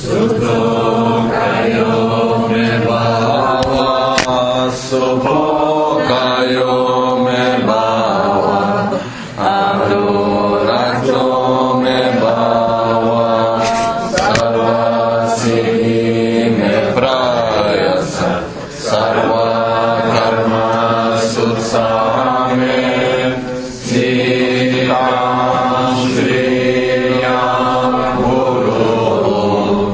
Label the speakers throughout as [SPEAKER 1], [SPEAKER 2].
[SPEAKER 1] Sudhokayo me bhava, Subhokayo me bhava, Anurakto me bhava, Sarvasiddhi me prayasa, Sarva karma sutsame, Siddham Shriyam Guru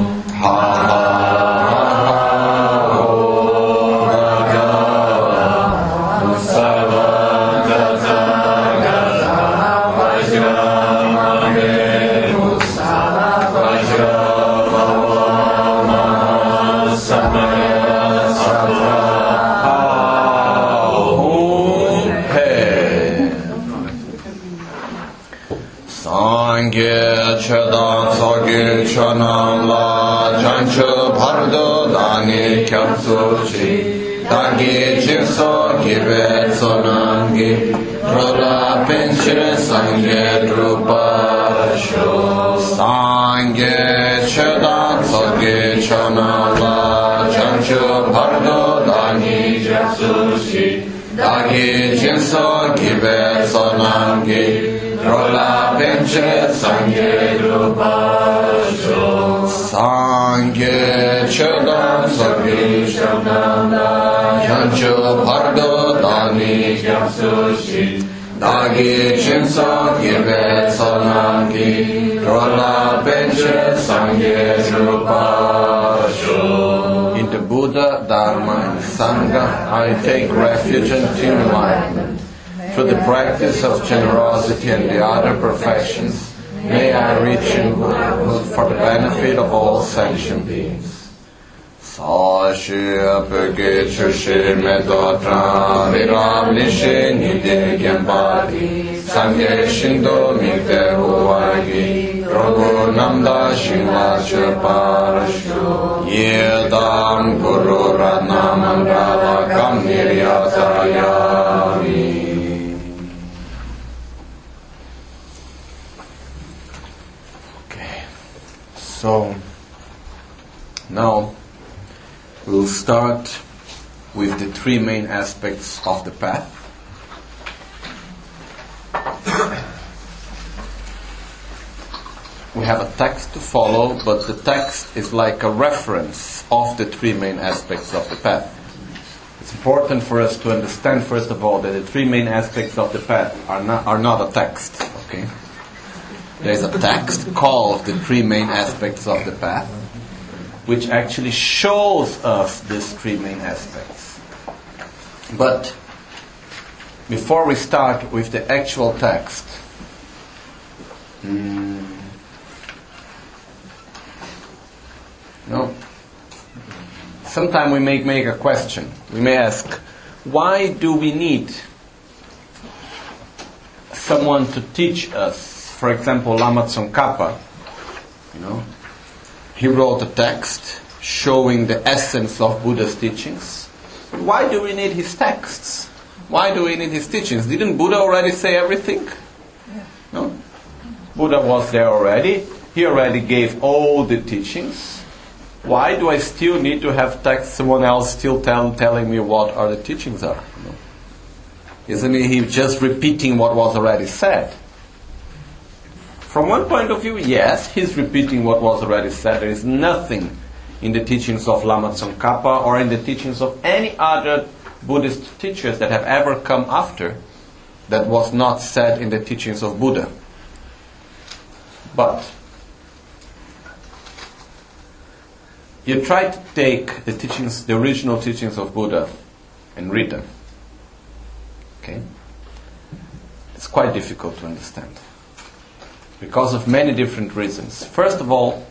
[SPEAKER 1] Kyapsuchi, Tangi Jinso Kibe Sonangi, Rola Pinchire Sangye Drupasho, Sangye Chedan Sogi Chonala, Jancho Pardo Dani Kyapsuchi, Tangi Jinso Kibe Sonangi, Rola Pinchire Sangye Drupasho, Sangye Chedan Sogi Chonala, Jancho Pardo Dani Kyapsuchi, Dagi Jinso Kibe Sonangi, Rola Pinchire Sangye Drupasho. In the Buddha, Dharma, and Sangha, I take refuge and enlightenment. Through the practice of generosity and the other perfections, may I reach in Buddhahood for the benefit of all sentient beings. Sashi apeke chushi medotra viram nishi nide gyambadi sangye shindo mikte huwagi rogo namda shingla chaparashu yedam guru ratna mandala kam niryasayami. Okay, so now we'll start with the three main aspects of the path. We have a text to follow, but the text is like a reference of the three main aspects of the path. It's important for us to understand, first of all, that the three main aspects of the path are not a text. Okay, there's a text called the three main aspects of the path, which actually shows us these three main aspects. But before we start with the actual text, sometimes we may make a question. We may ask, why do we need someone to teach us? For example, Lama Tsongkhapa, he wrote a text showing the essence of Buddha's teachings. Why do we need his texts? Why do we need his teachings? Didn't Buddha already say everything? No? Buddha was there already. He already gave all the teachings. Why do I still need to have text, someone else still telling me what are the teachings are? Isn't he just repeating what was already said? From one point of view, yes, he's repeating what was already said. There is nothing in the teachings of Lama Tsongkhapa or in the teachings of any other Buddhist teachers that have ever come after that was not said in the teachings of Buddha. But you try to take the teachings, the original teachings of Buddha, and read them. Okay? It's quite difficult to understand, because of many different reasons. First of all,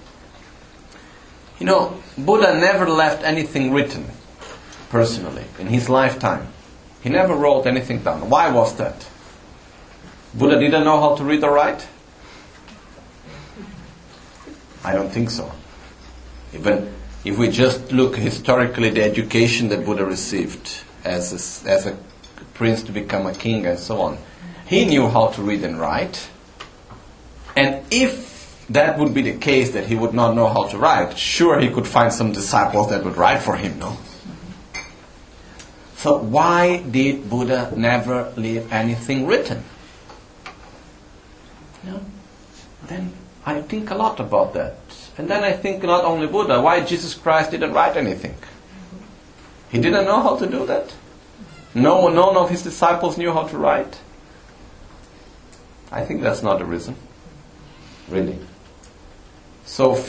[SPEAKER 1] Buddha never left anything written, personally, in his lifetime. He never wrote anything down. Why was that? Buddha didn't know how to read or write? I don't think so. Even if we just look historically, the education that Buddha received as a prince to become a king and so on, he knew how to read and write. And if that would be the case, that he would not know how to write, sure, he could find some disciples that would write for him, no? So why did Buddha never leave anything written? No? Then I think a lot about that. And then I think not only Buddha, why Jesus Christ didn't write anything? He didn't know how to do that? None of his disciples knew how to write? I think that's not the reason. Really. So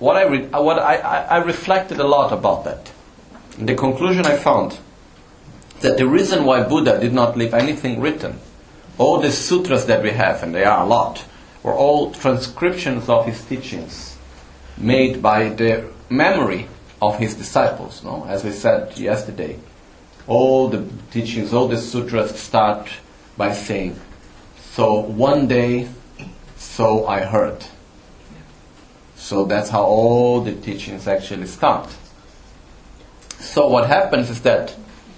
[SPEAKER 1] I reflected a lot about that. And the conclusion I found that the reason why Buddha did not leave anything written, all the sutras that we have, and there are a lot, were all transcriptions of his teachings made by the memory of his disciples. No? As we said yesterday, all the teachings, all the sutras start by saying, so one day, so I heard. So that's how all the teachings actually start. So what happens is that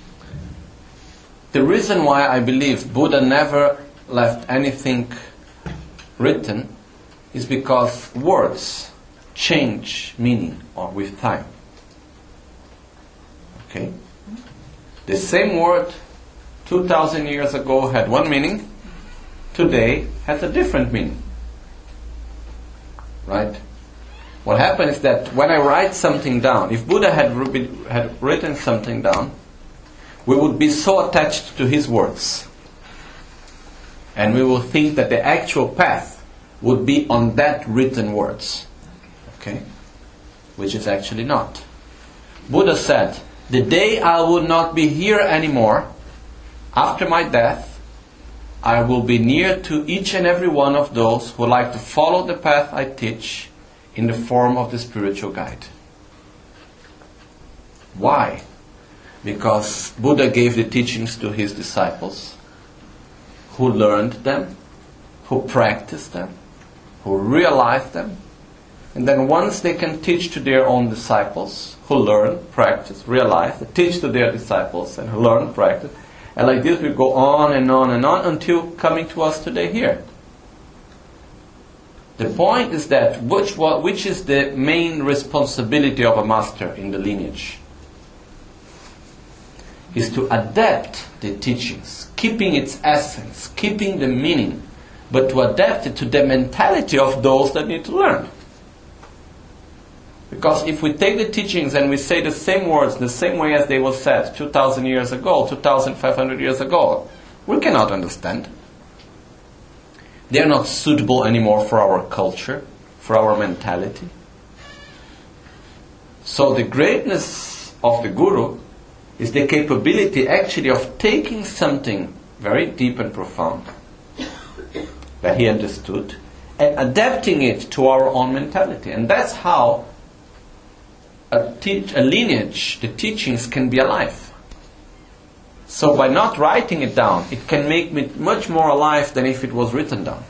[SPEAKER 1] the reason why I believe Buddha never left anything written is because words change meaning with time. Okay? The same word 2,000 years ago had one meaning, today has a different meaning. Right? What happens is that when I write something down, if Buddha had written something down, we would be so attached to his words. And we will think that the actual path would be on that written words. Okay? Which is actually not. Buddha said, the day I will not be here anymore, after my death, I will be near to each and every one of those who like to follow the path I teach in the form of the spiritual guide. Why? Because Buddha gave the teachings to his disciples, who learned them, who practiced them, who realized them, and then once they can teach to their own disciples, who learn, practice, realize, teach to their disciples, and who learn, practice, and like this we go on and on and on until coming to us today here. The point is that which is the main responsibility of a master in the lineage? Is to adapt the teachings, keeping its essence, keeping the meaning, but to adapt it to the mentality of those that need to learn. Because if we take the teachings and we say the same words the same way as they were said 2,000 years ago, 2,500 years ago, we cannot understand. They are not suitable anymore for our culture, for our mentality. So the greatness of the Guru is the capability actually of taking something very deep and profound that he understood and adapting it to our own mentality. And that's how a lineage, the teachings can be alive. So by not writing it down, it can make it much more alive than if it was written down.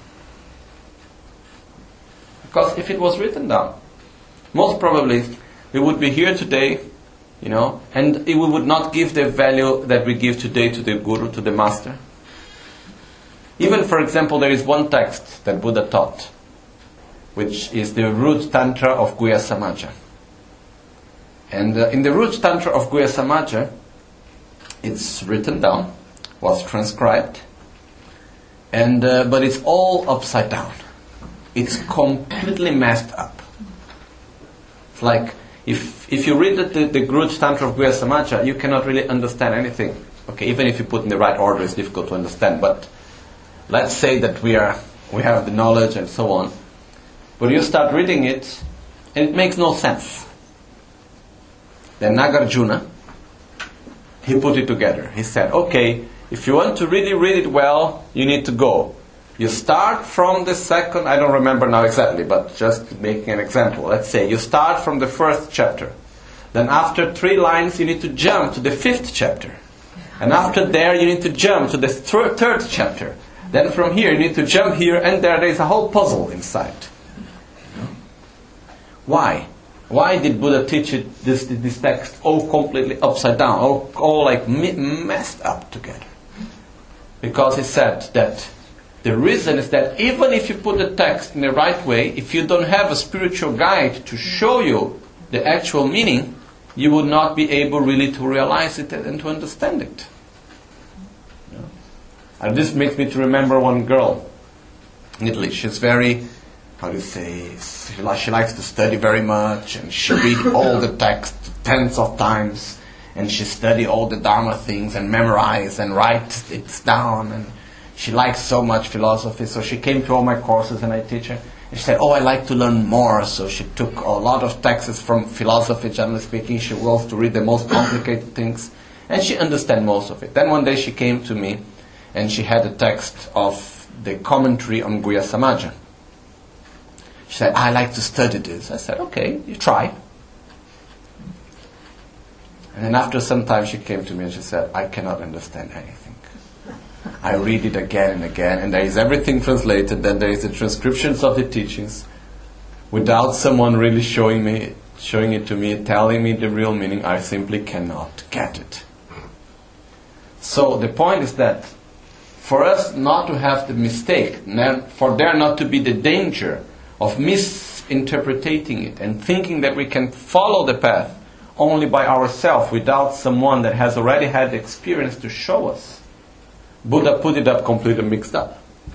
[SPEAKER 1] Because if it was written down, most probably we would be here today, and we would not give the value that we give today to the Guru, to the Master. Even, for example, there is one text that Buddha taught, which is the root tantra of Guhya Samaja. And in the root tantra of Guhya Samaja, it's written down, was transcribed, and but it's all upside down. It's completely messed up. It's like if you read the Grudge Tantra of Guhya Samaja, you cannot really understand anything. Okay, even if you put in the right order, it's difficult to understand. But let's say that we have the knowledge and so on. But you start reading it, and it makes no sense. Then Nagarjuna, he put it together. He said, okay, if you want to really read it well, you need to go. You start from the second, I don't remember now exactly, but just making an example. Let's say you start from the first chapter. Then after 3 lines, you need to jump to the 5th chapter. And after there, you need to jump to the 3rd chapter. Then from here, you need to jump here, and there is a whole puzzle inside. Why? Why did Buddha teach it, this text all completely upside down, all like messed up together? Because he said that The reason is that even if you put the text in the right way, if you don't have a spiritual guide to show you the actual meaning, you would not be able really to realize it and to understand it. And this makes me to remember one girl in Italy. She's very, she likes to study very much, and she reads all the text tens of times, and she study all the Dharma things and memorize and write it down, and she likes so much philosophy. So she came to all my courses and I teach her. And she said, I like to learn more. So she took a lot of texts from philosophy, generally speaking. She goes to read the most complicated things, and she understands most of it. Then one day she came to me, and she had a text of the commentary on Guhya Samaja. She said, I like to study this. I said, okay, you try. And then after some time she came to me and she said, I cannot understand anything. I read it again and again, and there is everything translated, then there is the transcriptions of the teachings. Without someone really showing it to me, telling me the real meaning, I simply cannot get it. So the point is that for us not to have the mistake, for there not to be the danger of misinterpreting it and thinking that we can follow the path only by ourselves without someone that has already had the experience to show us, Buddha put it up completely mixed up.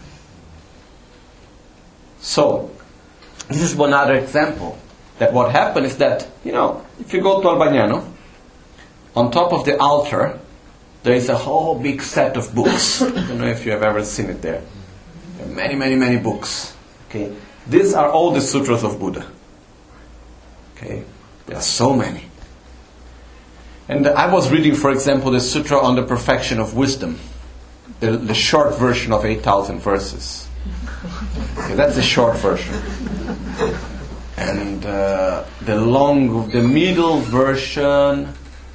[SPEAKER 1] So, this is one other example. That what happened is that, if you go to Albagnano, on top of the altar, there is a whole big set of books. I don't know if you have ever seen it there. There are many, many, many books. Okay, these are all the sutras of Buddha. Okay, there are so many. And I was reading, for example, the Sutra on the Perfection of Wisdom, the short version of 8,000 verses. Okay, that's the short version. And the middle version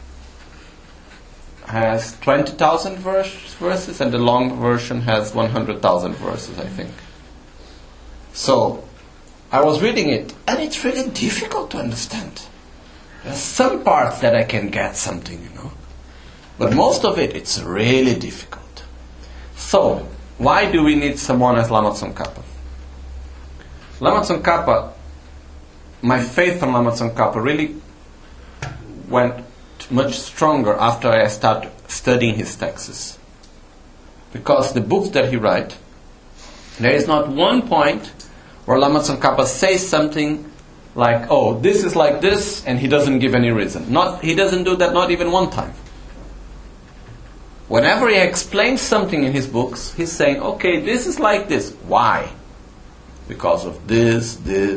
[SPEAKER 1] has 20,000 verses, and the long version has 100,000 verses, I think. So, I was reading it, and it's really difficult to understand. There's some parts that I can get something, but most of it, it's really difficult. So, why do we need someone as Lama Tsongkhapa? Lama Tsongkhapa, my faith on Lama Tsongkhapa really went much stronger after I started studying his texts. Because the books that he writes, there is not one point where Lama Tsongkhapa says something like, this is like this, and he doesn't give any reason. He doesn't do that, not even one time. Whenever he explains something in his books, he's saying, okay, this is like this. Why? Because of this,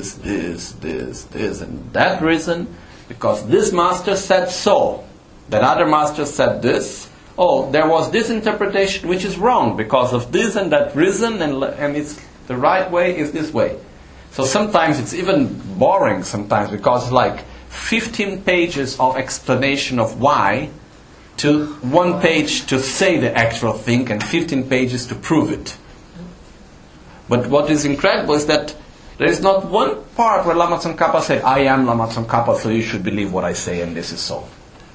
[SPEAKER 1] and that reason. Because this master said so. That other master said this. There was this interpretation which is wrong because of this and that reason, and it's the right way is this way. So sometimes it's even boring sometimes, because like 15 pages of explanation of why to one page to say the actual thing and 15 pages to prove it. But what is incredible is that there is not one part where Lama Tsongkhapa said, I am Lama Tsongkhapa, so you should believe what I say, and this is so.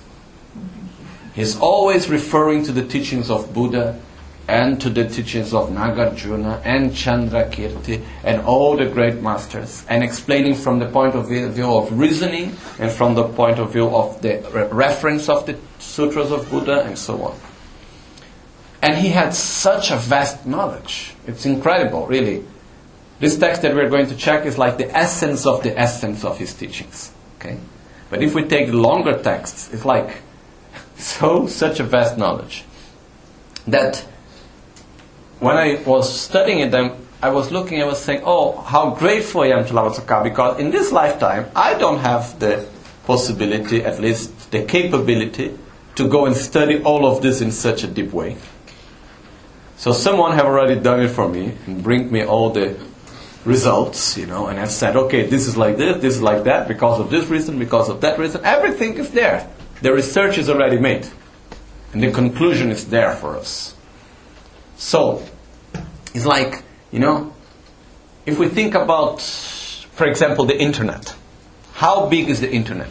[SPEAKER 1] He's always referring to the teachings of Buddha and to the teachings of Nagarjuna and Chandrakirti and all the great masters, and explaining from the point of view of reasoning and from the point of view of the reference of the sutras of Buddha and so on. And he had such a vast knowledge. It's incredible, really. This text that we're going to check is like the essence of his teachings. Okay? But if we take longer texts, it's like such a vast knowledge that when I was studying it, I was saying, how grateful I am to Lama Tsongkhapa, because in this lifetime, I don't have the possibility, at least the capability, to go and study all of this in such a deep way. So someone have already done it for me and bring me all the results, and have said, okay, this is like this is like that, because of this reason, because of that reason. Everything is there. The research is already made. And the conclusion is there for us. So, it's like, if we think about, for example, the internet. How big is the internet?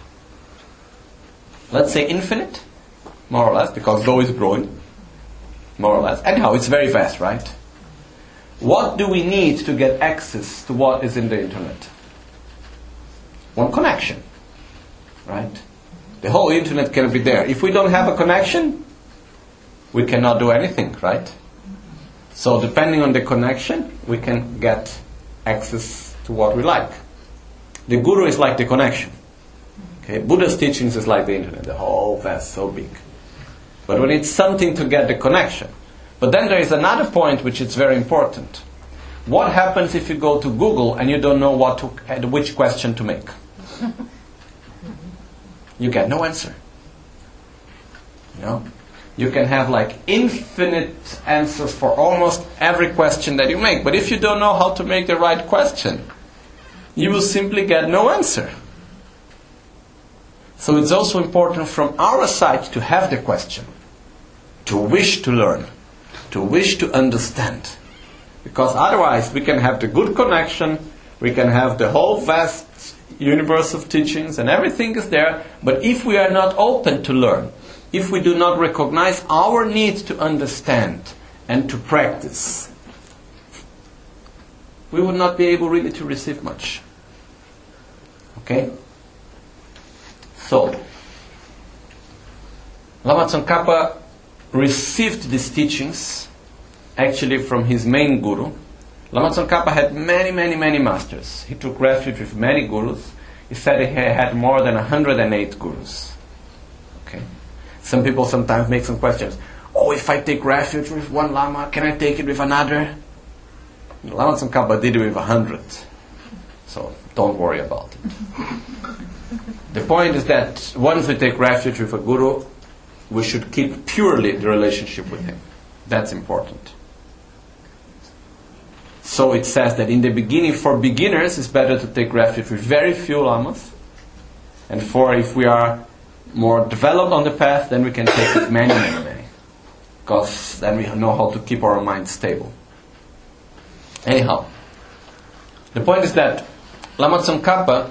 [SPEAKER 1] Let's say infinite, more or less, because though it's growing, more or less. Anyhow, it's very vast, right? What do we need to get access to what is in the internet? One connection, right? The whole internet can be there. If we don't have a connection, we cannot do anything, right? So depending on the connection, we can get access to what we like. The guru is like the connection. Okay, Buddha's teachings is like the internet, the whole vast, so big. But we need something to get the connection. But then there is another point which is very important. What happens if you go to Google and you don't know which question to make? You get no answer. You know? You can have like infinite answers for almost every question that you make. But if you don't know how to make the right question, you will simply get no answer. So it's also important from our side to have the question, to wish to learn, to wish to understand. Because otherwise we can have the good connection, we can have the whole vast universe of teachings and everything is there, but if we are not open to learn, if we do not recognize our need to understand and to practice, we will not be able really to receive much. Okay? So, Lama Tsongkhapa received these teachings actually from his main guru. Lama Tsongkhapa had many masters. He took refuge with many gurus. He said he had more than 108 gurus. Okay. Some people sometimes make some questions. Oh, if I take refuge with one Lama, can I take it with another? Lama Tsongkhapa did it with 100. So don't worry about it. The point is that once we take refuge with a guru, we should keep purely the relationship with him. That's important. So it says that in the beginning, for beginners, it's better to take refuge with very few lamas. And if we are more developed on the path, then we can take it many. Because then we know how to keep our mind stable. Anyhow, the point is that Lama Tsongkhapa,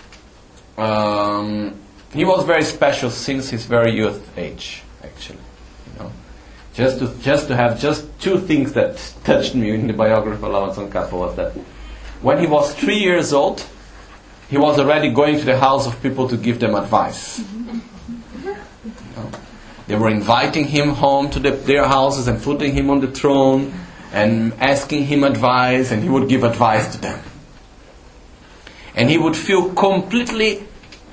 [SPEAKER 1] he was very special since his very youth age, actually. You know, just to have just two things that touched me in the biography of Lama Tsongkhapa was that when he was 3 years old, he was already going to the house of people to give them advice. You know, they were inviting him home to their houses and putting him on the throne and asking him advice, and he would give advice to them. And he would feel completely,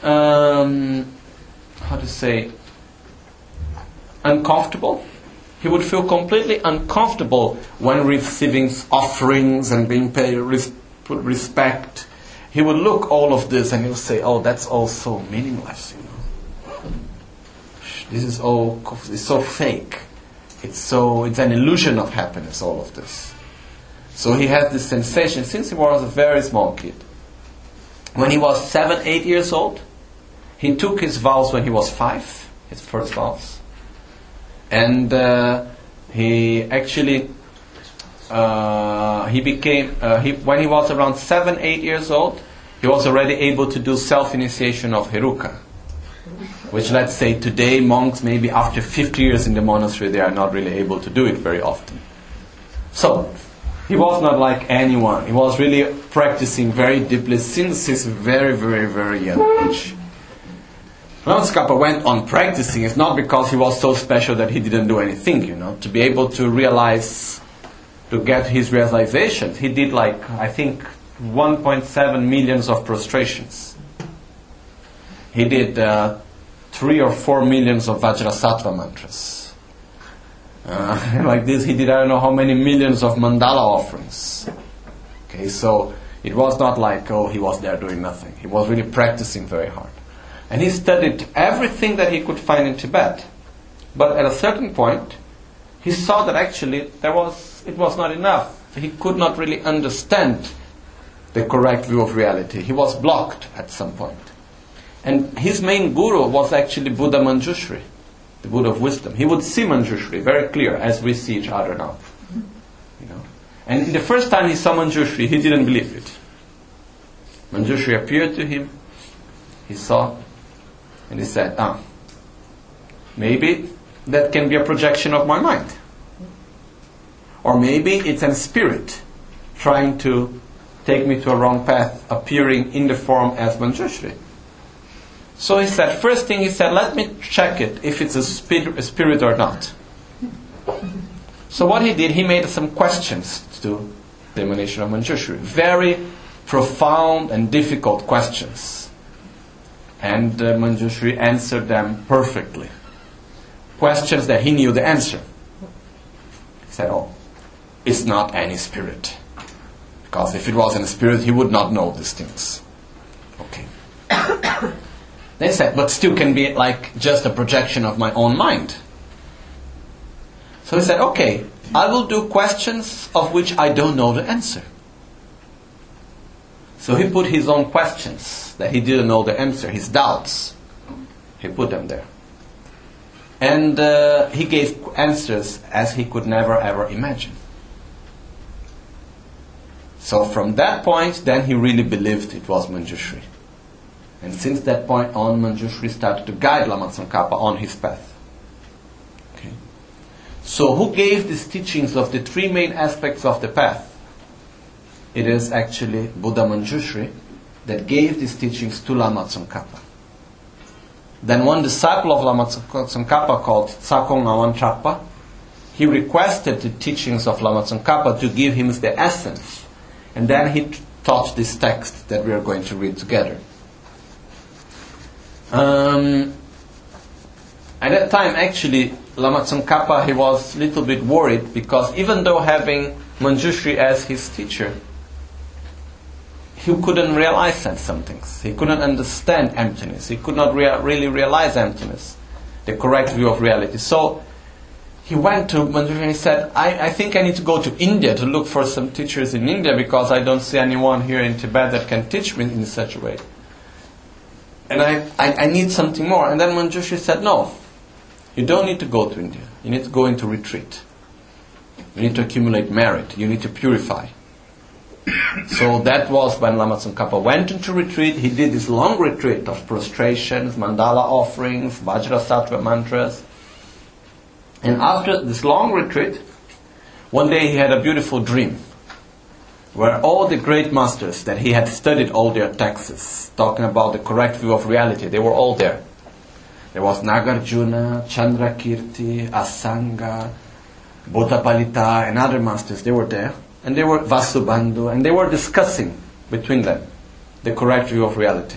[SPEAKER 1] uncomfortable. He would feel completely uncomfortable when receiving offerings and being paid respect. He would look all of this and he would say, "Oh, that's all so meaningless, you know. This is all, it's so fake. It's an illusion of happiness, all of this." So he had this sensation since he was a very small kid. When he was 7, 8 years old, he took his vows when he was 5, his first vows. And he actually, when he was around 7, 8 years old, he was already able to do self-initiation of Heruka. Which, let's say, today monks, maybe after 50 years in the monastery, they are not really able to do it very often. So, he was not like anyone. He was really practicing very deeply since his very young age. Lama Tsongkhapa went on practicing. It's not because he was so special that he didn't do anything, you know. To be able to realize, to get his realizations, he did like, I think, 1.7 million of prostrations. He did 3 or 4 million of Vajrasattva mantras. Like this, he did I don't know how many millions of mandala offerings. Okay, so it was not like, oh, he was there doing nothing. He was really practicing very hard. And he studied everything that he could find in Tibet. But at a certain point, he saw that actually it was not enough. He could not really understand the correct view of reality. He was blocked at some point. And his main guru was actually Buddha Manjushri, the Buddha of wisdom. He would see Manjushri very clear as we see each other now. You know? And the first time he saw Manjushri, he didn't believe it. Manjushri appeared to him, he saw, and he said, maybe that can be a projection of my mind. Or maybe it's a spirit trying to take me to a wrong path, appearing in the form as Manjushri. So he said, first thing he said, let me check it, if it's a spirit or not. So what he did, he made some questions to the emanation of Manjushri. Very profound and difficult questions. And Manjushri answered them perfectly. Questions that he knew the answer. He said, oh, it's not any spirit. Because if it was any spirit, he would not know these things. Okay. They said, but still can be like just a projection of my own mind. So he said, okay, I will do questions of which I don't know the answer. So he put his own questions that he didn't know the answer, his doubts. He put them there. And he gave answers as he could never ever imagine. So from that point, then he really believed it was Manjushri. And since that point on, Manjushri started to guide Lama Tsongkhapa on his path. Okay. So who gave these teachings of the three main aspects of the path? It is actually Buddha Manjushri that gave these teachings to Lama Tsongkhapa. Then one disciple of Lama Tsongkhapa called Tsakong Ngawan Trapa, he requested the teachings of Lama Tsongkhapa to give him the essence. And then he taught this text that we are going to read together. At that time, actually, Lama Tsongkhapa, he was a little bit worried because even though having Manjushri as his teacher, he couldn't realize some things. He couldn't understand emptiness. He could not really realize emptiness, the correct view of reality. So he went to Manjushri and he said, I think I need to go to India to look for some teachers in India because I don't see anyone here in Tibet that can teach me in such a way. And I need something more. And then Manjushri said, no, you don't need to go to India. You need to go into retreat. You need to accumulate merit. You need to purify. So that was when Lama Tsongkhapa went into retreat. He did this long retreat of prostrations, mandala offerings, Vajrasattva mantras. And after this long retreat, one day he had a beautiful dream where all the great masters that he had studied all their texts, talking about the correct view of reality, they were all there. There was Nagarjuna, Chandrakirti, Asanga, Bhottapalita, and other masters. They were there. And they were Vasubandhu, and they were discussing between them the correct view of reality.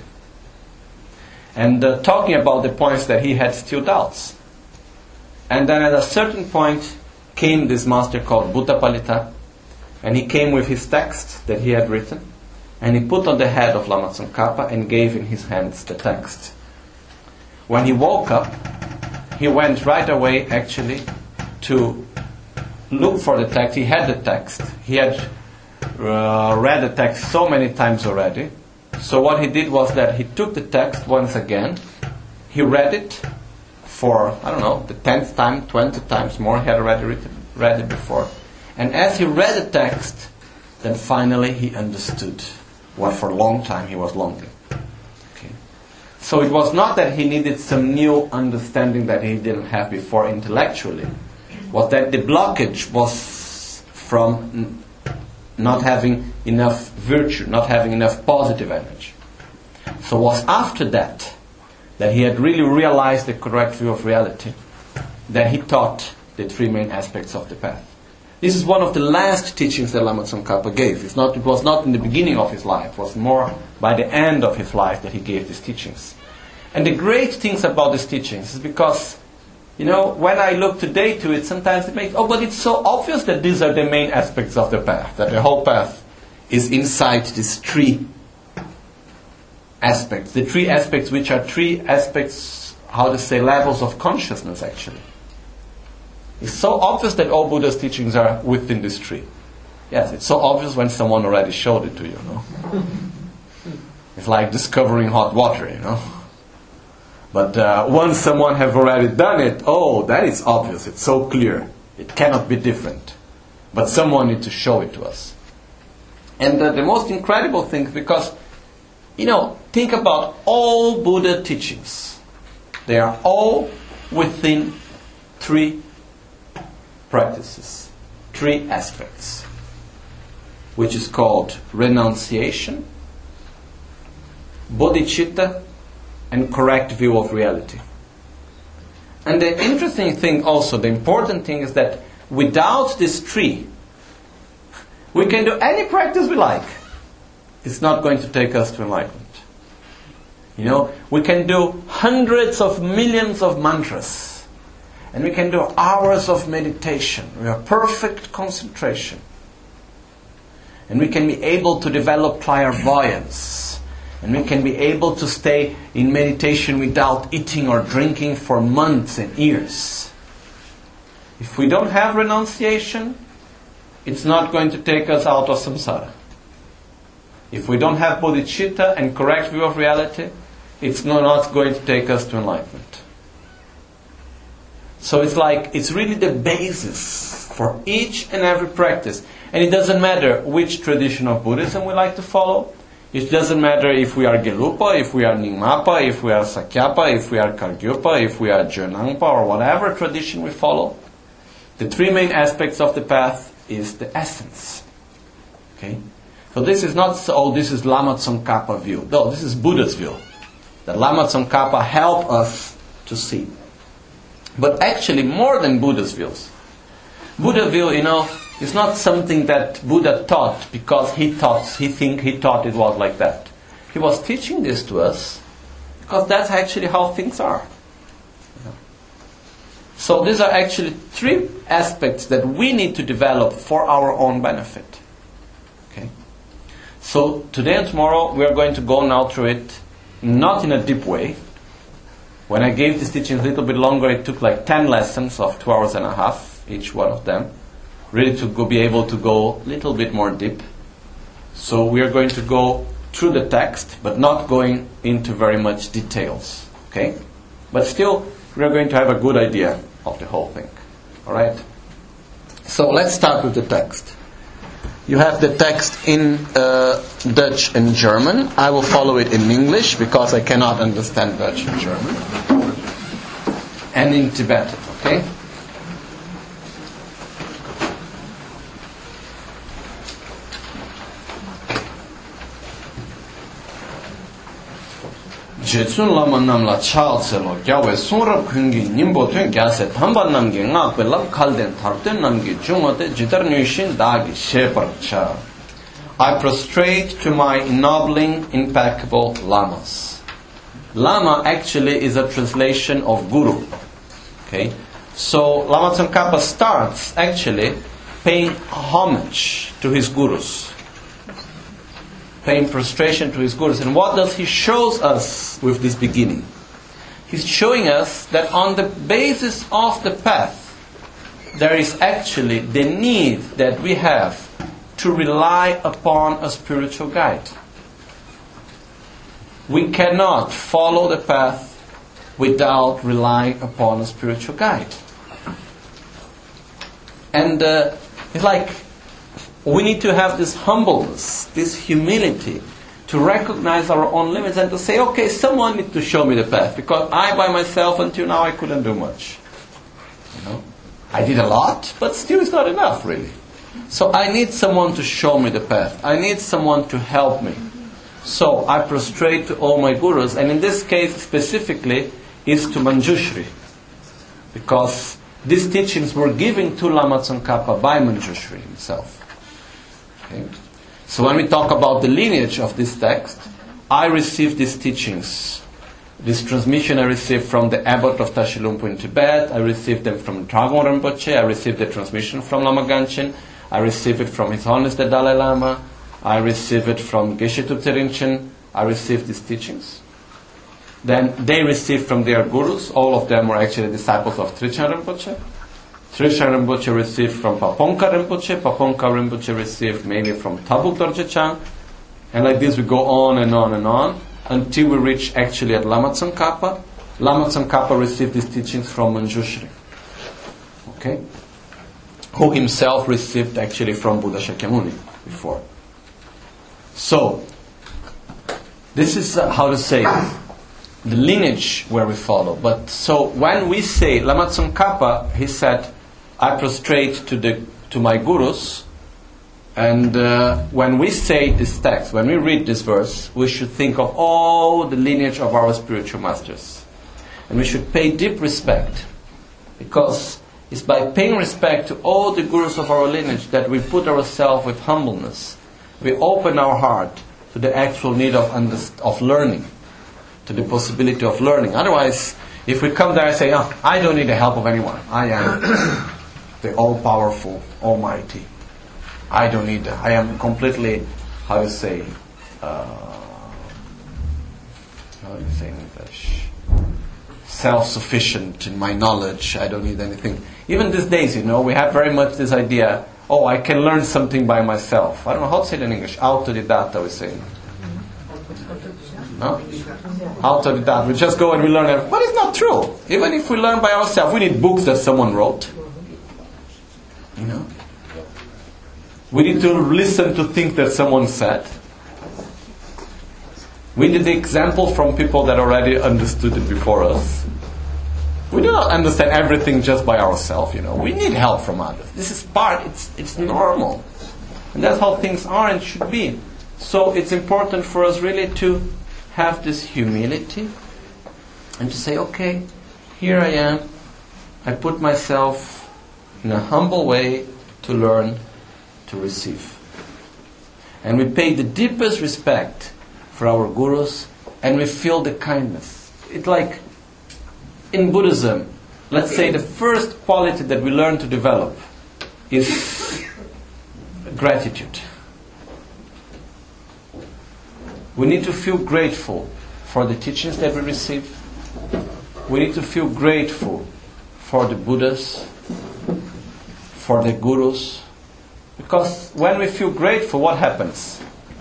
[SPEAKER 1] And talking about the points that he had still doubts. And then at a certain point came this master called Bhottapalita, and he came with his text that he had written, and he put on the head of Lama Tsongkhapa and gave in his hands the text. When he woke up, he went right away actually to look for the text. He had the text. He had read the text so many times already. So what he did was that he took the text once again. He read it for, I don't know, the 10th time, 20 times more. He had already read it before. And as he read the text, then finally he understood what for a long time he was longing. Okay. So it was not that he needed some new understanding that he didn't have before intellectually. Was that the blockage was from not having enough virtue, not having enough positive energy. So it was after that he had really realized the correct view of reality, that he taught the three main aspects of the path. This is one of the last teachings that Lama Tsongkhapa gave. It was not in the beginning of his life. It was more by the end of his life that he gave these teachings. And the great things about these teachings is because, you know, when I look today to it, sometimes it makes, but it's so obvious that these are the main aspects of the path, that the whole path is inside these three aspects. The three aspects which are three aspects, levels of consciousness actually. It's so obvious that all Buddha's teachings are within this tree. Yes, it's so obvious when someone already showed it to you, It's like discovering hot water, But once someone has already done it, that is obvious, it's so clear. It cannot be different. But someone needs to show it to us. And the most incredible thing, because, think about all Buddha teachings. They are all within three practices, three aspects. which is called renunciation, bodhicitta, and correct view of reality. And the interesting thing also, the important thing is that without this tree, we can do any practice we like. It's not going to take us to enlightenment. You know, we can do hundreds of millions of mantras. And we can do hours of meditation. We have perfect concentration. And we can be able to develop clairvoyance. And we can be able to stay in meditation without eating or drinking for months and years. If we don't have renunciation, it's not going to take us out of samsara. If we don't have bodhicitta and correct view of reality, it's not going to take us to enlightenment. So it's really the basis for each and every practice. And it doesn't matter which tradition of Buddhism we like to follow. It doesn't matter if we are Gelupa, if we are Nyingmapa, if we are Sakyapa, if we are Kargyupa, if we are Jönangpa, or whatever tradition we follow. The three main aspects of the path is the essence. Okay? So this is not, this is Lama Tsongkhapa view. No, this is Buddha's view. That Lama Tsongkhapa help us to see. But actually, more than Buddha's views. Buddha view, is not something that Buddha taught because he thought it was like that. He was teaching this to us because that's actually how things are. So these are actually three aspects that we need to develop for our own benefit. Okay? So today and tomorrow we are going to go now through it, not in a deep way. When I gave this teaching a little bit longer, it took like 10 lessons of 2 hours and a half, each one of them, really to be able to go a little bit more deep. So we are going to go through the text, but not going into very much details. Okay? But still, we are going to have a good idea of the whole thing. Alright? So let's start with the text. You have the text in Dutch and German. I will follow it in English because I cannot understand Dutch and German. And in Tibetan, okay? Jetsun lama namla chal selo gyawe sunrab kungi nimbo tuen gyase thamba namgi ngakwe lab khalden tharpten namgi jungote jitar nyushin dagi sheparcha. I prostrate to my ennobling, impeccable lamas. Lama actually is a translation of guru. Okay? So Lama Tsongkhapa starts actually paying homage to his gurus. Paying prostration to his gurus. And what does he shows us with this beginning? He's showing us that on the basis of the path, there is actually the need that we have to rely upon a spiritual guide. We cannot follow the path without relying upon a spiritual guide. And it's like we need to have this humbleness, this humility, to recognize our own limits and to say, okay, someone needs to show me the path, because I by myself until now I couldn't do much. I did a lot, but still it's not enough really. So I need someone to show me the path. I need someone to help me. So I prostrate to all my gurus, and in this case specifically is to Manjushri, because these teachings were given to Lama Tsongkhapa by Manjushri himself. Okay. So when we talk about the lineage of this text, I received these teachings. This transmission I received from the abbot of Tashilhunpo in Tibet. I received them from Dragön Rinpoche. I received the transmission from Lama Ganchen. I received it from His Holiness the Dalai Lama. I received it from Geshe Thupten Rinchen. I received these teachings. Then they received from their gurus. All of them were actually disciples of Trijang Rinpoche. Trijang Rinpoche received from Paponka Rinpoche. Paponka Rinpoche received mainly from Tabuk Dorje Chang. And like this we go on and on and on until we reach actually at Lama Tsongkhapa. Lama Tsongkhapa received these teachings from Manjushri. Okay? Who himself received actually from Buddha Shakyamuni before. So, this is how to say the lineage where we follow. But so when we say Lama Tsongkhapa, he said, I prostrate to my gurus. And when we say this text, when we read this verse, we should think of all the lineage of our spiritual masters. And we should pay deep respect, because it's by paying respect to all the gurus of our lineage that we put ourselves with humbleness. We open our heart to the actual need of learning, to the possibility of learning. Otherwise, if we come there and say, oh, I don't need the help of anyone. I am the all-powerful, almighty. I don't need that. I am completely, how you say in English? Self-sufficient in my knowledge. I don't need anything. Even these days, we have very much this idea, oh, I can learn something by myself. I don't know how to say it in English. Autodidacta, we say. No? Autodidacta. We just go and we learn everything. But it's not true. Even if we learn by ourselves, we need books that someone wrote. We need to listen to things that someone said. We need the example from people that already understood it before us. We do not understand everything just by ourselves, We need help from others. This is it's normal. And that's how things are and should be. So it's important for us really to have this humility and to say, okay, here I am. I put myself in a humble way to learn, to receive. And we pay the deepest respect for our gurus, and we feel the kindness. It's like in Buddhism, let's say the first quality that we learn to develop is gratitude. We need to feel grateful for the teachings that we receive. We need to feel grateful for the Buddhas, for the gurus. Because when we feel grateful, what happens?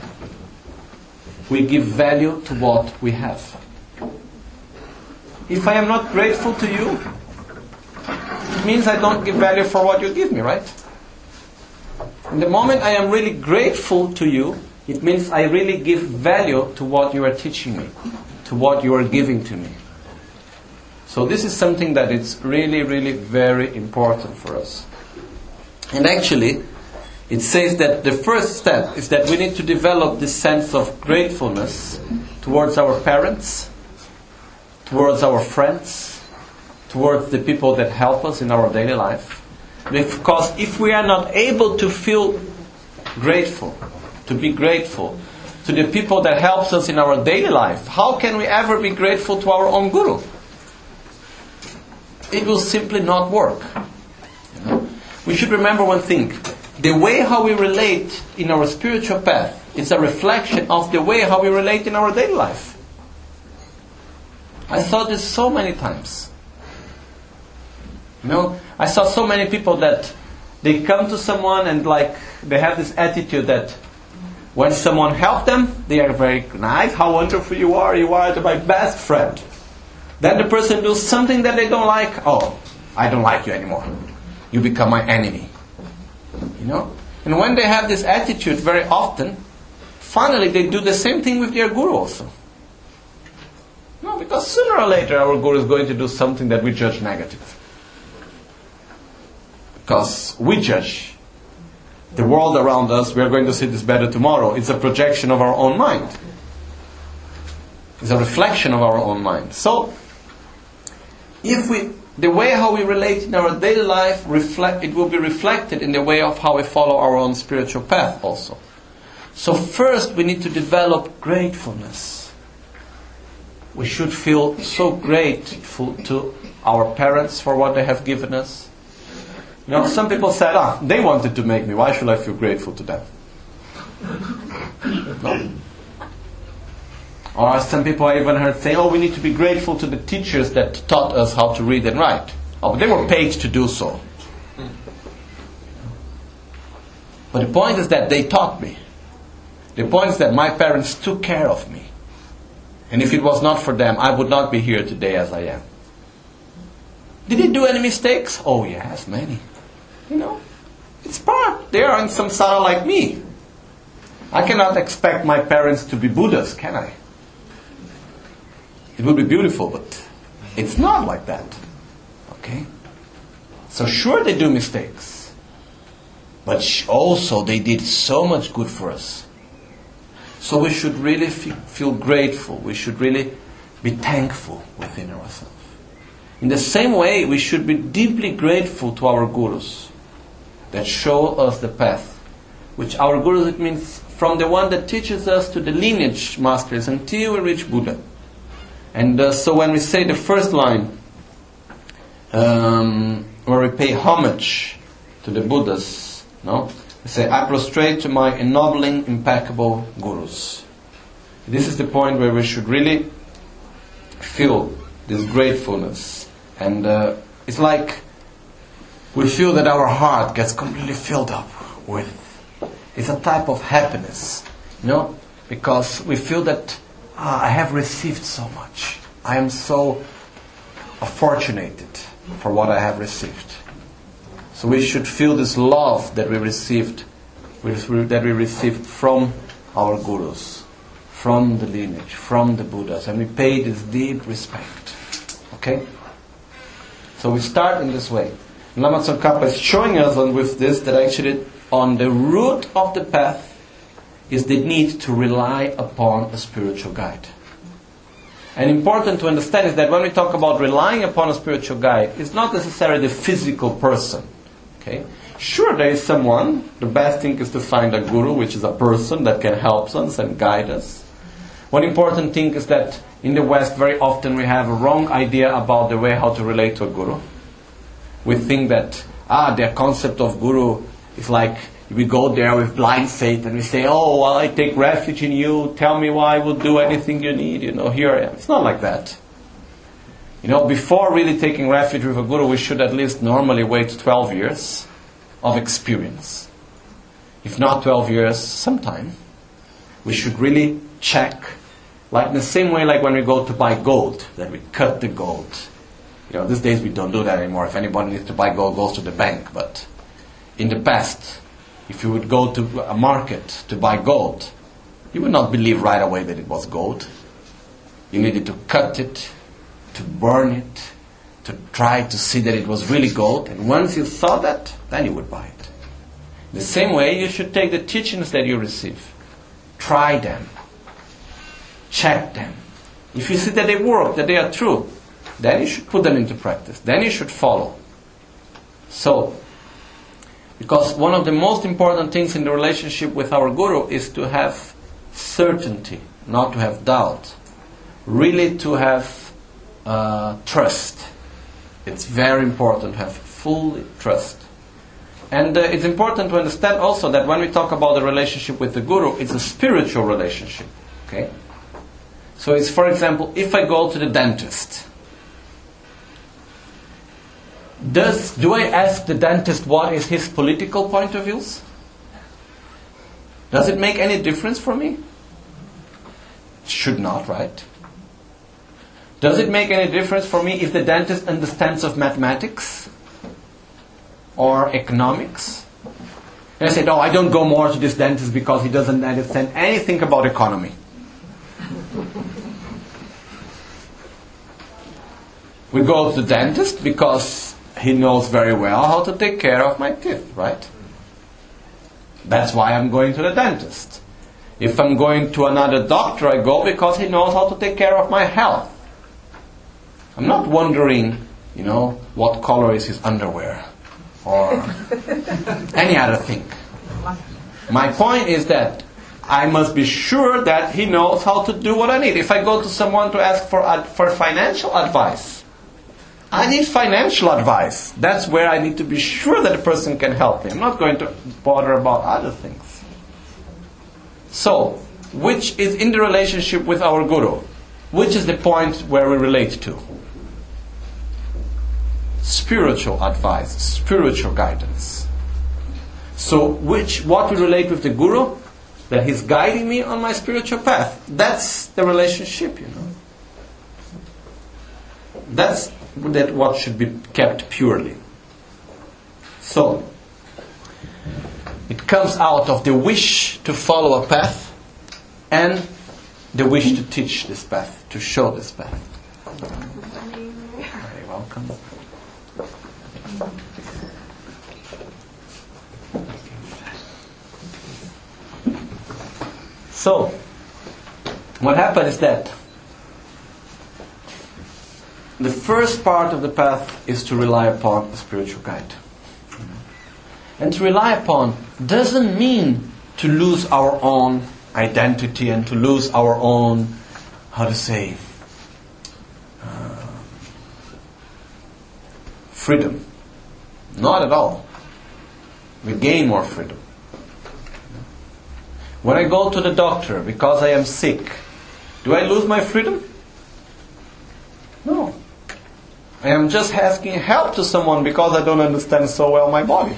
[SPEAKER 1] We give value to what we have. If I am not grateful to you, it means I don't give value for what you give me, right? In the moment I am really grateful to you, it means I really give value to what you are teaching me, to what you are giving to me. So this is something that is really, really very important for us. And actually, it says that the first step is that we need to develop this sense of gratefulness towards our parents, towards our friends, towards the people that help us in our daily life. Because if we are not able to feel grateful, to be grateful to the people that helps us in our daily life, how can we ever be grateful to our own guru? It will simply not work. We should remember one thing. The way how we relate in our spiritual path is a reflection of the way how we relate in our daily life. I saw this so many times. I saw so many people that they come to someone and they have this attitude that when someone helps them, they are very nice, how wonderful you are my best friend. Then the person does something that they don't like, oh, I don't like you anymore. You become my enemy. And when they have this attitude very often, finally they do the same thing with their guru also. No, because sooner or later our guru is going to do something that we judge negative. Because we judge the world around us, we are going to see this better tomorrow. It's a projection of our own mind. It's a reflection of our own mind. So, the way how we relate in our daily life, it will be reflected in the way of how we follow our own spiritual path also. So first we need to develop gratefulness. We should feel so grateful to our parents for what they have given us. Some people said, they wanted to make me, why should I feel grateful to them? No. Or some people I even heard say, we need to be grateful to the teachers that taught us how to read and write. But they were paid to do so. But the point is that they taught me. The point is that my parents took care of me. And if it was not for them, I would not be here today as I am. Did they do any mistakes? Oh yes, many. It's part. They are in samsara like me. I cannot expect my parents to be Buddhas, can I? It would be beautiful, but it's not like that. Okay? So sure they do mistakes. But also they did so much good for us. So we should really feel grateful. We should really be thankful within ourselves. In the same way, we should be deeply grateful to our gurus that show us the path. Which our gurus, it means from the one that teaches us to the lineage masters until we reach Buddha. And so when we say the first line, where we pay homage to the Buddhas, no? We say, I prostrate to my ennobling, impeccable gurus. This is the point where we should really feel this gratefulness. And it's like we feel that our heart gets completely filled up with. It's a type of happiness, because we feel that I have received so much. I am so fortunated for what I have received. So we should feel this love that we received from our gurus, from the lineage, from the Buddhas, and we pay this deep respect. Okay? So we start in this way. Lama Tsongkhapa is showing us with this that actually on the root of the path is the need to rely upon a spiritual guide. And important to understand is that when we talk about relying upon a spiritual guide, it's not necessarily the physical person. Okay? Sure, there is someone. The best thing is to find a guru, which is a person that can help us and guide us. One important thing is that in the West, very often we have a wrong idea about the way how to relate to a guru. We think that the concept of guru is like we go there with blind faith and we say, oh, well, I take refuge in you. Tell me why I will do anything you need. Here I am. It's not like that. Before really taking refuge with a guru, we should at least normally wait 12 years of experience. If not 12 years, sometime. We should really check, like in the same way like when we go to buy gold, that we cut the gold. These days we don't do that anymore. If anybody needs to buy gold, goes to the bank. But in the past, if you would go to a market to buy gold, you would not believe right away that it was gold. You needed to cut it, to burn it, to try to see that it was really gold. And once you saw that, then you would buy it. The same way, you should take the teachings that you receive. Try them. Check them. If you see that they work, that they are true, then you should put them into practice. Then you should follow. So, because one of the most important things in the relationship with our guru is to have certainty, not to have doubt. Really to have trust. It's very important to have full trust. And it's important to understand also that when we talk about the relationship with the guru, it's a spiritual relationship. Okay? So it's, for example, if I go to the dentist, do I ask the dentist what is his political point of views? Does it make any difference for me? It should not, right? Does it make any difference for me if the dentist understands of mathematics or economics? And I said, I don't go more to this dentist because he doesn't understand anything about economy. We go to the dentist because he knows very well how to take care of my teeth, right? That's why I'm going to the dentist. If I'm going to another doctor, I go because he knows how to take care of my health. I'm not wondering, what color is his underwear or any other thing. My point is that I must be sure that he knows how to do what I need. If I go to someone to ask for financial advice, I need financial advice. That's where I need to be sure that the person can help me. I'm not going to bother about other things. So, which is in the relationship with our guru? Which is the point where we relate to? Spiritual advice, spiritual guidance. So, what we relate with the guru? That he's guiding me on my spiritual path. That's the relationship, That's what should be kept purely. So, it comes out of the wish to follow a path and the wish to teach this path, to show this path. Very welcome. So, what happened is that the first part of the path is to rely upon a spiritual guide. And to rely upon doesn't mean to lose our own identity and to lose our own, freedom. Not at all. We gain more freedom. When I go to the doctor because I am sick, do I lose my freedom? No. I am just asking help to someone because I don't understand so well my body.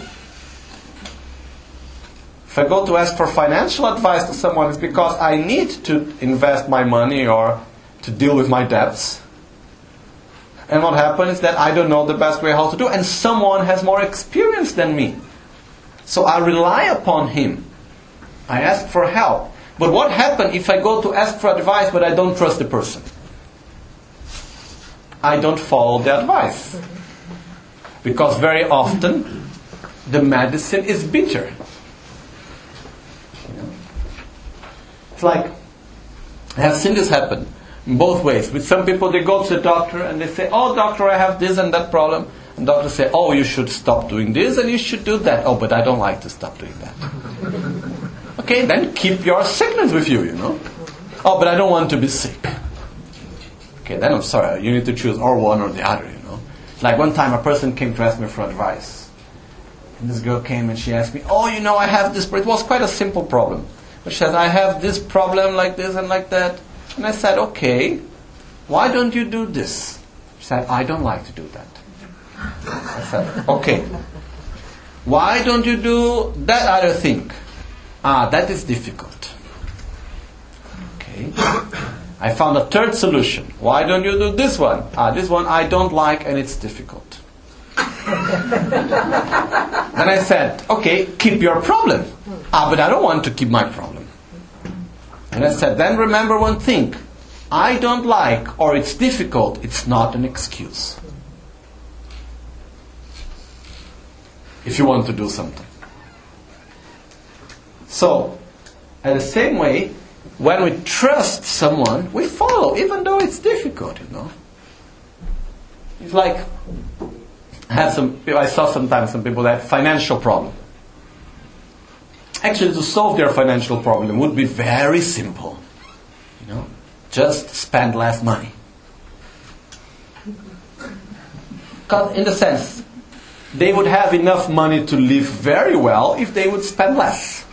[SPEAKER 1] If I go to ask for financial advice to someone, it's because I need to invest my money or to deal with my debts. And what happens is that I don't know the best way how to do it, and someone has more experience than me. So I rely upon him. I ask for help. But what happens if I go to ask for advice but I don't trust the person? I don't follow the advice. Because very often the medicine is bitter. It's like, I have seen this happen in both ways. With some people, they go to the doctor and they say, oh doctor, I have this and that problem. And doctor say, oh, you should stop doing this and you should do that. Oh, but I don't like to stop doing that. Okay, then keep your sickness with you, Oh, but I don't want to be sick. Okay, then I'm sorry, you need to choose or one or the other, Like one time a person came to ask me for advice. And this girl came and she asked me, oh, I have this, it was quite a simple problem. But she said, I have this problem like this and like that. And I said, okay, why don't you do this? She said, I don't like to do that. I said, okay, why don't you do that other thing? That is difficult. Okay. I found a third solution. Why don't you do this one? This one I don't like and it's difficult. Then I said, okay, keep your problem. But I don't want to keep my problem. And I said, then remember one thing. I don't like or it's difficult, it's not an excuse. If you want to do something. So, in the same way, when we trust someone, we follow, even though it's difficult, It's like, I saw sometimes some people that have financial problem. Actually, to solve their financial problem would be very simple. Just spend less money. Because in the sense, they would have enough money to live very well if they would spend less.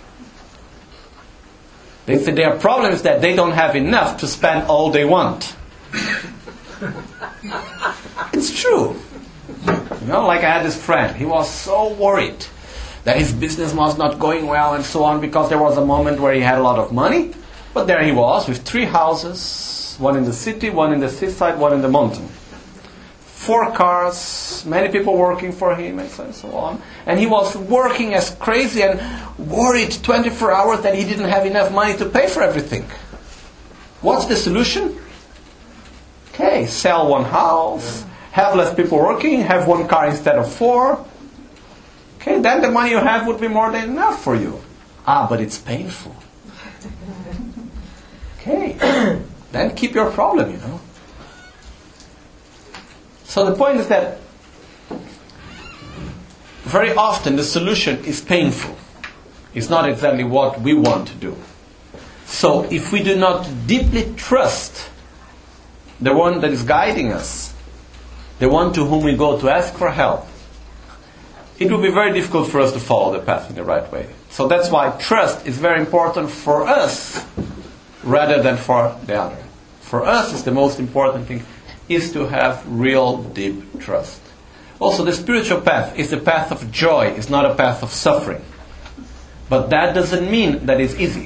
[SPEAKER 1] They say their problem is that they don't have enough to spend all they want. It's true. Like I had this friend, he was so worried that his business was not going well and so on because there was a moment where he had a lot of money, but there he was with 3 houses, one in the city, one in the seaside, one in the mountain. 4 cars, many people working for him and so on. And he was working as crazy and worried 24 hours that he didn't have enough money to pay for everything. What's the solution? Okay, sell 1 house, have less people working, have 1 car instead of 4. Okay, then the money you have would be more than enough for you. But it's painful. Okay, then keep your problem, So the point is that very often the solution is painful. It's not exactly what we want to do. So if we do not deeply trust the one that is guiding us, the one to whom we go to ask for help, it will be very difficult for us to follow the path in the right way. So that's why trust is very important for us rather than for the other. For us, it's the most important thing, is to have real deep trust. Also, the spiritual path is a path of joy, it's not a path of suffering. But that doesn't mean that it's easy.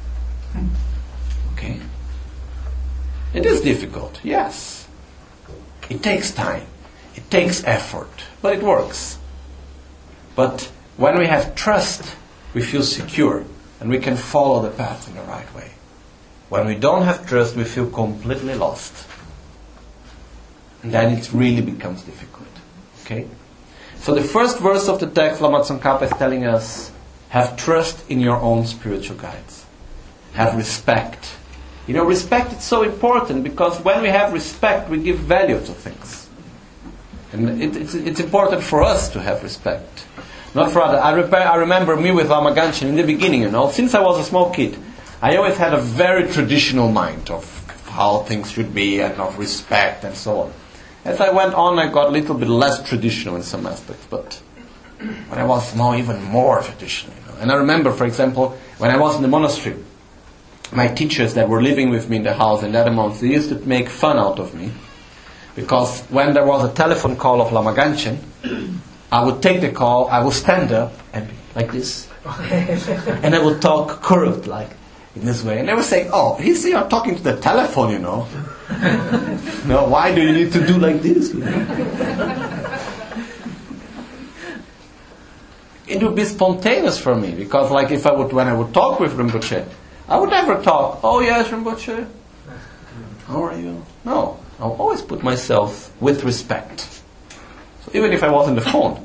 [SPEAKER 1] Okay? It is difficult, yes. It takes time, it takes effort, but it works. But when we have trust, we feel secure and we can follow the path in the right way. When we don't have trust, we feel completely lost. And then it really becomes difficult. Okay? So the first verse of the text, Lama Tsongkhapa is telling us, have trust in your own spiritual guides. have respect. You know, respect is so important because when we have respect, we give value to things. And it's important for us to have respect. Not for others. I remember me with Lama Ganchen in the beginning, you know, since I was a small kid, I always had a very traditional mind of how things should be and of respect and so on. As I went on, I got a little bit less traditional in some aspects, but when I was now even more traditional. You know. And I remember, for example, when I was in the monastery, my teachers that were living with me in the house in that month, they used to make fun out of me. Because when there was a telephone call of Lama Ganchen, I would take the call, I would stand up and be like this. And I would talk curved like in this way. And they would say, oh, you're talking to the telephone, you know. No, why do you need to do like this? You know? It would be spontaneous for me. Because like when I would talk with Rinpoche, I would never talk, oh yes, Rinpoche, how are you? No. I'll always put myself with respect. So even if I was on the phone.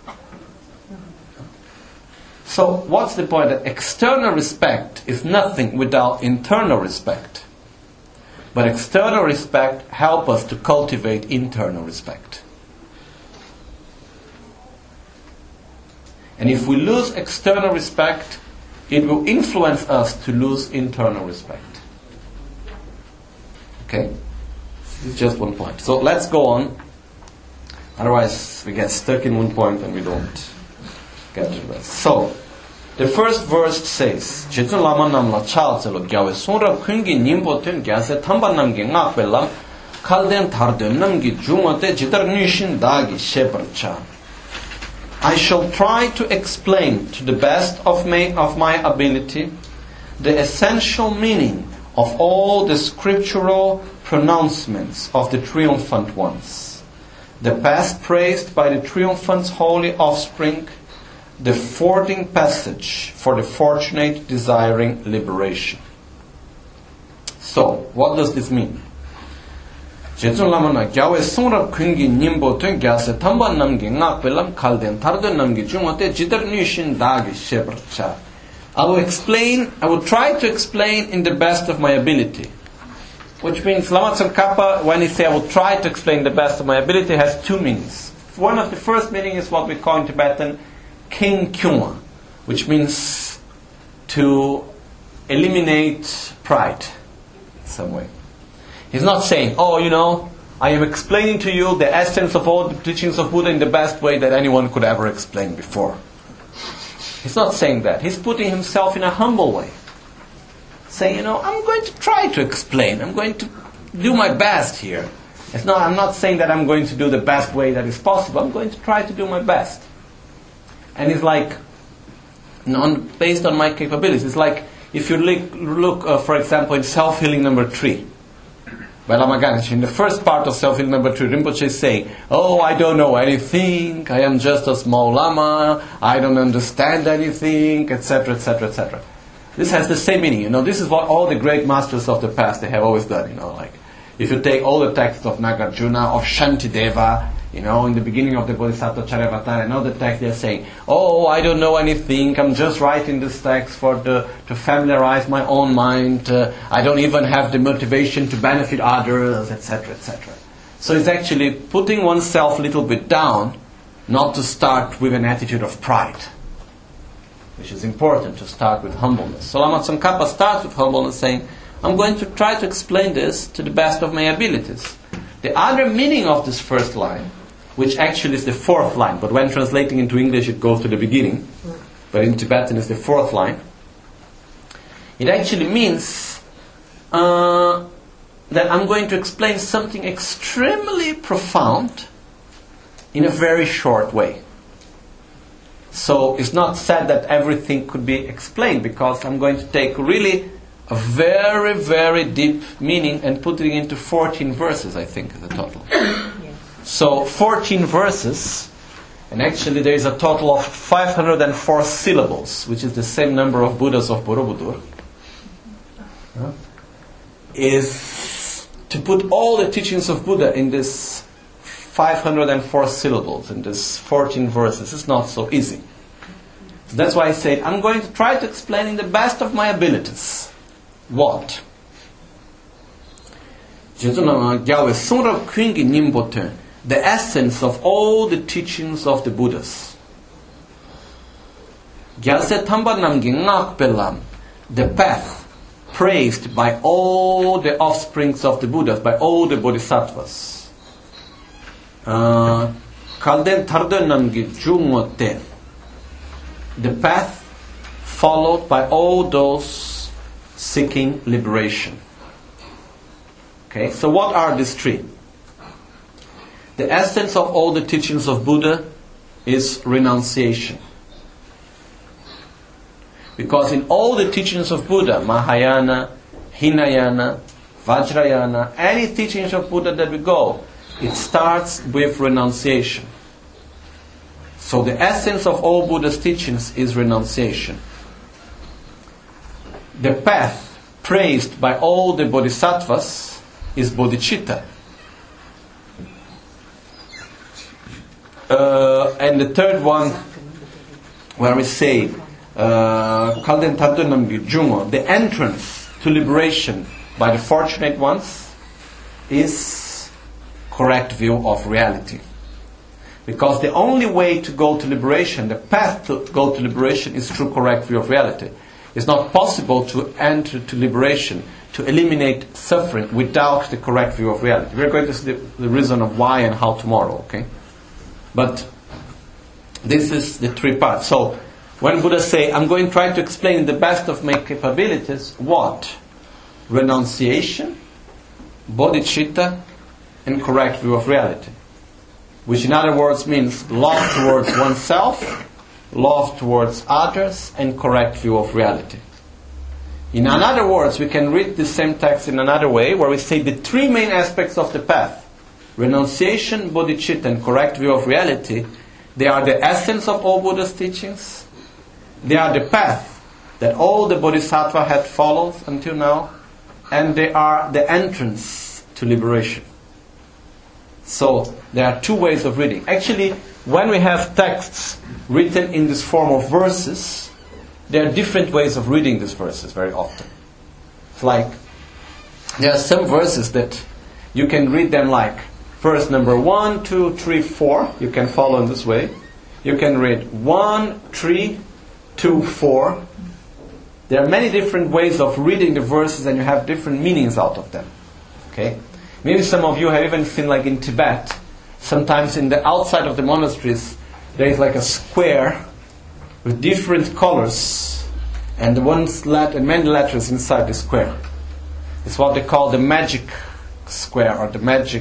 [SPEAKER 1] So what's the point? That external respect is nothing without internal respect. But external respect helps us to cultivate internal respect. And if we lose external respect, it will influence us to lose internal respect. Okay? This is just one point. So let's go on. Otherwise we get stuck in one point and we don't get to the rest. So, the first verse says, Jetsun Lama Namla Chalzelo Gyawe Sunra Kungi Nimbo Tun Gyase Tamba Namgi Ngakbelam Kalden Tardu Namgi Jumote Jitar Nishin Dagi Sheparcha. I shall try to explain to the best of my ability the essential meaning of all the scriptural pronouncements of the triumphant ones, the past praised by the triumphant's holy offspring, the fording passage for the fortunate desiring liberation. So, what does this mean? Jetsun Lamana Gyawe Sunrab Kungi Nimbo Tun Gyase Tamba Namgi Ngakbelam Kalden Tardo Namgi Jumote Jidar Nishin Dagi Shebrcha. I will try to explain in the best of my ability. Which means Lama Tsongkhapa, when he says I will try to explain the best of my ability, has two meanings. One of the first meaning is what we call in Tibetan King Kyungwa, which means to eliminate pride in some way. He's not saying, oh, you know, I am explaining to you the essence of all the teachings of Buddha in the best way that anyone could ever explain before. He's not saying that. He's putting himself in a humble way. Saying, you know, I'm going to try to explain. I'm going to do my best here. I'm not saying that I'm going to do the best way that is possible. I'm going to try to do my best. And it's like, based on my capabilities. It's like, if you look for example, in Self-Healing number 3, by Lama Ganchen, in the first part of Self-Healing number 3, Rinpoche is saying, oh, I don't know anything, I am just a small Lama, I don't understand anything, etc., etc., etc. This has the same meaning, you know, this is what all the great masters of the past, they have always done, you know, like, if you take all the texts of Nagarjuna, of Shantideva, you know, in the beginning of the Bodhisattva Charyavatara and all the texts, they're saying, oh, I don't know anything, I'm just writing this text to familiarize my own mind, I don't even have the motivation to benefit others, etc., etc. So it's actually putting oneself a little bit down, not to start with an attitude of pride, which is important, to start with humbleness. So Lama Tsongkhapa starts with humbleness, saying, I'm going to try to explain this to the best of my abilities. The other meaning of this first line, which actually is the fourth line, but when translating into English it goes to the beginning, but in Tibetan it's the fourth line. It actually means that I'm going to explain something extremely profound in a very short way. So it's not said that everything could be explained, because I'm going to take really a very, very deep meaning and put it into 14 verses, I think, is the total. So 14 verses, and actually there is a total of 504 syllables, which is the same number of Buddhas of Borobudur, is to put all the teachings of Buddha in this 504 syllables, in this 14 verses. It's not so easy. That's why I said, I'm going to try to explain in the best of my abilities. what? The essence of all the teachings of the Buddhas. The path praised by all the offsprings of the Buddhas, by all the Bodhisattvas. The path followed by all those seeking liberation. Okay, so what are these three? The essence of all the teachings of Buddha is renunciation. Because in all the teachings of Buddha, Mahayana, Hinayana, Vajrayana, any teachings of Buddha that we go, it starts with renunciation. So the essence of all Buddha's teachings is renunciation. The path praised by all the Bodhisattvas is bodhicitta. And the third one, where we say, the entrance to liberation by the fortunate ones is correct view of reality. Because the only way to go to liberation, the path to go to liberation is through correct view of reality. It's not possible to enter to liberation, to eliminate suffering without the correct view of reality. We're going to see the reason of why and how tomorrow, okay? But this is the three parts. So, when Buddha say, I'm going to try to explain the best of my capabilities, what? Renunciation, bodhicitta, and correct view of reality. Which in other words means love towards oneself, love towards others, and correct view of reality. In other words, we can read the same text in another way, where we say the three main aspects of the path, renunciation, bodhicitta, and correct view of reality, they are the essence of all Buddha's teachings. They are the path that all the Bodhisattva had followed until now, and they are the entrance to liberation. So, there are two ways of reading. Actually, when we have texts written in this form of verses, there are different ways of reading these verses very often. It's like, there are some verses that you can read them like, verse number 1, 2, 3, 4. You can follow in this way. You can read 1, 3, 2, 4. There are many different ways of reading the verses, and you have different meanings out of them. Okay? Maybe some of you have even seen, like in Tibet, sometimes in the outside of the monasteries, there is like a square with different colors, and many letters inside the square. It's what they call the magic square, or the magic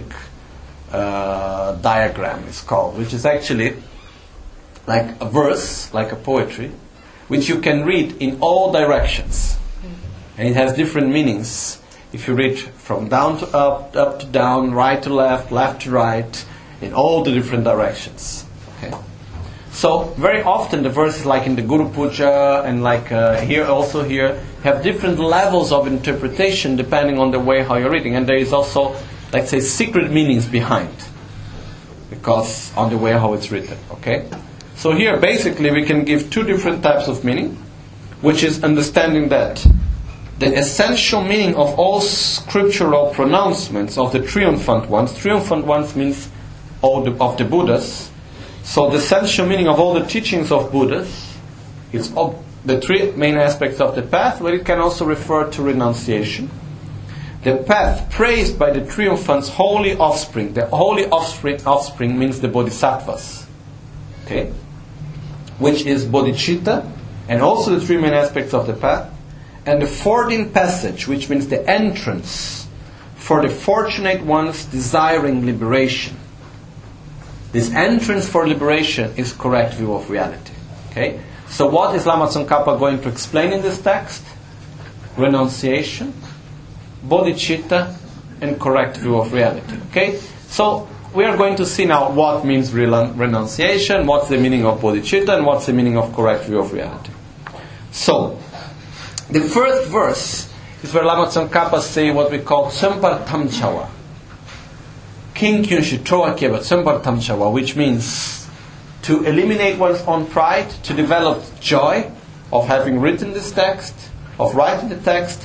[SPEAKER 1] diagram is called, which is actually like a verse, like a poetry, which you can read in all directions. And it has different meanings. If you read from down to up, up to down, right to left, left to right, in all the different directions. Okay? So, very often the verses like in the Guru Puja and like here have different levels of interpretation depending on the way how you're reading. And there is also, let's say, secret meanings behind. Because on the way how it's written. Okay? So here, basically, we can give two different types of meaning, which is understanding that the essential meaning of all scriptural pronouncements of the triumphant ones means all of the Buddhas. So the essential meaning of all the teachings of Buddhas is the three main aspects of the path, but it can also refer to renunciation. The path praised by the triumphant's holy offspring. The holy offspring means the Bodhisattvas. Okay? Which is bodhicitta, and also the three main aspects of the path. And the fording passage, which means the entrance for the fortunate ones desiring liberation. This entrance for liberation is correct view of reality. Okay? So what is Lama Tsongkhapa going to explain in this text? Renunciation, bodhicitta, and correct view of reality. Okay? So we are going to see now what means renunciation, what's the meaning of bodhicitta, and what's the meaning of correct view of reality. So, the first verse is where Lama Tsongkhapa say what we call Tsömpar Tamchawa. King Kyunshu Troakeba Tsömpar Tamchawa, which means to eliminate one's own pride, to develop joy of having written this text, of writing the text,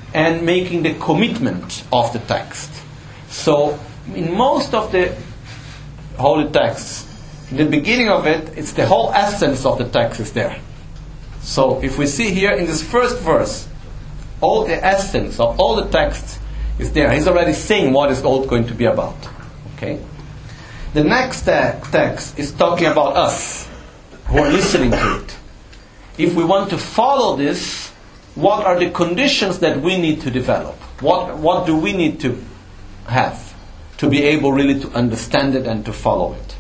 [SPEAKER 1] and making the commitment of the text. So, in most of the holy texts, in the beginning of it, it's the whole essence of the text is there. So, if we see here in this first verse, all the essence of all the text is there. He's already saying what is all going to be about. Okay? The next text is talking about us, who are listening to it. If we want to follow this, what are the conditions that we need to develop? What do we need to have to be able really to understand it and to follow it?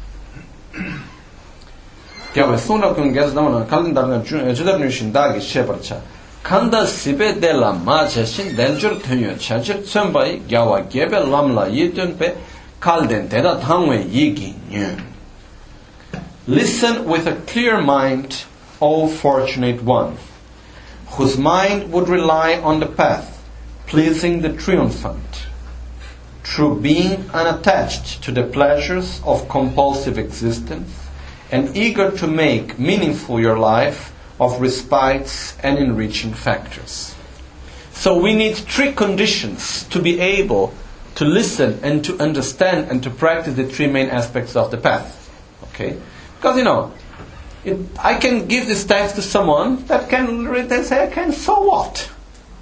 [SPEAKER 1] Kanda sibe de la ma jeshin deljur tönyo chajir tsönbai gyawa gebe lamla yidun pe kalden deda tangwe yigi nyun. Listen with a clear mind, O fortunate one, whose mind would rely on the path, pleasing the triumphant, through being unattached to the pleasures of compulsive existence, and eager to make meaningful your life of respites and enriching factors. So we need 3 conditions to be able to listen and to understand and to practice the 3 main aspects of the path. Okay? Because, I can give this text to someone that can read and say, okay, so what?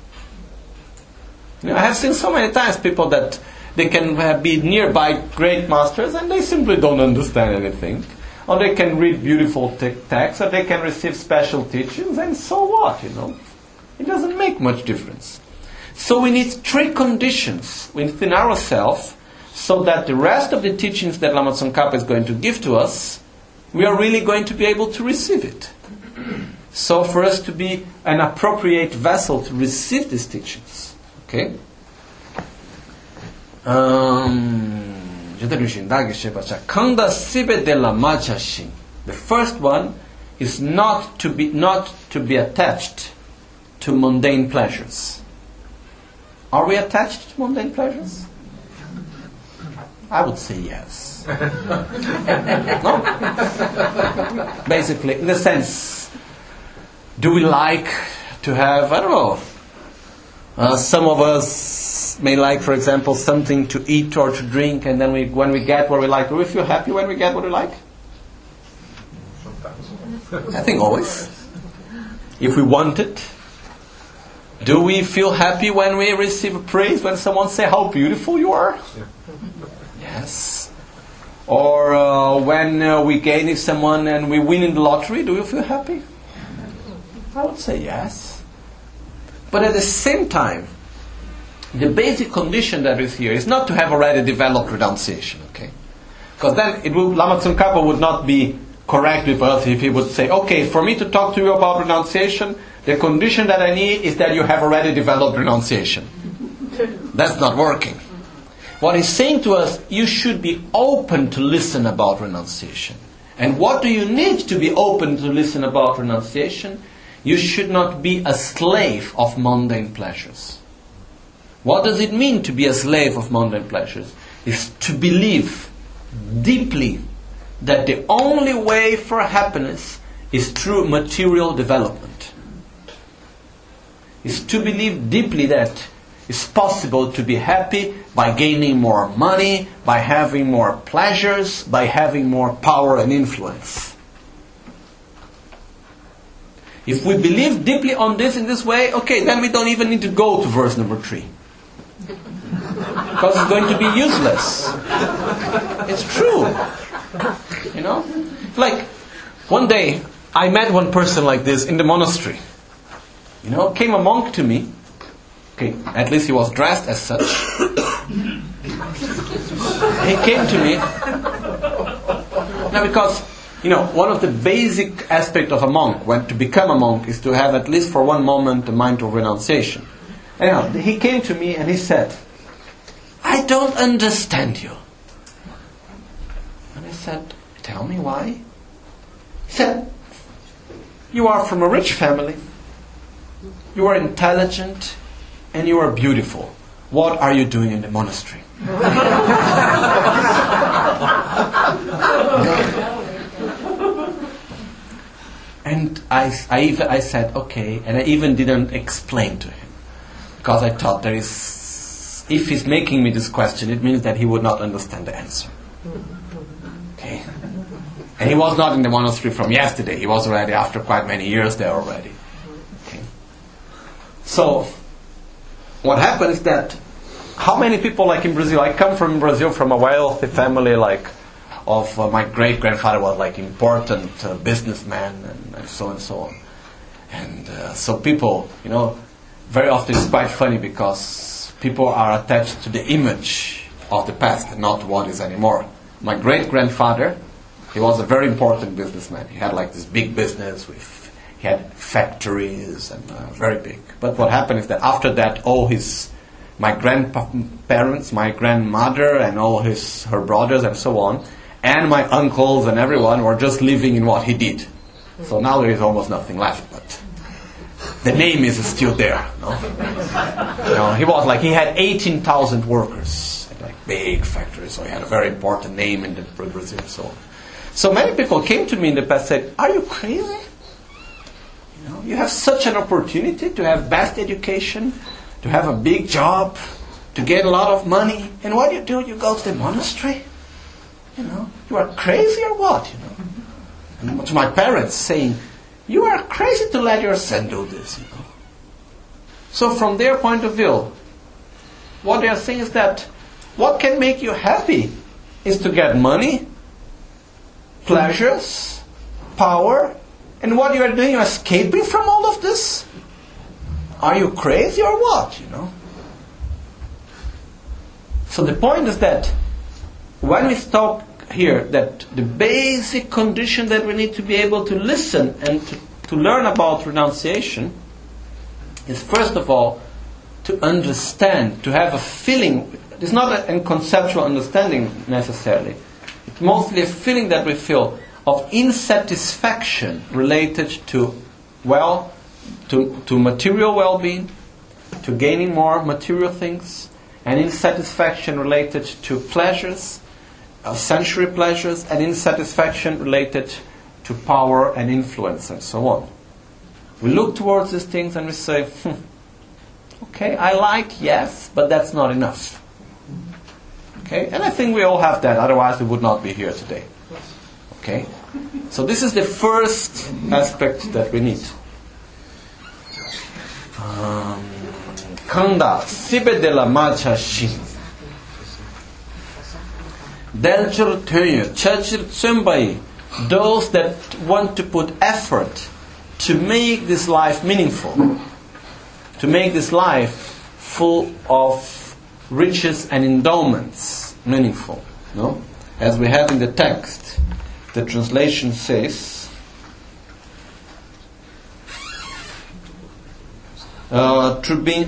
[SPEAKER 1] I have seen so many times people that they can be nearby great masters and they simply don't understand anything. Or they can read beautiful texts, or they can receive special teachings, and so what, It doesn't make much difference. So we need 3 conditions within ourselves so that the rest of the teachings that Lama Tsongkhapa is going to give to us, we are really going to be able to receive it. So for us to be an appropriate vessel to receive these teachings. Okay? The first one is not to be attached to mundane pleasures. Are we attached to mundane pleasures? I would say yes. No? Basically, in the sense, do we like to have, I don't know, some of us may like, for example, something to eat or to drink, and then when we get what we like, do we feel happy when we get what we like? I think always. If we want it. Do we feel happy when we receive praise, when someone says how beautiful you are? Yeah. Yes. Or when we gain someone and we win in the lottery, do you feel happy? I would say yes. But at the same time, the basic condition that is here is not to have already developed renunciation, okay? Because then Lama Tsongkhapa would not be correct with us if he would say, okay, for me to talk to you about renunciation, the condition that I need is that you have already developed renunciation. That's not working. What he's saying to us, you should be open to listen about renunciation. And what do you need to be open to listen about renunciation? You should not be a slave of mundane pleasures. What does it mean to be a slave of mundane pleasures? Is to believe deeply that the only way for happiness is through material development. Is to believe deeply that it's possible to be happy by gaining more money, by having more pleasures, by having more power and influence. If we believe deeply on this in this way, okay, then we don't even need to go to verse number 3. Because it's going to be useless. It's true. Like, one day, I met one person like this in the monastery. Came a monk to me. Okay, at least he was dressed as such. He came to me. Now, because, one of the basic aspects of a monk, when to become a monk, is to have at least for one moment a mind of renunciation. Anyhow, he came to me and he said, I don't understand you. And I said, tell me why. He said, you are from a rich family. You are intelligent. And you are beautiful. What are you doing in the monastery? And I said, okay. And I even didn't explain to him. because I thought if he's making me this question, it means that he would not understand the answer. Okay? And he was not in the monastery from yesterday. He was already after quite many years there already. Okay? So, what happened is that how many people, like in Brazil, I come from Brazil from a wealthy family, like of my great-grandfather was like important businessman and so on. And so people, very often it's quite funny because people are attached to the image of the past and not what is anymore. My great-grandfather, he was a very important businessman. He had like this big business he had factories and very big. But what happened is that after that, my grandparents, my grandmother, and all her brothers and so on, and my uncles and everyone were just living in what he did. So now there is almost nothing left, but the name is still there. No? He had 18,000 workers, like big factories, so he had a very important name in Brazil and so on. So many people came to me in the past and said, "Are you crazy? You have such an opportunity to have best education, to have a big job, to get a lot of money, and what do? You go to the monastery? You are crazy or what? And to my parents saying, you are crazy to let your son do this. So from their point of view, what they are saying is that what can make you happy is to get money, pleasures, power, and what you are doing, you are escaping from all of this? Are you crazy or what? So the point is that when we talk here that the basic condition that we need to be able to listen and to learn about renunciation is first of all to understand, to have a feeling. It's not a conceptual understanding necessarily. It's mostly a feeling that we feel of insatisfaction related to material well-being, to gaining more material things, and insatisfaction related to pleasures, sensory pleasures, and insatisfaction related to power and influence and so on. We look towards these things and we say, okay, I like, yes, but that's not enough. Okay, and I think we all have that, otherwise we would not be here today. Okay, so this is the first aspect that we need. Kanda sibe de la macha shin delchur tönye chachir tsumbai, those that want to put effort to make this life meaningful, to make this life full of riches and endowments meaningful. No? As we have in the text, the translation says, to be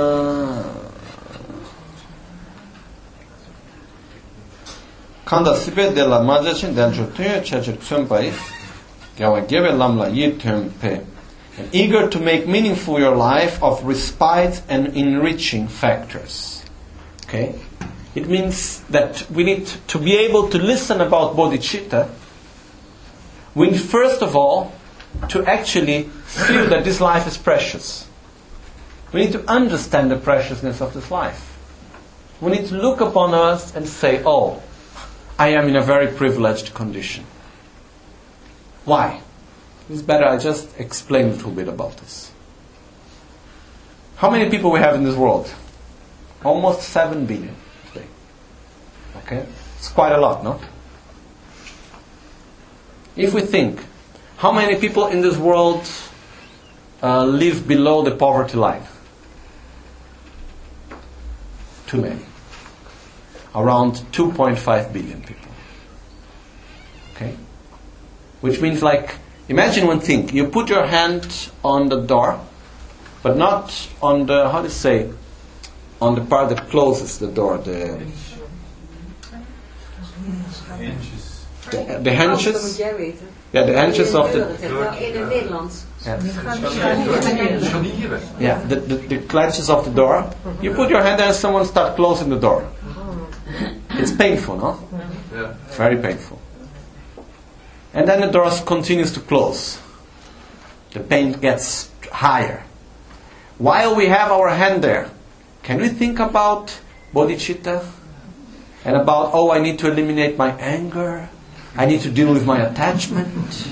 [SPEAKER 1] kanda sibe de la majachin delchur tönye chachir tsumbai gawa gebe lamla yitempe, and eager to make meaningful your life of respite and enriching factors. Okay? It means that we need to be able to listen about bodhicitta. We need first of all to actually feel that this life is precious. We need to understand the preciousness of this life. We need to look upon us and say, oh, I am in a very privileged condition. Why? It's better I just explain a little bit about this. How many people we have in this world? Almost 7 billion today. Okay? It's quite a lot, no? If we think, how many people in this world live below the poverty line? Too many. Around 2.5 billion people. Okay? Which means imagine one thing. You put your hand on the door, but not on the, on the part that closes the door. The hinges. Yeah, the hinges of the... Yeah, the clenches of the door. You put your hand there and someone starts closing the door. It's painful, no? Yeah. It's very painful. And then the door continues to close. The pain gets higher. while we have our hand there, can we think about bodhicitta? And about, oh, I need to eliminate my anger. I need to deal with my attachment.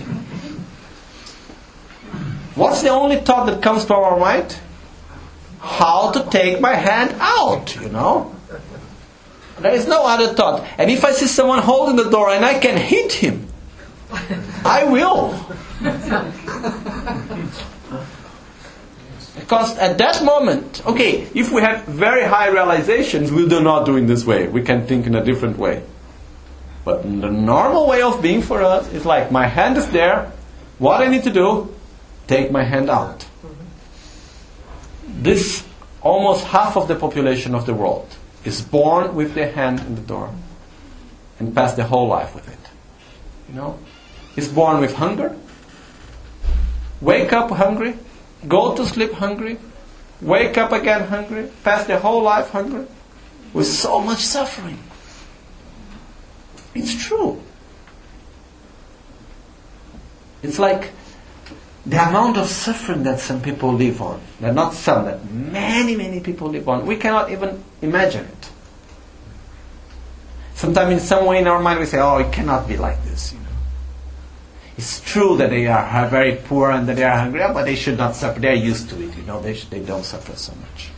[SPEAKER 1] What's the only thought that comes to our mind? How to take my hand out, you know? There is no other thought. And if I see someone holding the door and I can hit him, I will. Because at that moment, okay, if we have very high realizations, we do not do it this way. We can think in a different way. But the normal way of being for us is like, my hand is there. What I need to do? Take my hand out. This, almost half of the population of the world is born with their hand in the door and pass their whole life with it. You know? Is born with hunger, wake up hungry, go to sleep hungry, wake up again hungry, pass their whole life hungry, with so much suffering. It's true. It's like the amount of suffering that some people live on, that not some, that many people live on, we cannot even imagine it. Sometimes in some way in our mind we say, oh, it cannot be like this, you know. It's true that they are very poor and that they are hungry, but they should not suffer. They are used to it, you know. They don't suffer so much.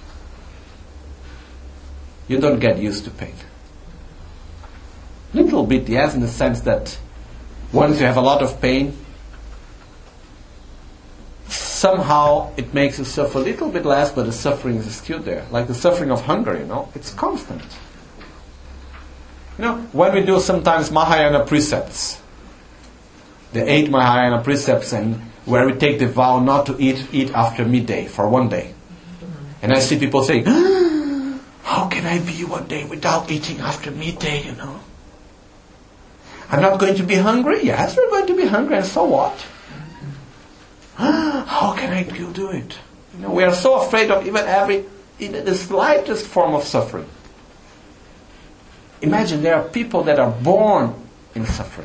[SPEAKER 1] You don't get used to pain. Little bit, yes, in the sense that once you have a lot of pain, somehow it makes you suffer a little bit less, but the suffering is still there. Like the suffering of hunger, you know, it's constant. You know, when we do sometimes Mahayana precepts, the 8 Mahayana precepts, and where we take the vow not to eat after midday for one day. And I see people saying, how can I be one day without eating after midday, you know? I'm not going to be hungry? Yes, we're going to be hungry, and so what? How can I do it? You know, we are so afraid of even the slightest form of suffering. Imagine there are people that are born in suffering.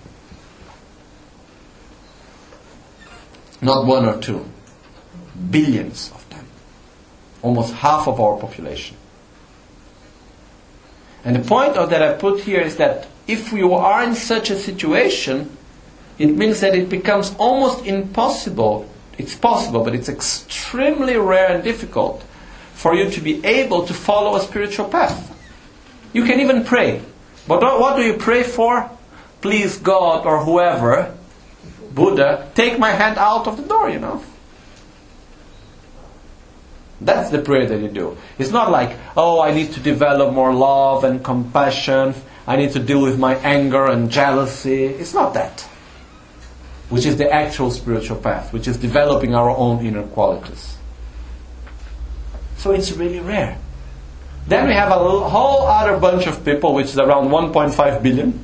[SPEAKER 1] Not 1 or 2. Billions of them. Almost half of our population. And the point that I put here is that if you are in such a situation, it means that it becomes almost impossible. It's possible, but it's extremely rare and difficult for you to be able to follow a spiritual path. You can even pray. But what do you pray for? Please God or whoever, Buddha, take my hand out of the door, you know. That's the prayer that you do. It's not like, oh, I need to develop more love and compassion. I need to deal with my anger and jealousy. It's not that. Which is the actual spiritual path, which is developing our own inner qualities. So it's really rare. Then we have a whole other bunch of people, which is around 1.5 billion,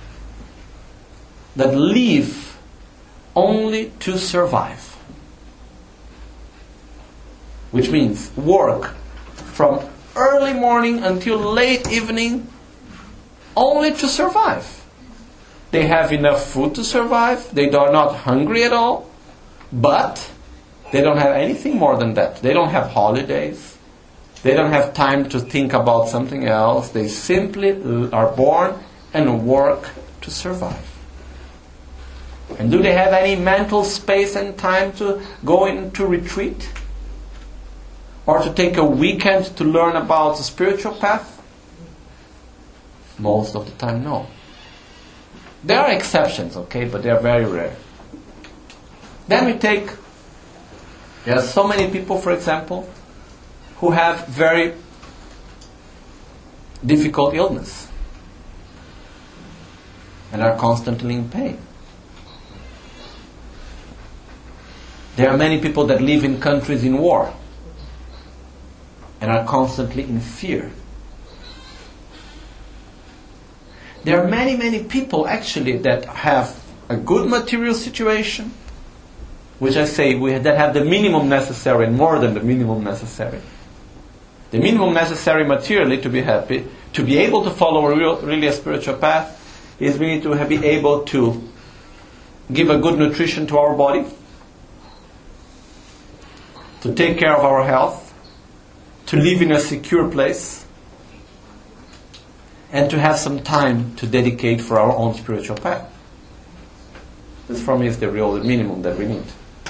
[SPEAKER 1] that live only to survive. Which means work from early morning until late evening only to survive. They have enough food to survive. They are not hungry at all. But they don't have anything more than that. They don't have holidays. They don't have time to think about something else. They simply are born and work to survive. And do they have any mental space and time to go into retreat? Or to take a weekend to learn about the spiritual path? Most of the time, no. There are exceptions, okay, but they are very rare. Then there are so many people, for example, who have very difficult illness and are constantly in pain. There are many people that live in countries in war and are constantly in fear. There are many people actually that have a good material situation, which I say that have the minimum necessary and more than the minimum necessary. The minimum necessary materially to be happy, to be able to follow really a spiritual path, is we need to be able to give a good nutrition to our body, to take care of our health, to live in a secure place, and to have some time to dedicate for our own spiritual path. This for me is the real minimum that we need.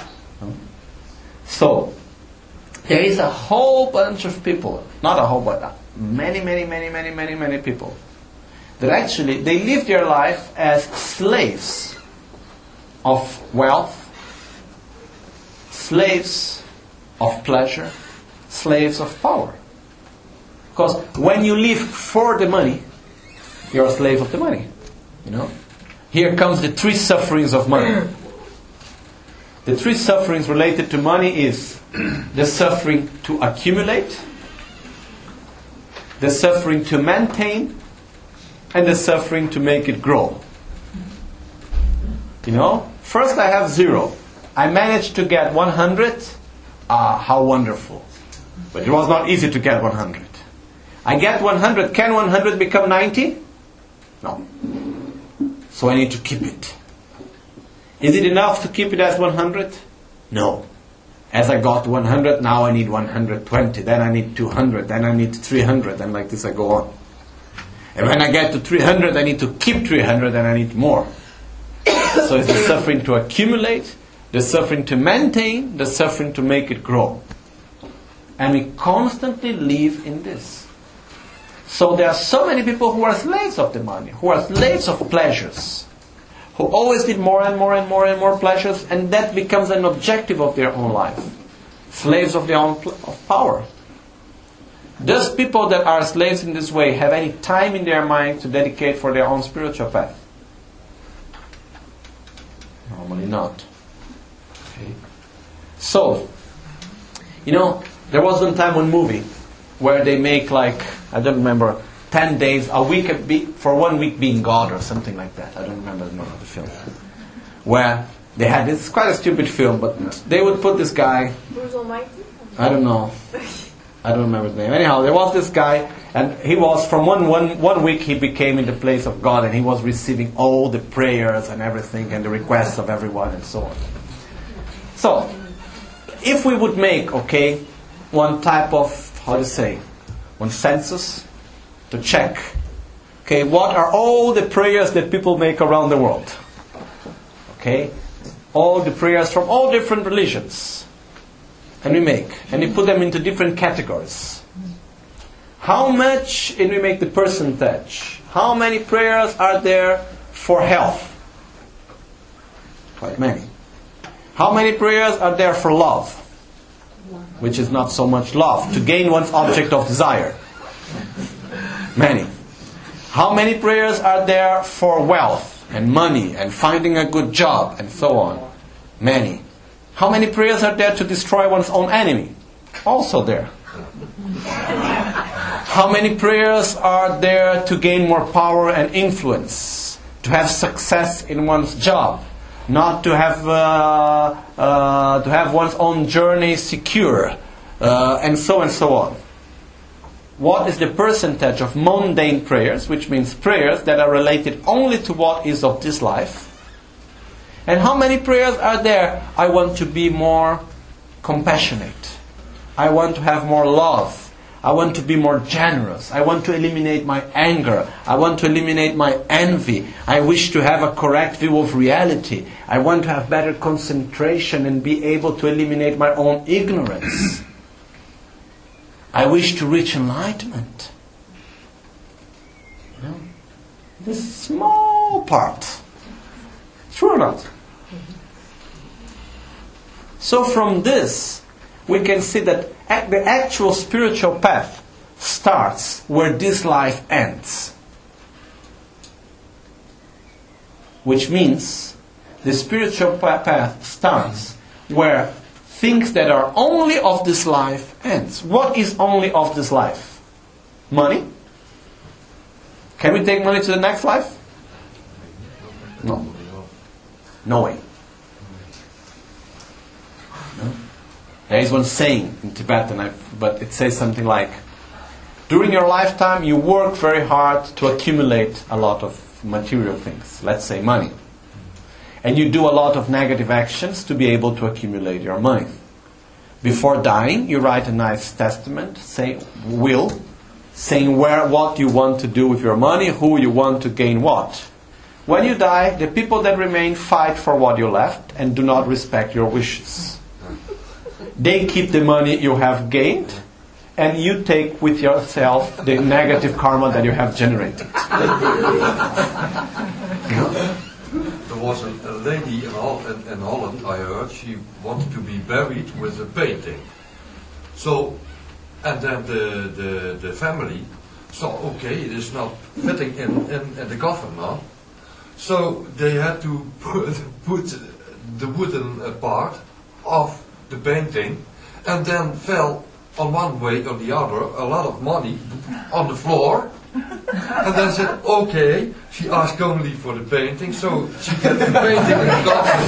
[SPEAKER 1] So, there is a whole bunch of people, not a whole bunch, many people, that actually, they live their life as slaves of wealth, slaves of pleasure, slaves of power. Because when you live for the money, you're a slave of the money. You know? Here comes the three sufferings of money. The three sufferings related to money is the suffering to accumulate, the suffering to maintain, and the suffering to make it grow. You know, first I have 0. I managed to get 100. How wonderful. But it was not easy to get 100. I get 100. Can 100 become 90? No. So I need to keep it. Is it enough to keep it as 100? No. As I got 100, now I need 120. Then I need 200. Then I need 300. And like this I go on. And when I get to 300, I need to keep 300 and I need more. So it's the suffering to accumulate, the suffering to maintain, the suffering to make it grow. And we constantly live in this. So there are so many people who are slaves of the money, who are slaves of pleasures, who always need more and more and more and more pleasures, and that becomes an objective of their own life. Slaves of their own of power. Does people that are slaves in this way have any time in their mind to dedicate for their own spiritual path? Normally not. Okay. So, you know, there was one time one movie where they make like, I don't remember, 10 days, a week for 1 week being God or something like that. I don't remember the name of the film. Where they had this, quite a stupid film, but they would put this guy,
[SPEAKER 2] Bruce Almighty?
[SPEAKER 1] I don't know. I don't remember his name. Anyhow, there was this guy, and he was, from one week he became in the place of God, and he was receiving all the prayers and everything, and the requests of everyone, and so on. So, if we would make, okay, one type of, one census to check, okay, what are all the prayers that people make around the world? Okay, all the prayers from all different religions. And we put them into different categories. How much, and we make the percentage, how many prayers are there for health? Quite many. How many prayers are there for love? Which is not so much love, to gain one's object of desire. Many. How many prayers are there for wealth and money and finding a good job and so on? Many. How many prayers are there to destroy one's own enemy? Also there. How many prayers are there to gain more power and influence? To have success in one's job? Not to have one's own journey secure? And so on. What is the percentage of mundane prayers, which means prayers that are related only to what is of this life? And how many prayers are there? I want to be more compassionate. I want to have more love. I want to be more generous. I want to eliminate my anger. I want to eliminate my envy. I wish to have a correct view of reality. I want to have better concentration and be able to eliminate my own ignorance. I wish to reach enlightenment. You know? This small part. True or not? So from this, we can see that the actual spiritual path starts where this life ends. Which means the spiritual path starts where things that are only of this life ends. What is only of this life? Money? Can we take money to the next life? No. No way. No? There is one saying in Tibetan, but it says something like, during your lifetime you work very hard to accumulate a lot of material things, let's say money. And you do a lot of negative actions to be able to accumulate your money. Before dying, you write a nice testament, saying what you want to do with your money, who you want to gain what. When you die, the people that remain fight for what you left and do not respect your wishes. They keep the money you have gained, and you take with yourself the negative karma that you have generated.
[SPEAKER 2] There was a lady in Holland, I heard, she wanted to be buried with a painting. So, and then the family saw, okay, it is not fitting in the coffin now. So they had to put the wooden part of the painting, and then fell on one way or the other a lot of money on the floor. And then said, okay, she asked only for the painting, so she got the painting in the coffin.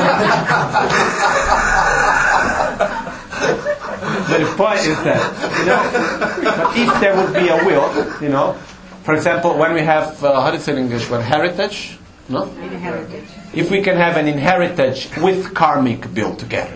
[SPEAKER 1] The point is that, but if there would be a will, for example, when we have, how do you say in English, heritage? No?
[SPEAKER 3] Inherited.
[SPEAKER 1] If we can have an inheritance with karmic bill together,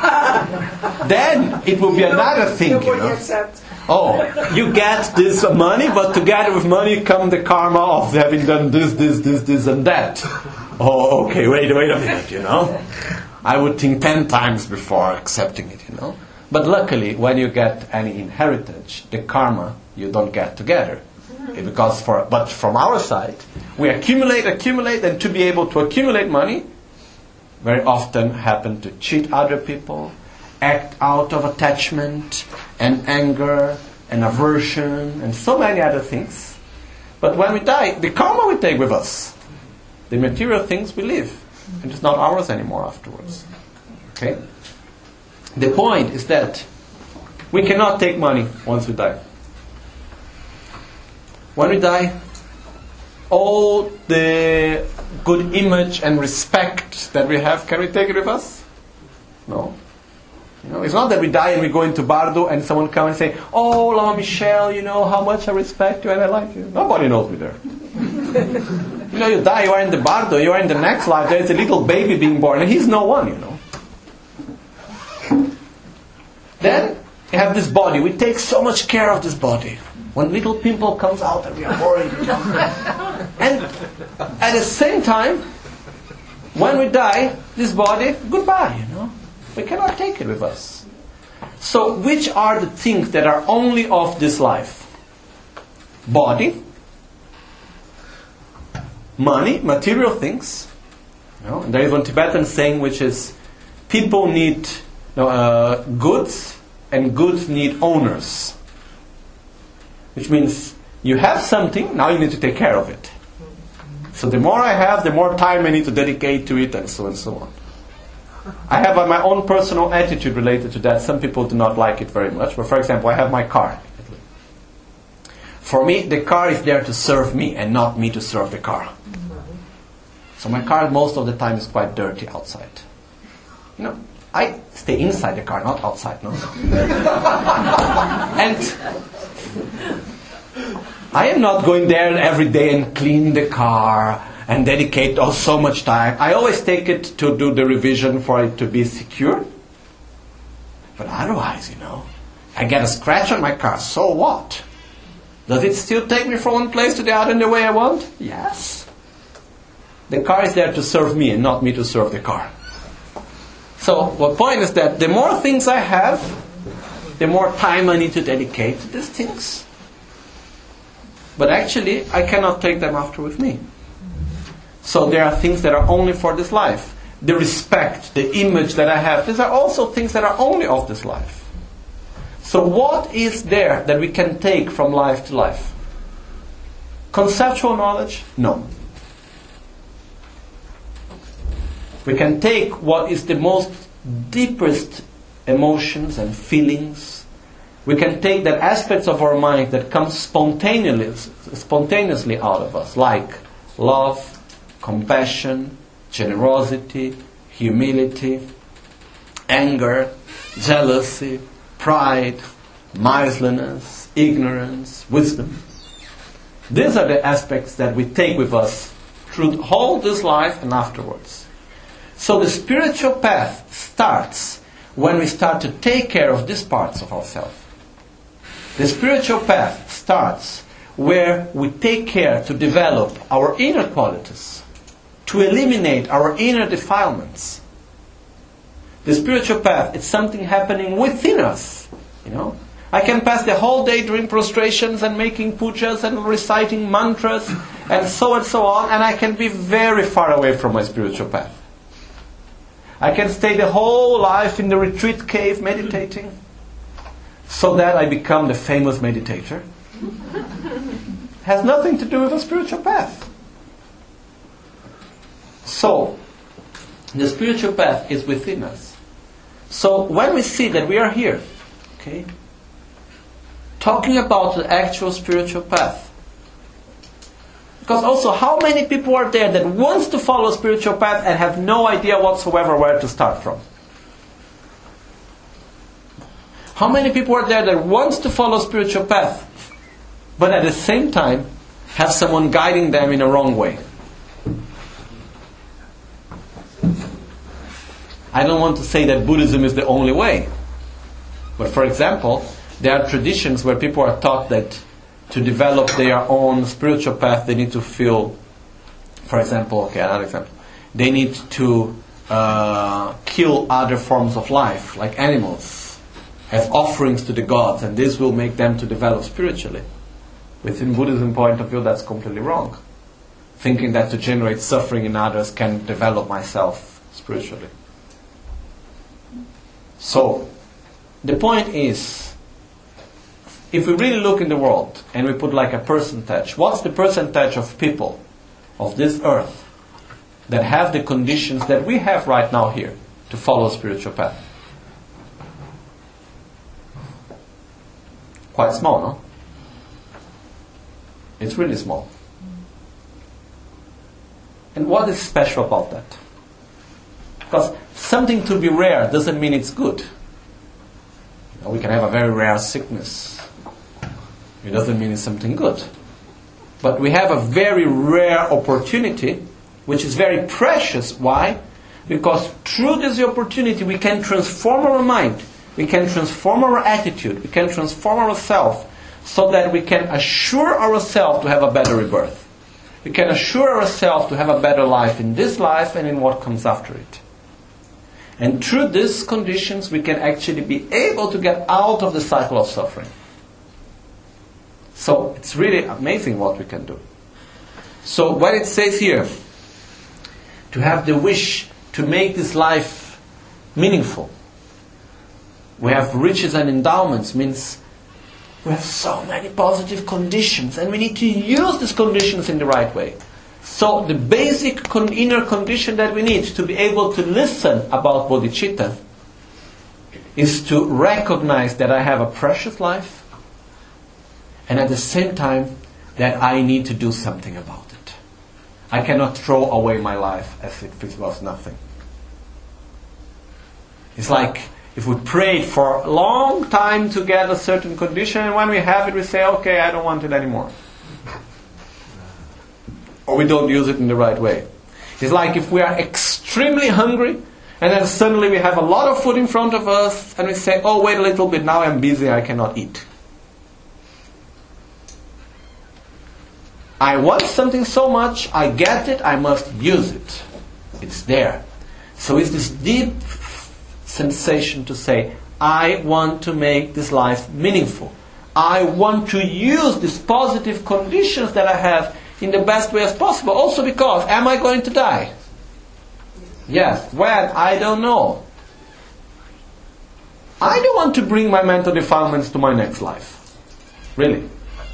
[SPEAKER 1] then it will be another thing, Oh, you get this money, but together with money come the karma of having done this, and that. Oh, okay, wait a minute, I would think 10 times before accepting it, But luckily, when you get any inheritance, the karma you don't get together. But from our side, we accumulate, and to be able to accumulate money, very often happen to cheat other people, act out of attachment and anger and aversion and so many other things. But when we die, the karma we take with us. The material things we live. And it's not ours anymore afterwards. Okay? The point is that we cannot take money once we die. When we die, all the good image and respect that we have, can we take it with us? No. It's not that we die and we go into Bardo and someone comes and say, oh, Lama Michelle, how much I respect you and I like you. Nobody knows me there. You die, you are in the Bardo, you are in the next life, there is a little baby being born and he's no one, Then, you have this body. We take so much care of this body. When little pimple comes out and we are worried. And at the same time, when we die, this body, goodbye, We cannot take it with us. So, which are the things that are only of this life? Body, money, material things. And there is one Tibetan saying which is, people need goods, and goods need owners. Which means you have something, now you need to take care of it. So the more I have, the more time I need to dedicate to it, and so on. I have my own personal attitude related to that. Some people do not like it very much. But for example, I have my car. For me, the car is there to serve me and not me to serve the car. So my car most of the time is quite dirty outside. I stay inside the car, not outside. No. And I am not going there every day and clean the car and dedicate so much time. I always take it to do the revision for it to be secure. But otherwise, I get a scratch on my car. So what? Does it still take me from one place to the other in the way I want? Yes. The car is there to serve me and not me to serve the car. So, the point is that the more things I have, the more time I need to dedicate to these things. But actually, I cannot take them after with me. So there are things that are only for this life. The respect, the image that I have, these are also things that are only of this life. So what is there that we can take from life to life? Conceptual knowledge? No. We can take what is the most deepest emotions and feelings. We can take that aspects of our mind that come spontaneously out of us, like love, compassion, generosity, humility, anger, jealousy, pride, miserliness, ignorance, wisdom. These are the aspects that we take with us through all this life and afterwards. So the spiritual path starts when we start to take care of these parts of ourselves. The spiritual path starts where we take care to develop our inner qualities, to eliminate our inner defilements. The spiritual path is something happening within us, you know. I can pass the whole day doing prostrations and making pujas and reciting mantras and so on, and I can be very far away from my spiritual path. I can stay the whole life in the retreat cave meditating so that I become the famous meditator. Has nothing to do with a spiritual path. So, the spiritual path is within us. So, when we see that we are here, okay, talking about the actual spiritual path. Because also, how many people are there that wants to follow a spiritual path and have no idea whatsoever where to start from? How many people are there that wants to follow a spiritual path, but at the same time have someone guiding them in a wrong way? I don't want to say that Buddhism is the only way. But for example, there are traditions where people are taught that to develop their own spiritual path, they need to feel, for example, okay, another example, they need to kill other forms of life, like animals, as offerings to the gods, and this will make them to develop spiritually. Within Buddhism point of view, that's completely wrong. Thinking that to generate suffering in others can develop myself spiritually. So, the point is, if we really look in the world and we put like a percentage, what's the percentage of people of this earth that have the conditions that we have right now here to follow a spiritual path? Quite small, no? It's really small. And what is special about that? Because something to be rare doesn't mean it's good. You know, we can have a very rare sickness. It doesn't mean it's something good. But we have a very rare opportunity, which is very precious. Why? Because through this opportunity we can transform our mind, we can transform our attitude, we can transform ourselves so that we can assure ourselves to have a better rebirth. We can assure ourselves to have a better life in this life and in what comes after it. And through these conditions we can actually be able to get out of the cycle of suffering. So it's really amazing what we can do. So what it says here, to have the wish to make this life meaningful. We have riches and endowments, means we have so many positive conditions and we need to use these conditions in the right way. So the basic inner condition that we need to be able to listen about bodhicitta is to recognize that I have a precious life, and at the same time that I need to do something about it. I cannot throw away my life as if it was nothing. It's like if we prayed for a long time to get a certain condition, and when we have it we say, okay, I don't want it anymore. Or we don't use it in the right way. It's like if we are extremely hungry, and then suddenly we have a lot of food in front of us, and we say, oh, wait a little bit, now I'm busy, I cannot eat. I want something so much, I get it, I must use it. It's there. So it's this deep sensation to say, I want to make this life meaningful. I want to use these positive conditions that I have in the best way as possible. Also because, am I going to die? Yes. When? I don't know. I don't want to bring my mental defilements to my next life. Really.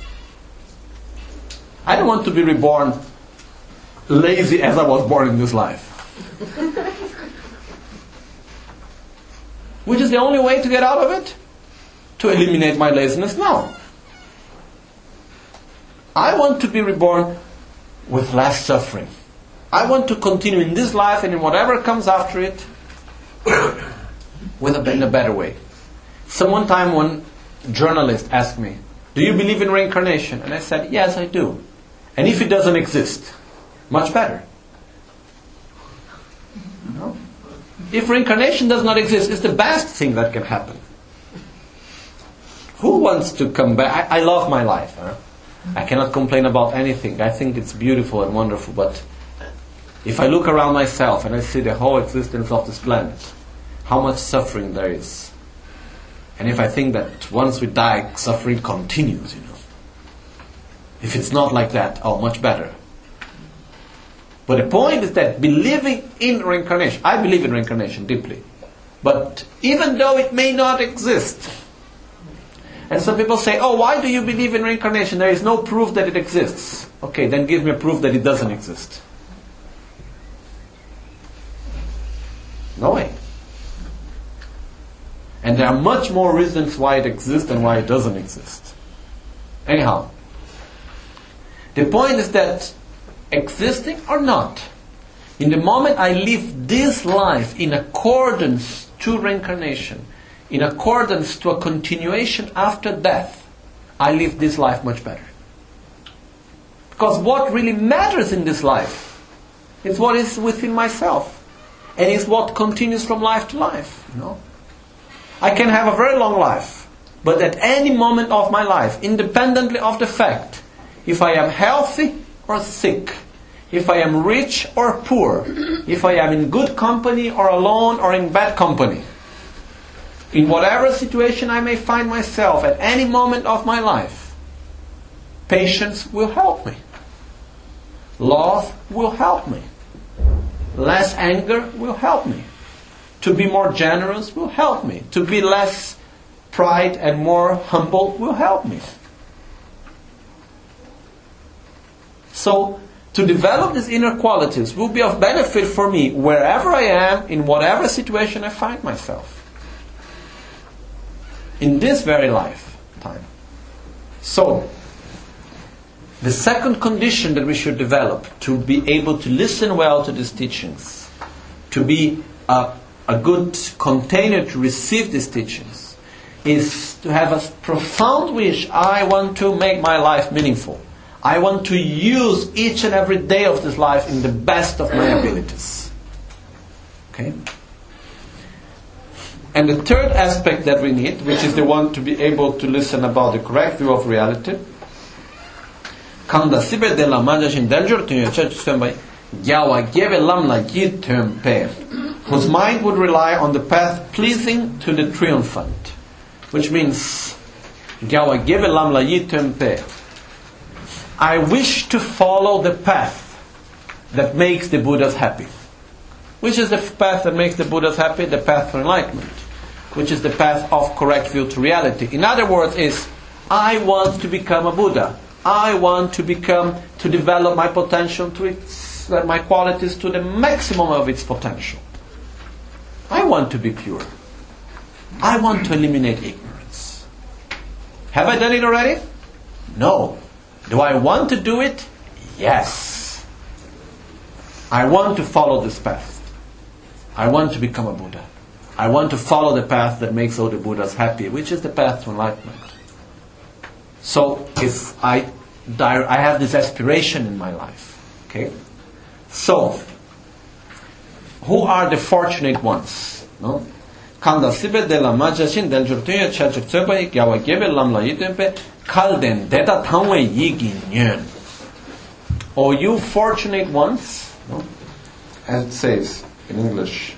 [SPEAKER 1] I don't want to be reborn lazy as I was born in this life. Which is the only way to get out of it? To eliminate my laziness? No. I want to be reborn with less suffering. I want to continue in this life and in whatever comes after it in a better way. So one time one journalist asked me, do you believe in reincarnation? And I said, yes, I do. And if it doesn't exist, much better. No? If reincarnation does not exist, it's the best thing that can happen. Who wants to come back? I love my life. Huh? I cannot complain about anything. I think it's beautiful and wonderful, but if I look around myself and I see the whole existence of this planet, how much suffering there is. And if I think that once we die, suffering continues, If it's not like that, much better. But the point is that believing in reincarnation, I believe in reincarnation deeply. But even though it may not exist, and some people say, why do you believe in reincarnation? There is no proof that it exists. Okay, then give me a proof that it doesn't exist. No way. And there are much more reasons why it exists and why it doesn't exist. Anyhow, the point is that existing or not, in the moment I live this life in accordance to reincarnation, in accordance to a continuation after death, I live this life much better. Because what really matters in this life is what is within myself. And is what continues from life to life. I can have a very long life, but at any moment of my life, independently of the fact, if I am healthy or sick, if I am rich or poor, if I am in good company or alone or in bad company, in whatever situation I may find myself at any moment of my life, patience will help me. Love will help me. Less anger will help me. To be more generous will help me. To be less pride and more humble will help me. So, to develop these inner qualities will be of benefit for me wherever I am, in whatever situation I find myself. In this very lifetime. So, the second condition that we should develop to be able to listen well to these teachings, to be a good container to receive these teachings, is to have a profound wish, I want to make my life meaningful. I want to use each and every day of this life in the best of my abilities. Okay? And the third aspect that we need, which is the one to be able to listen about the correct view of reality, whose mind would rely on the path pleasing to the triumphant. Which means, I wish to follow the path that makes the Buddhas happy. Which is the path that makes the Buddhas happy? The path to enlightenment. Which is the path of correct view to reality. In other words, I want to become a Buddha. I want to develop my potential my qualities to the maximum of its potential. I want to be pure. I want to eliminate ignorance. Have I done it already? No. Do I want to do it? Yes. I want to follow this path. I want to become a Buddha. I want to follow the path that makes all the Buddhas happy, which is the path to enlightenment. So, if I have this aspiration in my life. Okay? So, who are the fortunate ones? No? Oh, you fortunate ones, no? As it says in English,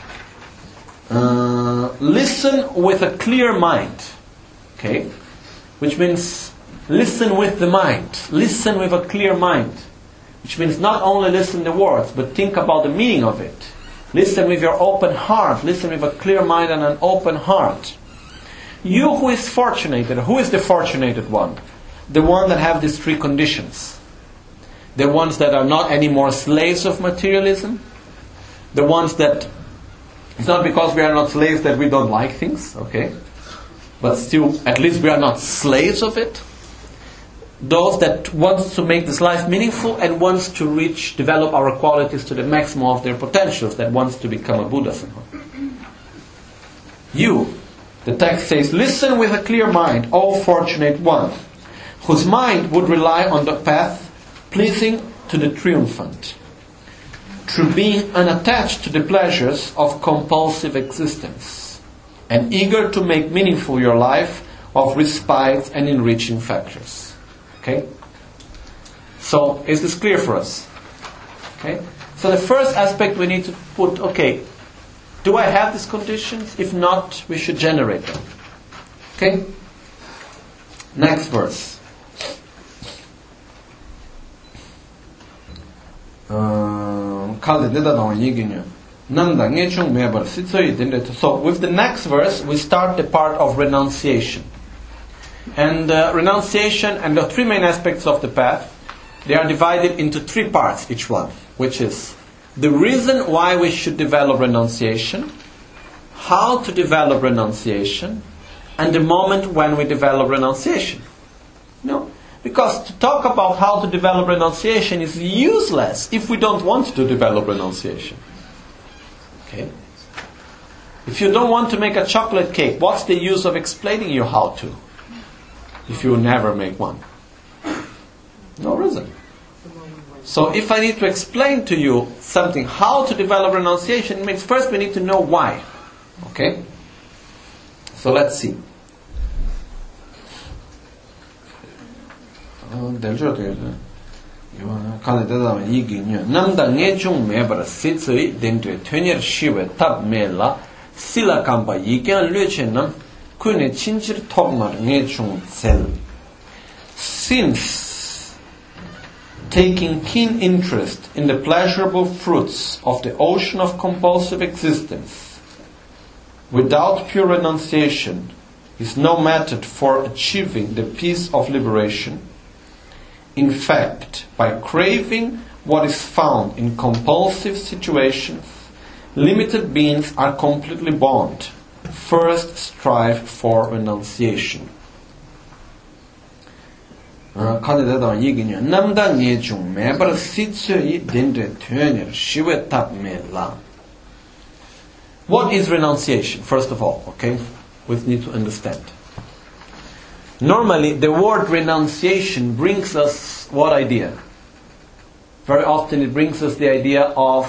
[SPEAKER 1] listen with a clear mind. Okay? Which means listen with the mind. Listen with a clear mind. Which means not only listen the words, but think about the meaning of it. Listen with your open heart. Listen with a clear mind and an open heart. You who is fortunated, who is the fortunated one? The one that have these three conditions. The ones that are not anymore slaves of materialism. The ones that, it's not because we are not slaves that we don't like things, okay? But still, at least we are not slaves of it. Those that wants to make this life meaningful and wants to develop our qualities to the maximum of their potentials, that wants to become a Buddha somehow. You, the text says, listen with a clear mind, O fortunate one, whose mind would rely on the path pleasing to the triumphant. through being unattached to the pleasures of compulsive existence and eager to make meaningful your life of respite and enriching factors. Okay? So, is this clear for us? Okay? So the first aspect we need to put, okay, do I have these conditions? If not, we should generate them. Okay? Next verse. So with the next verse we start the part of renunciation. And renunciation and the three main aspects of the path, they are divided into three parts each one, which is the reason why we should develop renunciation, how to develop renunciation, and the moment when we develop renunciation. No? Because to talk about how to develop renunciation is useless if we don't want to develop renunciation. Okay? If you don't want to make a chocolate cake, what's the use of explaining you how to? If you will never make one. No reason. So if I need to explain to you something, how to develop renunciation, it means first we need to know why. Okay? So let's see. Namda ngechung mebra sitsui dentue tönyer shiwe tab mela sila kampa yikyan lyeche nam kune chinchir tokmar ngechung tsel. Since taking keen interest in the pleasurable fruits of the ocean of compulsive existence without pure renunciation is no method for achieving the peace of liberation. In fact, by craving what is found in compulsive situations, limited beings are completely bound. First, strive for renunciation. What is renunciation? First of all, okay, we need to understand. Normally, the word renunciation brings us what idea? Very often it brings us the idea of,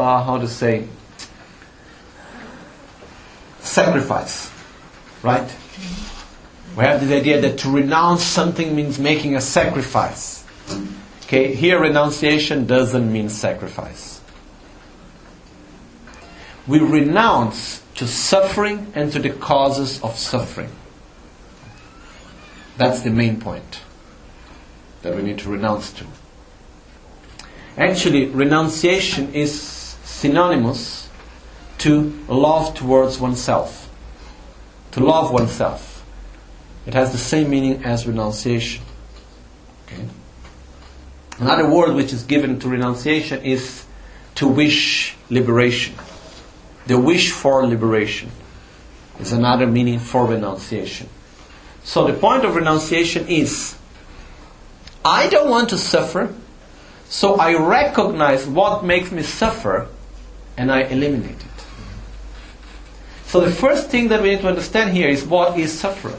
[SPEAKER 1] sacrifice. Right? We have this idea that to renounce something means making a sacrifice. Okay, here renunciation doesn't mean sacrifice. We renounce to suffering and to the causes of suffering. That's the main point that we need to renounce to. Actually, renunciation is synonymous to love towards oneself. To love oneself. It has the same meaning as renunciation. Okay? Another word which is given to renunciation is to wish liberation. The wish for liberation is another meaning for renunciation. So the point of renunciation is, I don't want to suffer, so I recognize what makes me suffer and I eliminate it. So the first thing that we need to understand here is what is suffering.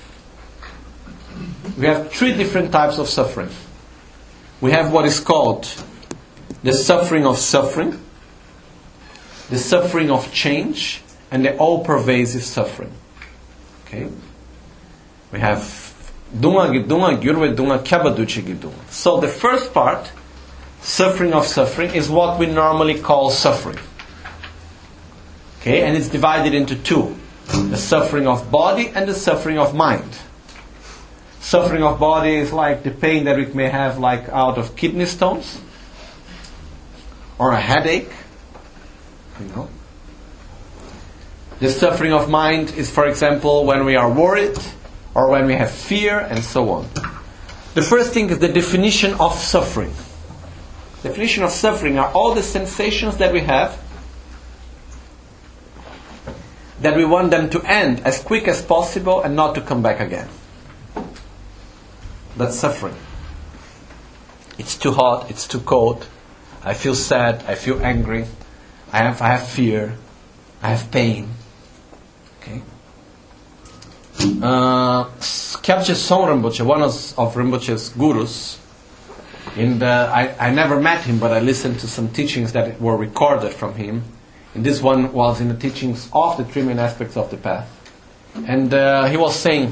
[SPEAKER 1] We have three different types of suffering. We have what is called the suffering of suffering, the suffering of change, and the all-pervasive suffering. Okay? We have dunga gidunga gyurwe dunga kyabaduchi gidunga. So the first part, suffering of suffering, is what we normally call suffering. Okay, and it's divided into two: the suffering of body and the suffering of mind. Suffering of body is like the pain that we may have, like out of kidney stones or a headache. You know. The suffering of mind is, for example, when we are worried, or when we have fear, and so on. The first thing is the definition of suffering. Definition of suffering are all the sensations that we have that we want them to end as quick as possible and not to come back again. That's suffering. It's too hot, it's too cold, I feel sad, I feel angry, I have fear, I have pain. Okay? Kyabje Song Rinpoche, one of Rinpoche's gurus, I never met him, but I listened to some teachings that were recorded from him. And this one was in the teachings of the 3 main aspects of the path. And he was saying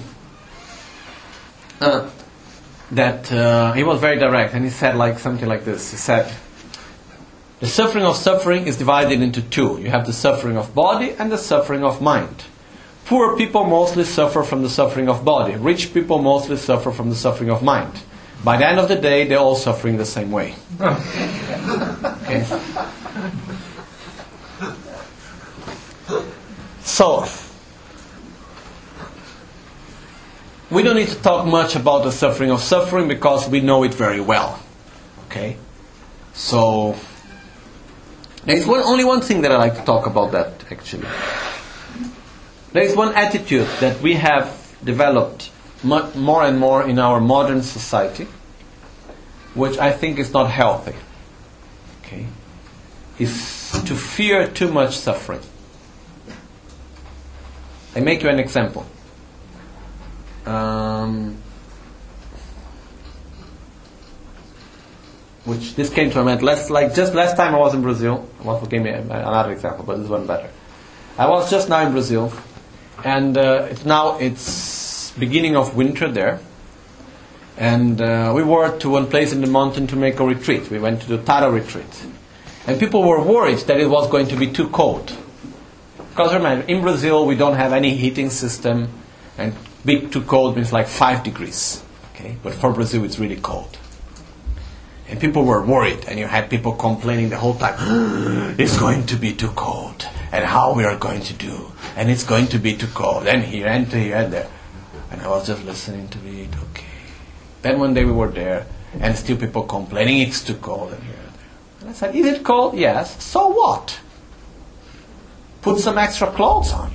[SPEAKER 1] that he was very direct, and he said something like this. He said, the suffering of suffering is divided into 2. You have the suffering of body and the suffering of mind. Poor people mostly suffer from the suffering of body. Rich people mostly suffer from the suffering of mind. By the end of the day, they're all suffering the same way. Okay? So, we don't need to talk much about the suffering of suffering because we know it very well. Okay? So, there's only one thing that I like to talk about that, actually. There is one attitude that we have developed more and more in our modern society, which I think is not healthy. Okay? Is to fear too much suffering. I make you an example. Which this came to my mind just last time I was in Brazil. What gave me another example, but this one better. I was just now in Brazil, and it's beginning of winter there, and we were to one place in the mountain to make a retreat. We went to the Tara retreat, and people were worried that it was going to be too cold. Because remember, in Brazil we don't have any heating system, and big too cold means like 5 degrees. Okay, but for Brazil it's really cold. And people were worried, and you had people complaining the whole time, it's going to be too cold, and how we are going to do, and it's going to be too cold, and here and there. And I was just listening to it, okay. Then one day we were there, and still people complaining, it's too cold, and here and there. And I said, is it cold? Yes. So what? Put some extra clothes on,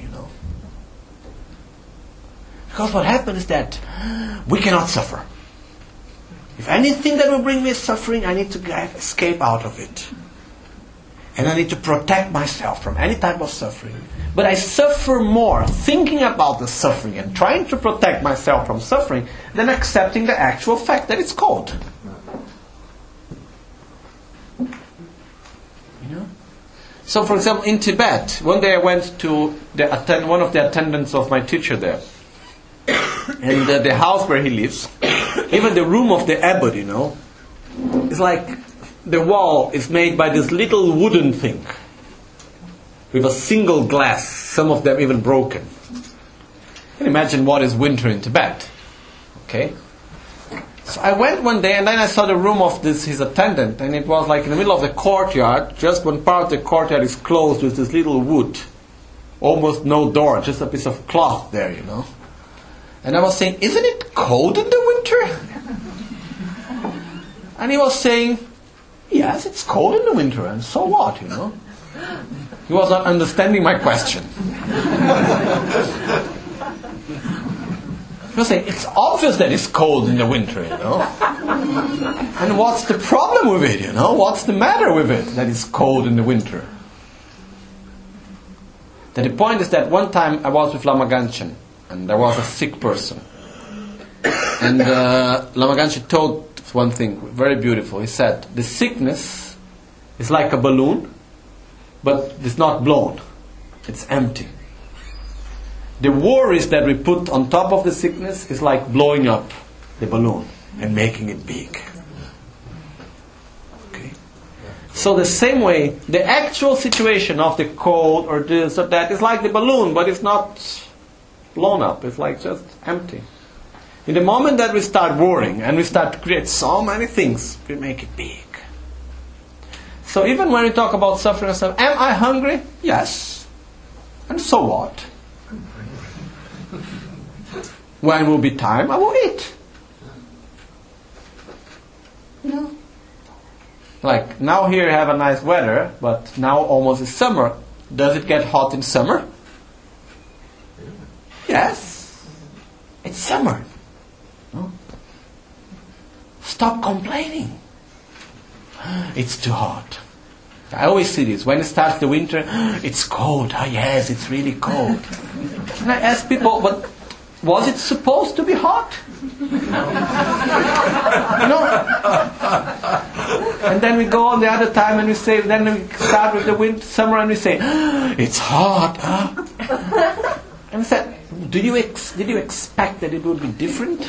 [SPEAKER 1] Because what happens is that we cannot suffer. If anything that will bring me suffering, I need to escape out of it. And I need to protect myself from any type of suffering. But I suffer more thinking about the suffering and trying to protect myself from suffering than accepting the actual fact that it's cold. So, for example, in Tibet, one day I went to one of the attendants of my teacher there. And the house where he lives, even the room of the abbot, it's like the wall is made by this little wooden thing with a single glass, some of them even broken. You can imagine what is winter in Tibet. Okay? So I went one day and then I saw the room of his attendant, and it was like in the middle of the courtyard. Just one part of the courtyard is closed with this little wood. Almost no door, just a piece of cloth there, And I was saying, isn't it cold in the winter? And he was saying, yes, it's cold in the winter, and so what, He was not understanding my question. He was saying, it's obvious that it's cold in the winter, And what's the problem with it, What's the matter with it that it's cold in the winter? That the point is that one time I was with Lama Ganchen, and there was a sick person. And Lama Ganchen told one thing, very beautiful. He said, the sickness is like a balloon, but it's not blown. It's empty. The worries that we put on top of the sickness is like blowing up the balloon and making it big. Okay? So the same way, the actual situation of the cold or this or that is like the balloon, but it's not blown up. It's like just empty. In the moment that we start worrying and we start to create so many things, we make it big. So even when we talk about suffering, am I hungry? Yes. And so what? When will be time, I will eat. Like now here you have a nice weather, but now almost is summer. Does it get hot in summer? Yes. It's summer. No? Stop complaining. It's too hot. I always see this. When it starts the winter, it's cold. Ah, yes, it's really cold. And I ask people, but Was it supposed to be hot? You know? And then we go on the other time and we say, then we start with the summer and we say, it's hot. Huh? And we said, did you expect that it would be different?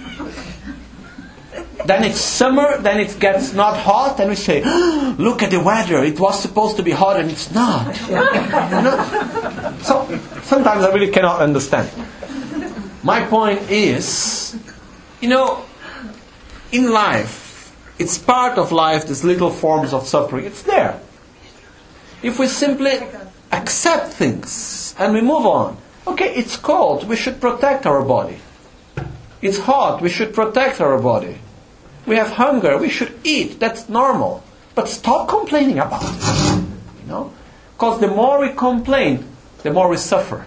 [SPEAKER 1] Then it's summer, then it gets not hot, and we say, look at the weather, it was supposed to be hot and it's not. You know? So, sometimes I really cannot understand. My point is, you know, in life, it's part of life, these little forms of suffering, it's there. If we simply accept things and we move on, okay, it's cold, we should protect our body. It's hot, we should protect our body. We have hunger, we should eat, that's normal. But stop complaining about it. You know? Because the more we complain, the more we suffer.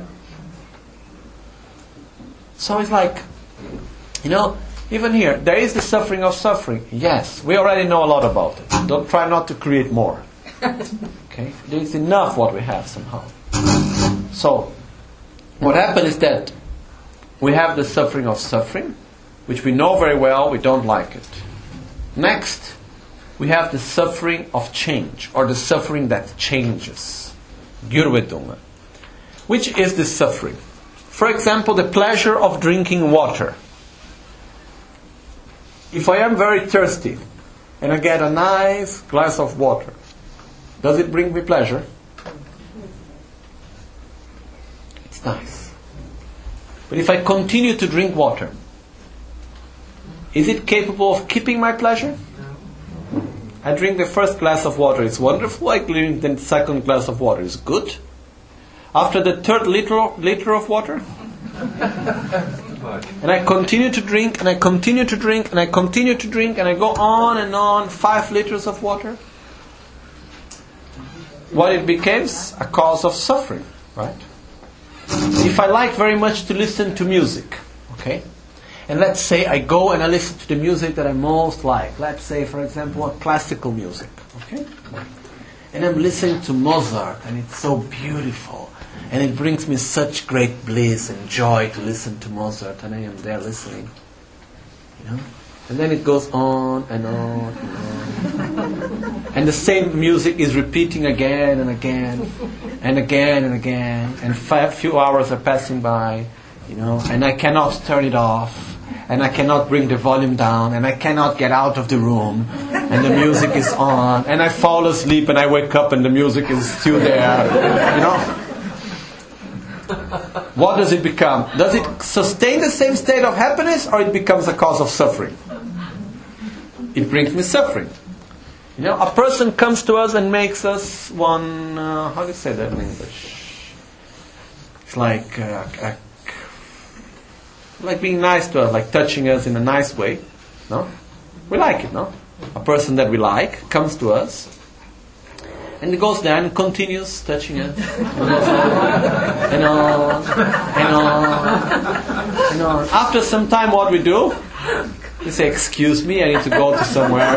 [SPEAKER 1] So it's like, you know, even here, there is the suffering of suffering. Yes, we already know a lot about it. Don't try not to create more. Okay? There is enough what we have somehow. So, what happens is that we have the suffering of suffering, which we know very well, we don't like it. Next, we have the suffering of change, or the suffering that changes. Gurvedunga. Which is the suffering? For example, the pleasure of drinking water. If I am very thirsty, and I get a nice glass of water, does it bring me pleasure? It's nice. But if I continue to drink water, is it capable of keeping my pleasure? I drink the first glass of water, it's wonderful. I drink the second glass of water, it's good. After the third liter of water, and I continue to drink, and I continue to drink, and I continue to drink, and I go on, 5 liters of water. What it becomes? A cause of suffering, right? If I like very much to listen to music, okay? And let's say I go and I listen to the music that I most like. Let's say, for example, classical music, okay? And I'm listening to Mozart, and it's so beautiful. And it brings me such great bliss and joy to listen to Mozart, and I am there listening. You know? And then it goes on and on and on. And the same music is repeating again and again and again and again. And few hours are passing by, you know, and I cannot turn it off. And I cannot bring the volume down, and I cannot get out of the room, and the music is on, and I fall asleep and I wake up and the music is still there, you know. What does it become? Does it sustain the same state of happiness, or it becomes a cause of suffering? It brings me suffering. You know, a person comes to us and makes us one, how do you say that in English? It's like being nice to us, like touching us in a nice way. No? We like it, no? A person that we like comes to us, and he goes there and continues touching us. And on, and on, and on. After some time, what we do? We say, excuse me, I need to go to somewhere.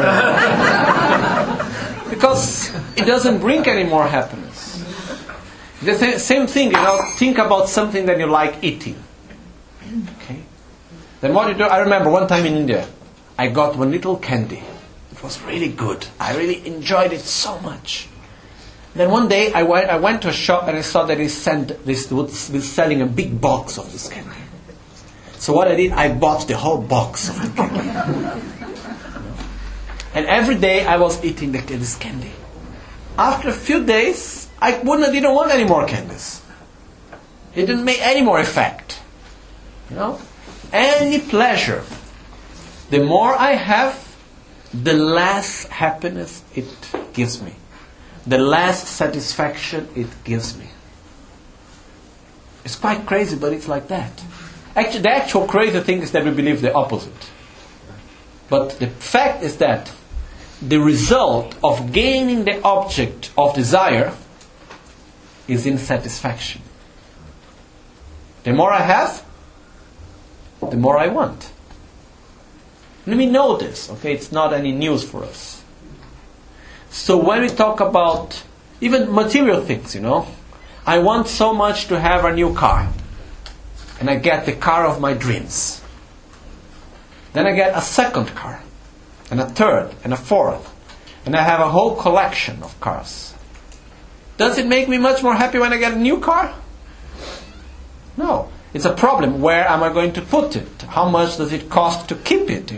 [SPEAKER 1] Because it doesn't bring any more happiness. The same thing, you know, think about something that you like eating. Okay. Then what you do? I remember one time in India, I got one little candy. It was really good. I really enjoyed it so much. Then one day I went to a shop and I saw that this was selling a big box of this candy. So what I did, I bought the whole box of the candy. And every day I was eating this candy. After a few days, I didn't want any more candies. It didn't make any more effect. You know, any pleasure, the more I have, the less happiness it gives me, the less satisfaction it gives me. It's quite crazy, but it's like that. Actually, the actual crazy thing is that we believe the opposite. But the fact is that the result of gaining the object of desire is insatisfaction. The more I have, the more I want. Let me know this, okay? It's not any news for us. So when we talk about even material things, you know, I want so much to have a new car. and I get the car of my dreams. Then I get a second car, and a third, and a fourth, and I have a whole collection of cars. Does it make me much more happy when I get a new car? No. It's a problem. Where am I going to put it? How much does it cost to keep it,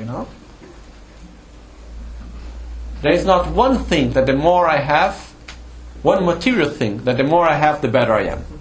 [SPEAKER 1] There is not one thing that the more I have, one material thing, that the more I have, the better I am.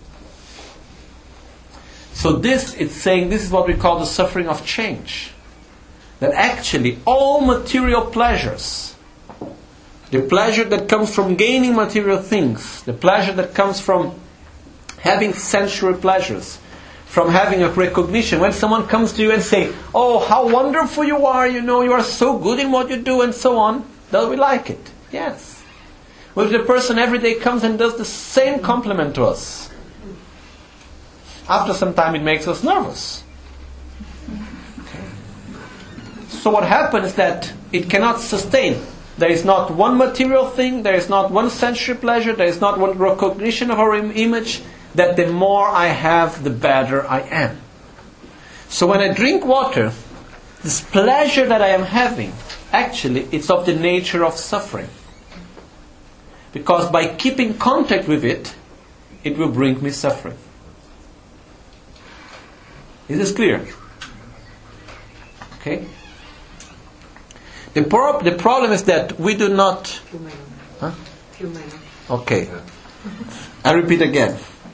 [SPEAKER 1] So this is what we call the suffering of change. That actually all material pleasures, the pleasure that comes from gaining material things, the pleasure that comes from having sensual pleasures, from having a recognition, when someone comes to you and say, "Oh, how wonderful you are, you are so good in what you do," and so on, do we like it? Yes. Well, if the person every day comes and does the same compliment to us, after some time it makes us nervous. So what happens is that it cannot sustain. There is not one material thing, there is not one sensual pleasure, there is not one recognition of our image, that the more I have, the better I am. So when I drink water, this pleasure that I am having, actually, it's of the nature of suffering. Because by keeping contact with it, it will bring me suffering. Is this clear? Okay? The problem is that we do not... Huh? Okay. I repeat again.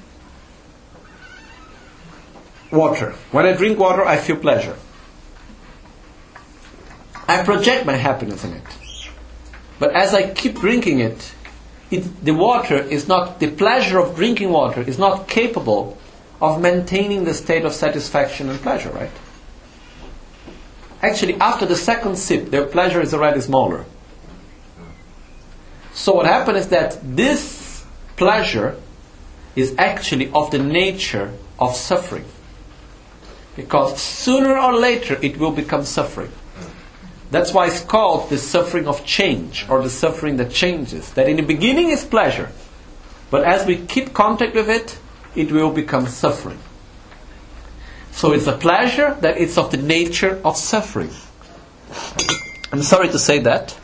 [SPEAKER 1] Water. When I drink water, I feel pleasure. I project my happiness in it. But as I keep drinking it, the water is not, the pleasure of drinking water is not capable of maintaining the state of satisfaction and pleasure, right? Actually, after the second sip, the pleasure is already smaller. So what happens is that this pleasure is actually of the nature of suffering. Because sooner or later it will become suffering. That's why it's called the suffering of change, or the suffering that changes. That in the beginning is pleasure, but as we keep contact with it, it will become suffering. So it's a pleasure that is of the nature of suffering. I'm sorry to say that.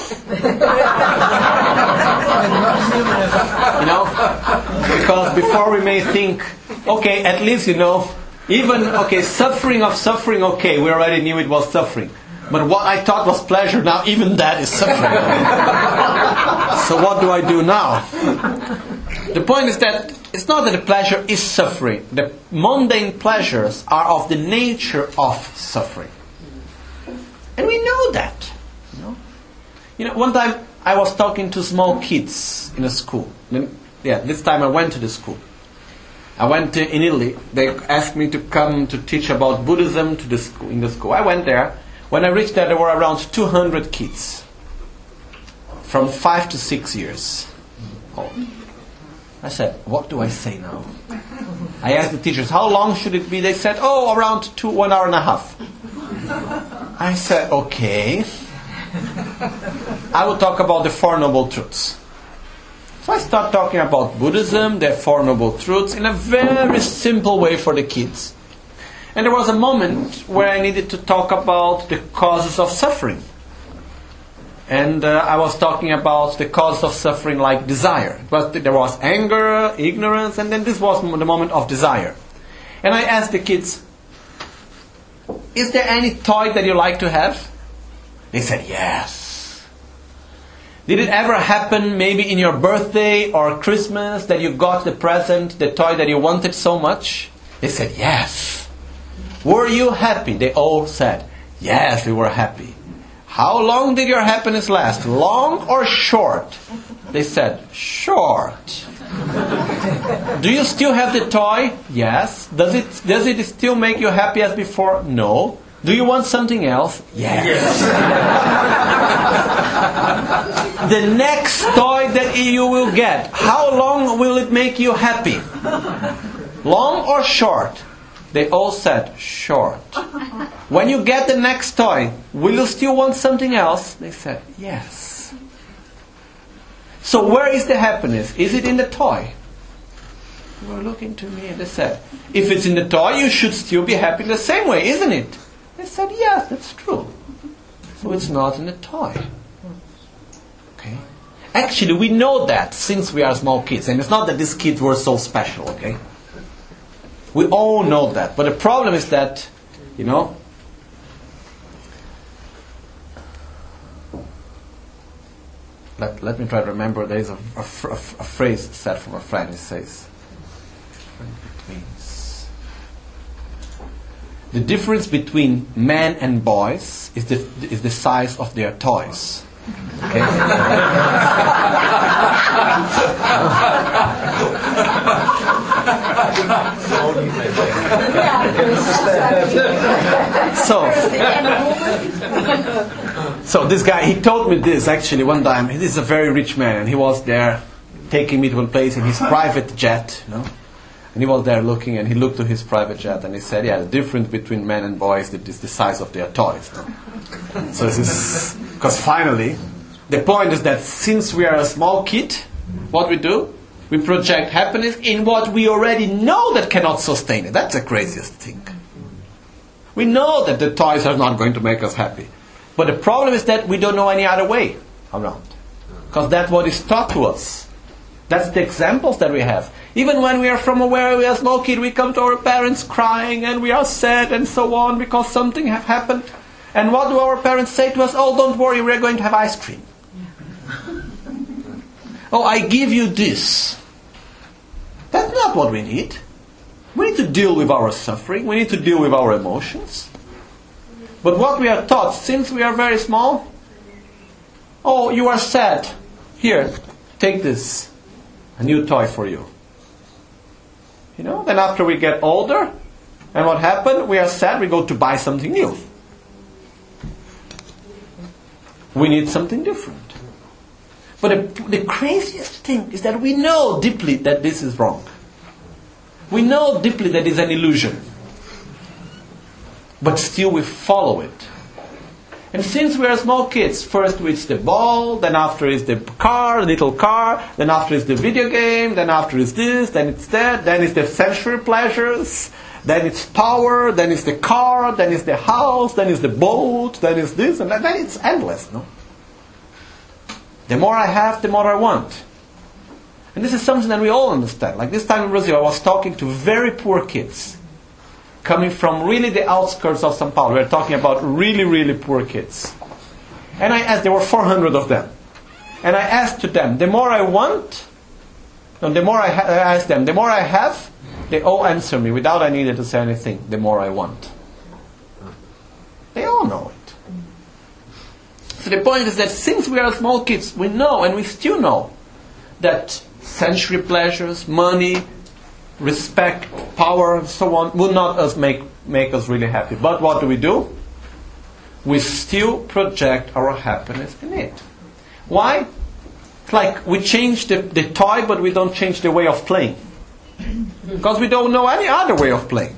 [SPEAKER 1] Because before we may think, okay, at least suffering of suffering, okay, we already knew it was suffering. But what I thought was pleasure, now even that is suffering. So what do I do now? The point is that it's not that the pleasure is suffering. The mundane pleasures are of the nature of suffering. And we know that. One time I was talking to small kids in a school. This time I went to the school. I went in Italy. They asked me to come to teach about Buddhism in the school. I went there. When I reached there were around 200 kids from 5 to 6 years old. I said, what do I say now? I asked the teachers, how long should it be? They said, around 1 hour and a half. I said, okay. I will talk about the Four Noble Truths. So I start talking about Buddhism, the Four Noble Truths, in a very simple way for the kids. And there was a moment where I needed to talk about the causes of suffering. And I was talking about the causes of suffering like desire. There was anger, ignorance, and then this was the moment of desire. And I asked the kids, is there any toy that you like to have? They said, yes. Did it ever happen maybe in your birthday or Christmas that you got the present, the toy that you wanted so much? They said, yes. Were you happy? They all said, yes, we were happy. How long did your happiness last? Long or short? They said, short. Do you still have the toy? Yes. Does it still make you happy as before? No. Do you want something else? Yes. The next toy that you will get, how long will it make you happy? Long or short? They all said, short. When you get the next toy, will you still want something else? They said, yes. So where is the happiness? Is it in the toy? They were looking to me and they said, if it's in the toy, you should still be happy the same way, isn't it? I said, yes, that's true. So it's not in the toy. Okay? Actually, we know that since we are small kids. And it's not that these kids were so special, okay? We all know that. But the problem is that, let me try to remember. There is a phrase said from a friend. It says, the difference between men and boys is the size of their toys. Okay? So this guy, he told me this actually one time. This is a very rich man, and he was there taking me to a place in his private jet, And he was there looking, and he looked to his private jet, and he said, "Yeah, the difference between men and boys is the size of their toys." So this is because finally, the point is that since we are a small kid, what we do, we project happiness in what we already know that cannot sustain it. That's the craziest thing. We know that the toys are not going to make us happy, but the problem is that we don't know any other way around, because that's what is taught to us. That's the examples that we have. Even when we are we are a small kid, we come to our parents crying and we are sad and so on because something have happened. And what do our parents say to us? Oh, don't worry, we're going to have ice cream. Oh, I give you this. That's not what we need. We need to deal with our suffering. We need to deal with our emotions. But what we are taught since we are very small, oh, you are sad. Here, take this. A new toy for you. Then after we get older, and what happened? We are sad, we go to buy something new. We need something different. But the craziest thing is that we know deeply that this is wrong. We know deeply that it's an illusion. But still we follow it. And since we are small kids, first it's the ball, then after it's the car, little car, then after it's the video game, then after it's this, then it's that, then it's the sensory pleasures, then it's power, then it's the car, then it's the house, then it's the boat, then it's this, and then it's endless, no? The more I have, the more I want. And this is something that we all understand. Like this time in Brazil, I was talking to very poor kids, coming from really the outskirts of São Paulo. We're talking about really, really poor kids. And I asked, there were 400 of them. And I asked to them, the more I want, the more I asked them, the more I have, they all answer me without I needed to say anything, the more I want. They all know it. So the point is that since we are small kids, we know, and we still know, that sensory pleasures, money, respect, power, and so on, will not make us really happy. But what do? We still project our happiness in it. Why? It's like we change the toy, but we don't change the way of playing. Because we don't know any other way of playing.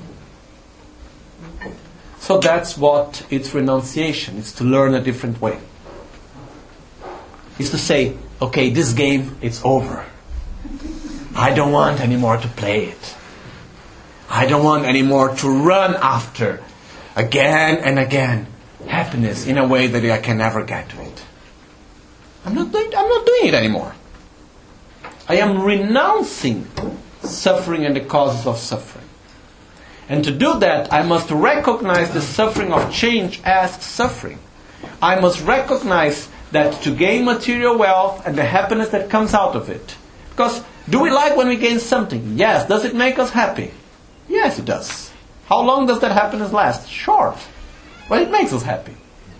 [SPEAKER 1] So that's what it's renunciation. It's to learn a different way. It's to say, okay, this game, it's over. I don't want anymore to play it. I don't want anymore to run after again and again happiness in a way that I can never get to it. I'm not doing it anymore. I am renouncing suffering and the causes of suffering. And to do that, I must recognize the suffering of change as suffering. I must recognize that to gain material wealth and the happiness that comes out of it. Because do we like when we gain something? Yes. Does it make us happy? Yes, it does. How long does that happiness last? Short. But it makes us happy.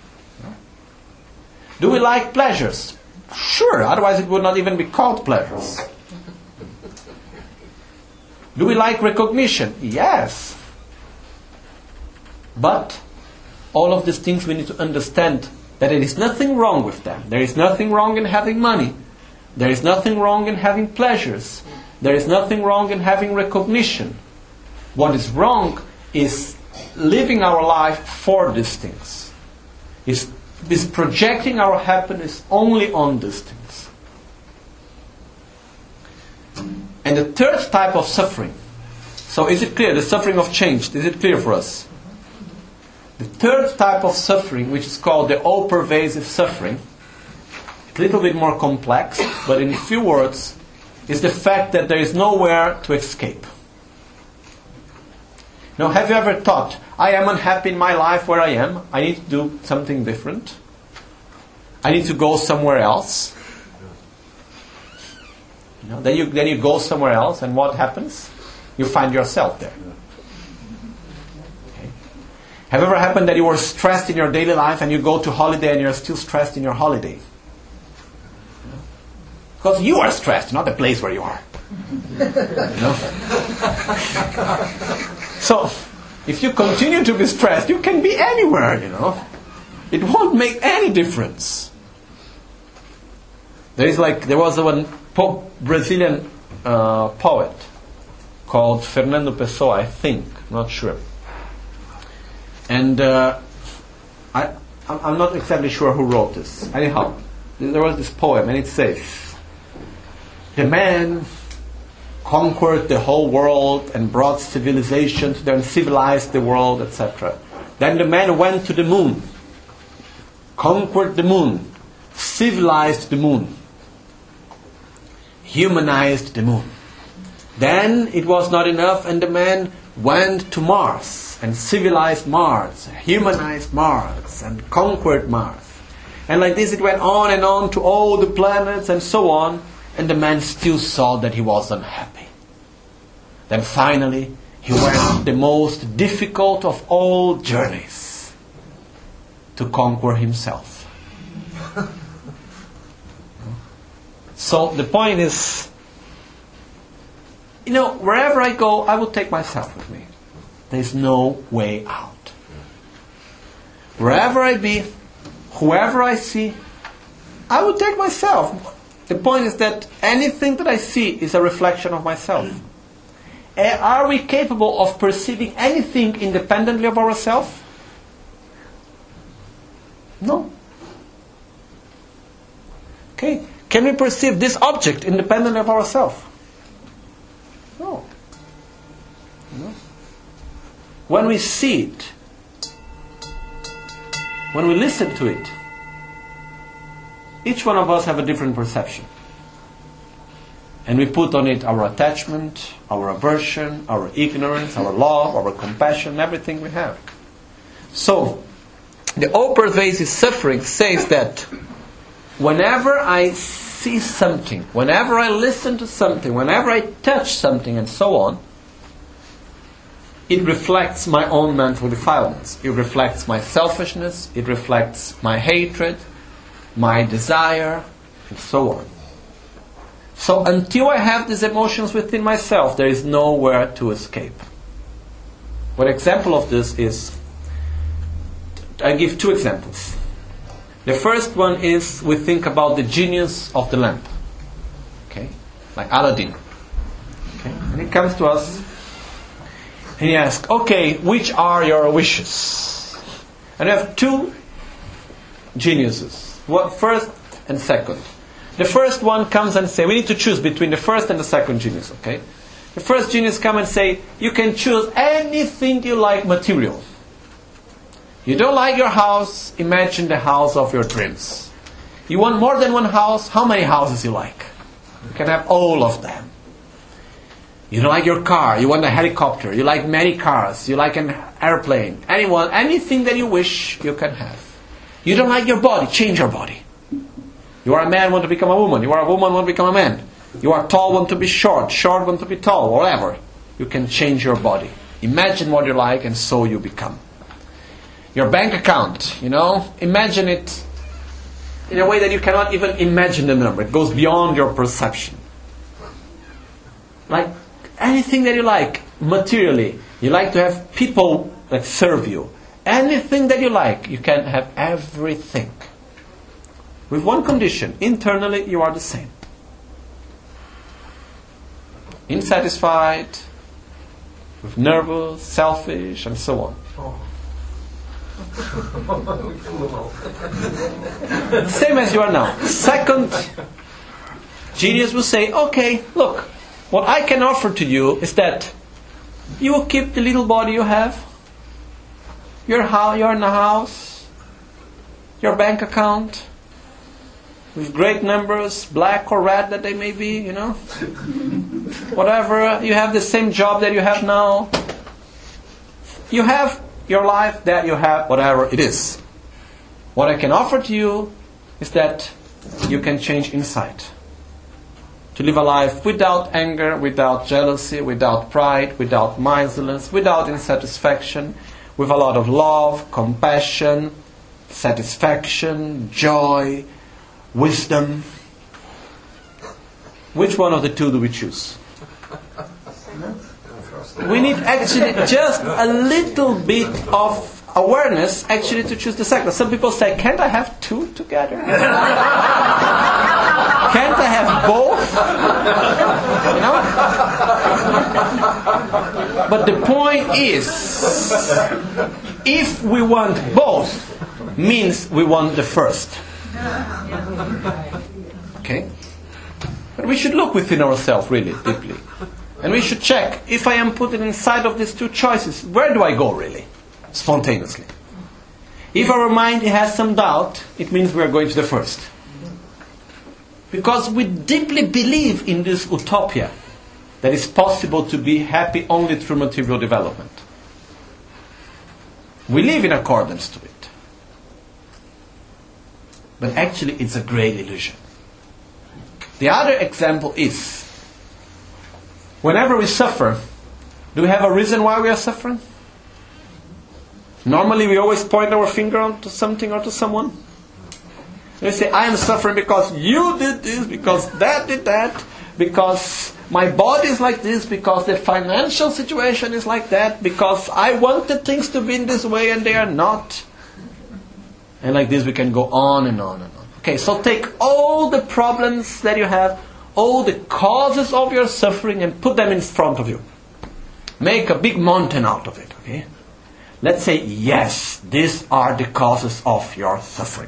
[SPEAKER 1] Do we like pleasures? Sure, otherwise it would not even be called pleasures. Do we like recognition? Yes. But all of these things we need to understand that there is nothing wrong with them. There is nothing wrong in having money. There is nothing wrong in having pleasures. There is nothing wrong in having recognition. What is wrong is living our life for these things. Is projecting our happiness only on these things. And the third type of suffering. So is it clear? The suffering of change. Is it clear for us? The third type of suffering, which is called the all-pervasive suffering, a little bit more complex, but in a few words, is the fact that there is nowhere to escape. Now, have you ever thought, I am unhappy in my life where I am, I need to do something different, I need to go somewhere else? Then you go somewhere else, and what happens? You find yourself there. Okay. Have ever happened that you were stressed in your daily life and you go to holiday and you're still stressed in your holiday? Because you are stressed, not the place where you are. So, if you continue to be stressed, you can be anywhere, It won't make any difference. There was one Brazilian poet called Fernando Pessoa, I think, not sure. And I'm not exactly sure who wrote this. Anyhow, there was this poem, and it says, the man conquered the whole world and brought civilization to them, civilized the world, etc. Then the man went to the moon, conquered the moon, civilized the moon, humanized the moon. Then it was not enough, and the man went to Mars and civilized Mars, humanized Mars, and conquered Mars. And like this it went on and on to all the planets and so on, and the man still saw that he was unhappy. Then finally he went the most difficult of all journeys, to conquer himself. So the point is, wherever I go, I will take myself with me. There's no way out. Wherever I be, whoever I see, I will take myself. The point is that anything that I see is a reflection of myself. Are we capable of perceiving anything independently of ourselves? No. Okay. Can we perceive this object independently of ourselves? No. When we see it, when we listen to it, each one of us have a different perception. And we put on it our attachment, our aversion, our ignorance, our love, our compassion, everything we have. So, the all-pervasive suffering says that whenever I see something, whenever I listen to something, whenever I touch something and so on, it reflects my own mental defilements. It reflects my selfishness, it reflects my hatred, my desire, and so on. So until I have these emotions within myself, there is nowhere to escape. One example of this is, I give two examples. The first one is, we think about the genius of the lamp. Okay? Like Aladdin. Okay? And he comes to us and he asks, okay, which are your wishes? And we have two geniuses. First and second. The first one comes and says, we need to choose between the first and the second genius, okay? The first genius comes and say, you can choose anything you like material. You don't like your house, imagine the house of your dreams. You want more than one house, how many houses you like? You can have all of them. You don't like your car, you want a helicopter, you like many cars, you like an airplane. Anything that you wish, you can have. You don't like your body, change your body. You are a man, want to become a woman. You are a woman, want to become a man. You are tall, want to be short. Short, want to be tall. Whatever. You can change your body. Imagine what you like, and so you become. Your bank account, imagine it in a way that you cannot even imagine the number. It goes beyond your perception. Like anything that you like, materially. You like to have people that serve you. Anything that you like, you can have everything. With one condition, internally you are the same. Insatisfied, with nervous, selfish, and so on. Same as you are now. Second, genius will say, okay, look,
[SPEAKER 3] What I can offer to you is that you will keep the little body you have, you're in a house, your bank account, with great numbers, black or red that they may be, whatever, you have the same job that you have now. You have your life that you have, whatever it is. What I can offer to you is that you can change inside. To live a life without anger, without jealousy, without pride, without miserliness, without insatisfaction, with a lot of love, compassion, satisfaction, joy, wisdom. Which one of the two do we choose? We need actually just a little bit of awareness actually to choose the second. Some people say, can't I have two together? Can't I have both? But the point is, if we want both, means we want the first. Okay? But we should look within ourselves really deeply. And we should check, if I am put inside of these two choices, where do I go really? Spontaneously. If our mind has some doubt, it means we are going to the first. Because we deeply believe in this utopia that it's possible to be happy only through material development. We live in accordance to it. But actually it's a great illusion. The other example is, whenever we suffer, do we have a reason why we are suffering? Normally we always point our finger onto something or to someone. We say, I am suffering because you did this, because that did that, because my body is like this, because the financial situation is like that, because I wanted things to be in this way and they are not. And like this we can go on and on and on. Okay, so take all the problems that you have, all the causes of your suffering, and put them in front of you. Make a big mountain out of it, okay? Let's say, yes, these are the causes of your suffering.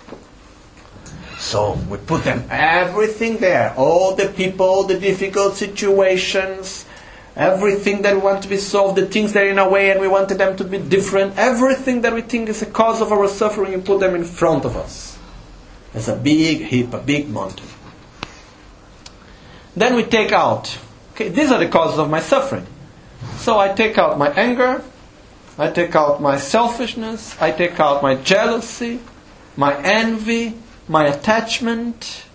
[SPEAKER 3] So we put them, everything there, all the people, the difficult situations, everything that we want to be solved, the things that are in our way and we wanted them to be different, everything that we think is the cause of our suffering, you put them in front of us. As a big heap, a big mountain. Then we take out, okay, these are the causes of my suffering. So I take out my anger, I take out my selfishness, I take out my jealousy, my envy, my attachment.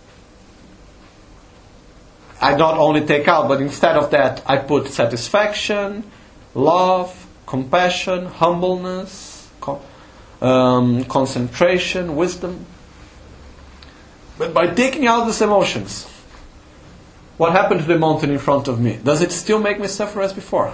[SPEAKER 3] I not only take out, but instead of that, I put satisfaction, love, compassion, humbleness, concentration, wisdom. But by taking out these emotions, what happened to the mountain in front of me? Does it still make me suffer as before?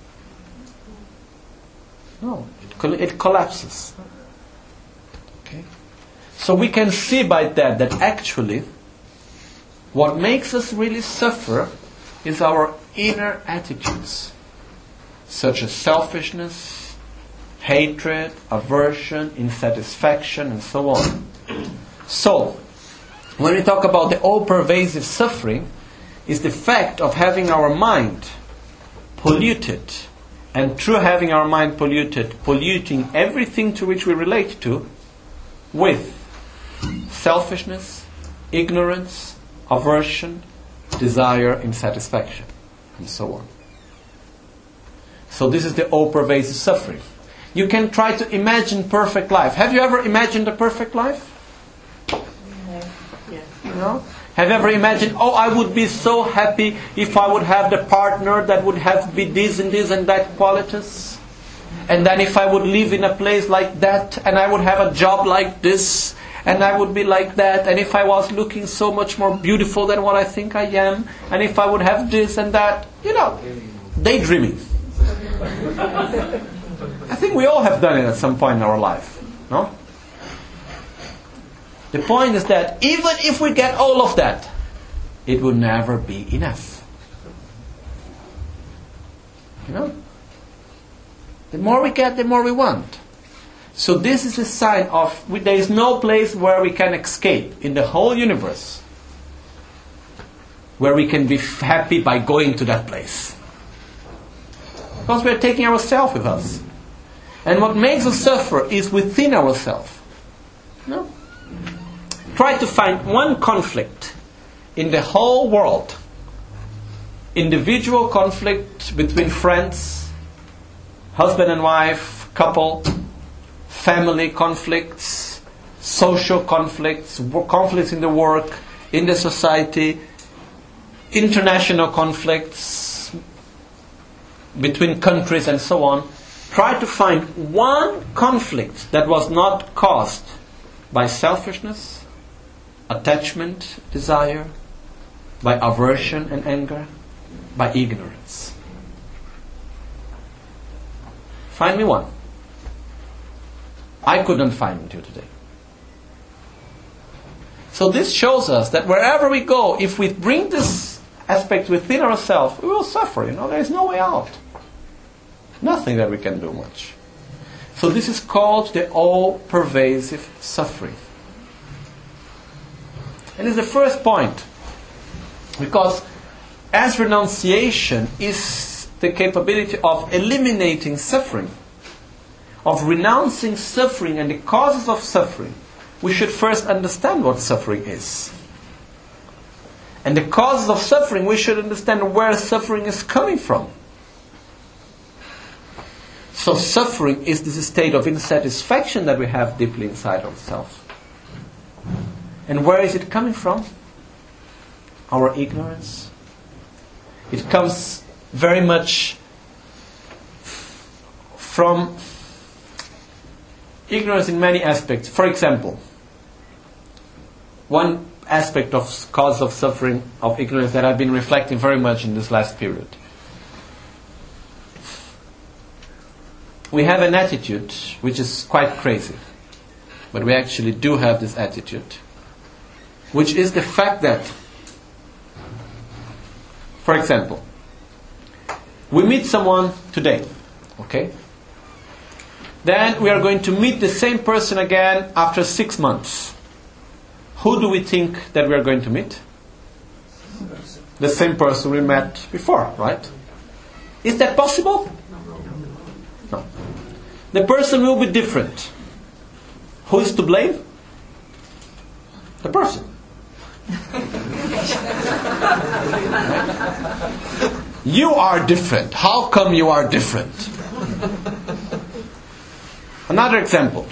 [SPEAKER 3] No, it collapses. Okay? So we can see by that actually what makes us really suffer is our inner attitudes, such as selfishness, hatred, aversion, insatisfaction, and so on. So, when we talk about the all-pervasive suffering, is the fact of having our mind polluted, and through having our mind polluted, polluting everything to which we relate to, with selfishness, ignorance, aversion, desire, insatisfaction, and so on. So this is the all-pervasive suffering. You can try to imagine perfect life. Have you ever imagined a perfect life? You know? Have you ever imagined, I would be so happy if I would have the partner that would have be this and this and that qualities? And then if I would live in a place like that, and I would have a job like this, and I would be like that, and if I was looking so much more beautiful than what I think I am, and if I would have this and that, daydreaming. I think we all have done it at some point in our life, no? The point is that even if we get all of that, it will never be enough. The more we get, the more we want. So this is a sign of there is no place where we can escape in the whole universe. where we can be happy by going to that place. Because we are taking ourselves with us. And what makes us suffer is within ourselves. No? Try to find one conflict in the whole world. Individual conflict between friends, husband and wife, couple, family conflicts, social conflicts, conflicts in the work, in the society, international conflicts between countries and so on. Try to find one conflict that was not caused by selfishness, attachment, desire, by aversion and anger, by ignorance. Find me one. I couldn't find until today. So this shows us that wherever we go, if we bring this aspect within ourselves, we will suffer. There is no way out. Nothing that we can do much. So this is called the all-pervasive suffering. And it's the first point. Because as renunciation is the capability of eliminating suffering, of renouncing suffering and the causes of suffering, we should first understand what suffering is. And the causes of suffering, we should understand where suffering is coming from. So suffering is this state of insatisfaction that we have deeply inside ourselves. And where is it coming from? Our ignorance. It comes very much from ignorance in many aspects. For example, one aspect of cause of suffering of ignorance that I've been reflecting very much in this last period. We have an attitude which is quite crazy, but we actually do have this attitude, which is the fact that, for example, we meet someone today, okay? Then we are going to meet the same person again after 6 months. Who do we think that we are going to meet? The same person we met before, right? Is that possible? No. The person will be different. Who is to blame? The person. You are different. How come you are different? Another example.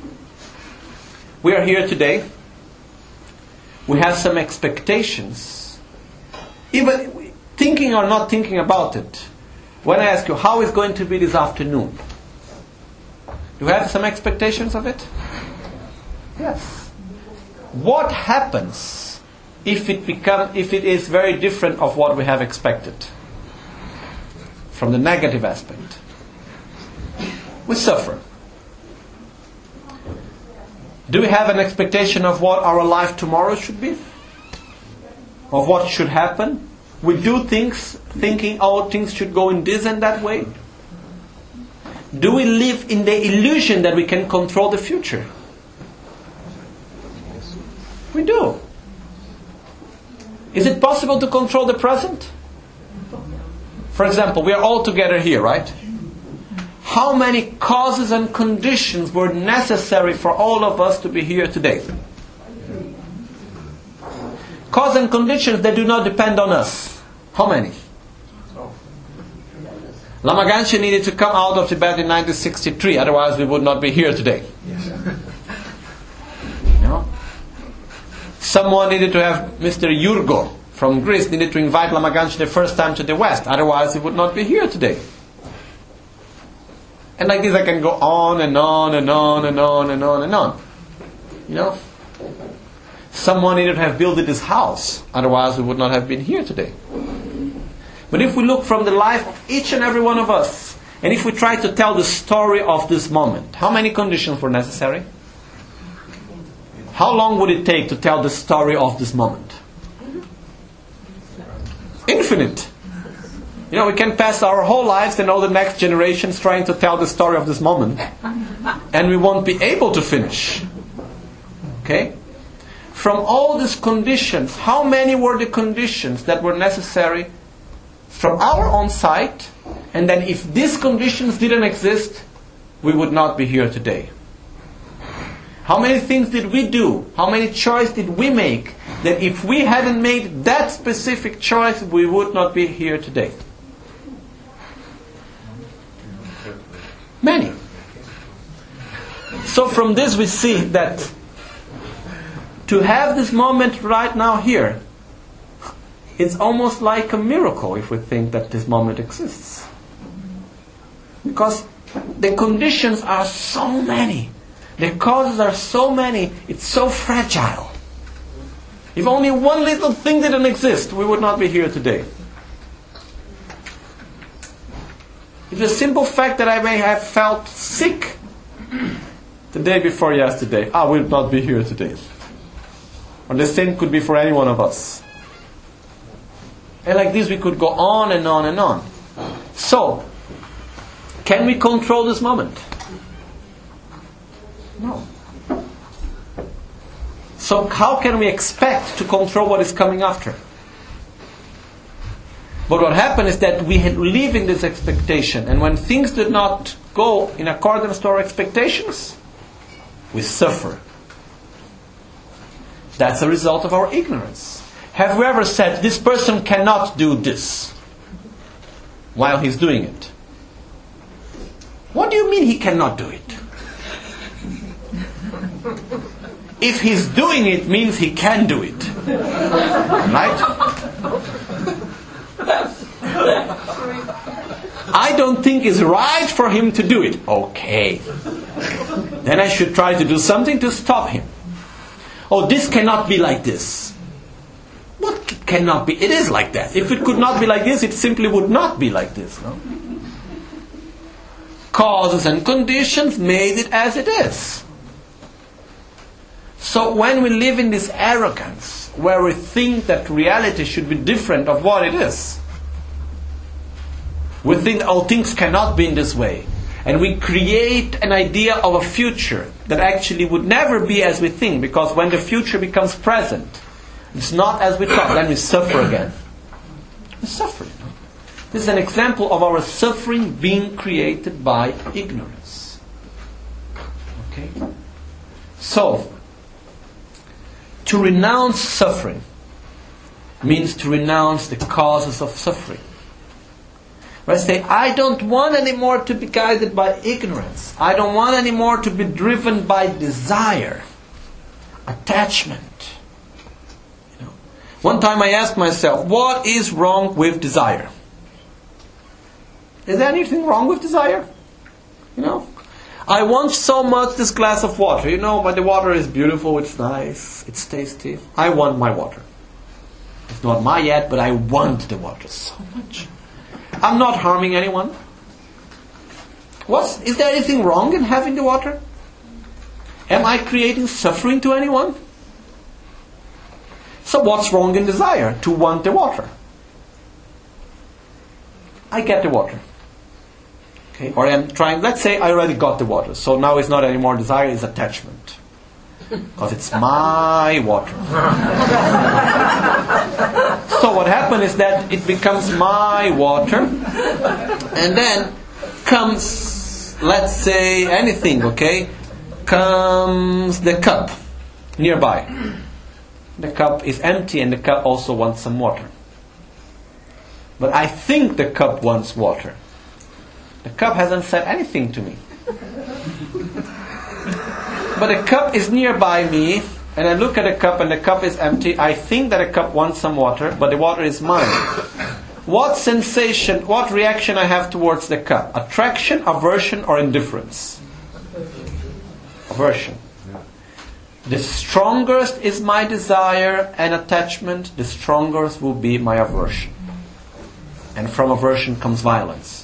[SPEAKER 3] We are here today. We have some expectations. Even thinking or not thinking about it. When I ask you, how is going to be this afternoon? Do you have some expectations of it? Yes. What happens if it is very different of what we have expected? From the negative aspect. We suffer. Do we have an expectation of what our life tomorrow should be? Of what should happen? We do things thinking, things should go in this and that way. Do we live in the illusion that we can control the future? We do. Is it possible to control the present? For example, we are all together here, right? How many causes and conditions were necessary for all of us to be here today? Causes and conditions that do not depend on us. How many? Lama Ganchen needed to come out of Tibet in 1963, otherwise we would not be here today. No? Someone needed to have Mr. Yurgo from Greece needed to invite Lama Ganchen the first time to the West, otherwise he would not be here today. And like this I can go on and on and on and on and on and on. You know? Someone needed to have built this house, otherwise we would not have been here today. But if we look from the life of each and every one of us, and if we try to tell the story of this moment, how many conditions were necessary? How long would it take to tell the story of this moment? Infinite. You know, we can pass our whole lives and all the next generations trying to tell the story of this moment, and we won't be able to finish. Okay? from all these conditions, how many were the conditions that were necessary from our own side? And then if these conditions didn't exist, we would not be here today. How many things did we do? How many choices did we make that if we hadn't made that specific choice, we would not be here today? Many. So from this we see that to have this moment right now here, it's almost like a miracle if we think that this moment exists. Because the conditions are so many. The causes are so many. It's so fragile. If only one little thing didn't exist, we would not be here today. It's the simple fact that I may have felt sick the day before yesterday. I will not be here today. Or the same could be for any one of us. And like this we could go on and on and on. So, can we control this moment? No. So how can we expect to control what is coming after? But what happened is that we live in this expectation, and when things did not go in accordance to our expectations, we suffer. That's a result of our ignorance. Have you ever said, this person cannot do this, while he's doing it? What do you mean he cannot do it? If he's doing it, means he can do it. Right? I don't think it's right for him to do it. Okay. Then I should try to do something to stop him. Oh, this cannot be like this. What cannot be? It is like that. If it could not be like this, it simply would not be like this. No? Causes and conditions made it as it is. So when we live in this arrogance, where we think that reality should be different of what it is, we think all things cannot be in this way, and we create an idea of a future that actually would never be as we think, because when the future becomes present, it's not as we thought, then we suffer again. We suffer. This is an example of our suffering being created by ignorance. Okay? So, to renounce suffering means to renounce the causes of suffering. When I say, I don't want anymore to be guided by ignorance. I don't want anymore to be driven by desire, attachment. You know? One time I asked myself, what is wrong with desire? Is there anything wrong with desire? You know? I want so much this glass of water, but the water is beautiful, it's nice, it's tasty. I want my water. It's not mine yet, but I want the water so much. I'm not harming anyone. Is there anything wrong in having the water? Am I creating suffering to anyone? So what's wrong in desire? To want the water. I get the water. Okay, or I'm trying, let's say I already got the water, so now it's not anymore desire, it's attachment. Because it's my water. So what happens is that it becomes my water, and then comes, let's say anything, okay? Comes the cup nearby. The cup is empty and the cup also wants some water. But I think the cup wants water. The cup hasn't said anything to me. But the cup is nearby me, and I look at the cup and the cup is empty. I think that the cup wants some water, but the water is mine. What sensation, what reaction I have towards the cup? Attraction, aversion, or indifference? Aversion. The strongest is my desire and attachment, the strongest will be my aversion. And from aversion comes violence.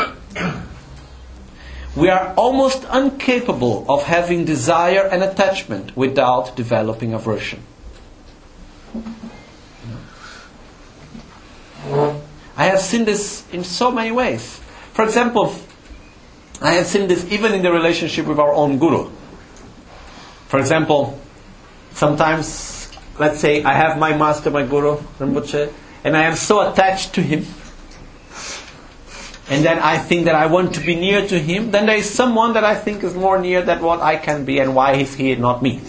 [SPEAKER 3] We are almost incapable of having desire and attachment without developing aversion. I have seen this in so many ways. For example, I have seen this even in the relationship with our own guru. For example, sometimes let's say I have my master, my guru, Rinpoche, and I am so attached to him, and then I think that I want to be near to him, then there is someone that I think is more near than what I can be, and why is he not me?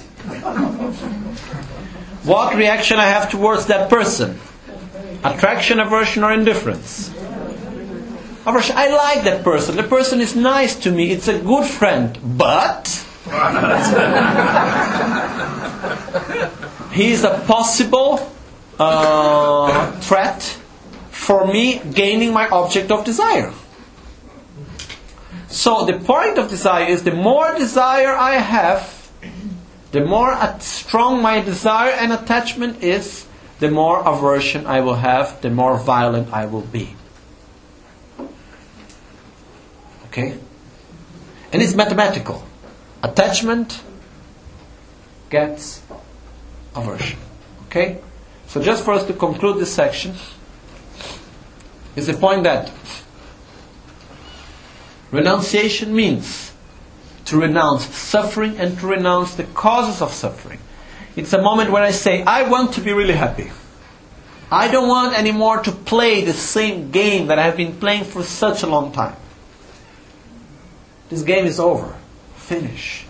[SPEAKER 3] What reaction I have towards that person? Attraction, aversion, or indifference? Aversion. I like that person. The person is nice to me. It's a good friend. But he is a possible threat for me gaining my object of desire. So the point of desire is, the more desire I have, the more strong my desire and attachment is, the more aversion I will have, the more violent I will be. Okay? And it's mathematical. Attachment gets aversion. Okay? So just for us to conclude this section, is the point that renunciation means to renounce suffering and to renounce the causes of suffering. It's a moment where I say, I want to be really happy. I don't want anymore to play the same game that I have been playing for such a long time. This game is over. Finish.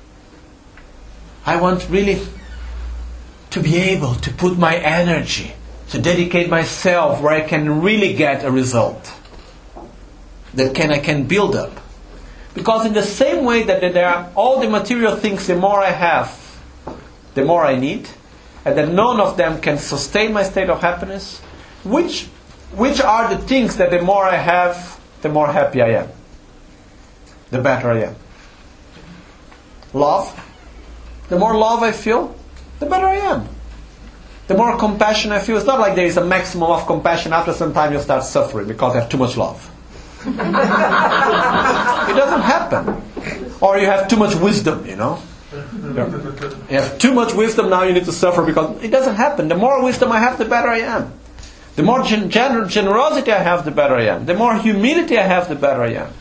[SPEAKER 3] I want really to be able to put my energy, to dedicate myself where I can really get a result that I can build up. Because in the same way that there are all the material things, the more I have, the more I need, and that none of them can sustain my state of happiness, which are the things that the more I have, the more happy I am, the better I am? Love. The more love I feel, the better I am. The more compassion I feel. It's not like there is a maximum of compassion. After some time you start suffering because you have too much love. It doesn't happen. Or you have too much wisdom, you know. You have too much wisdom, now you need to suffer, because it doesn't happen. The more wisdom I have, the better I am. The more generosity I have, the better I am. The more humility I have, the better I am.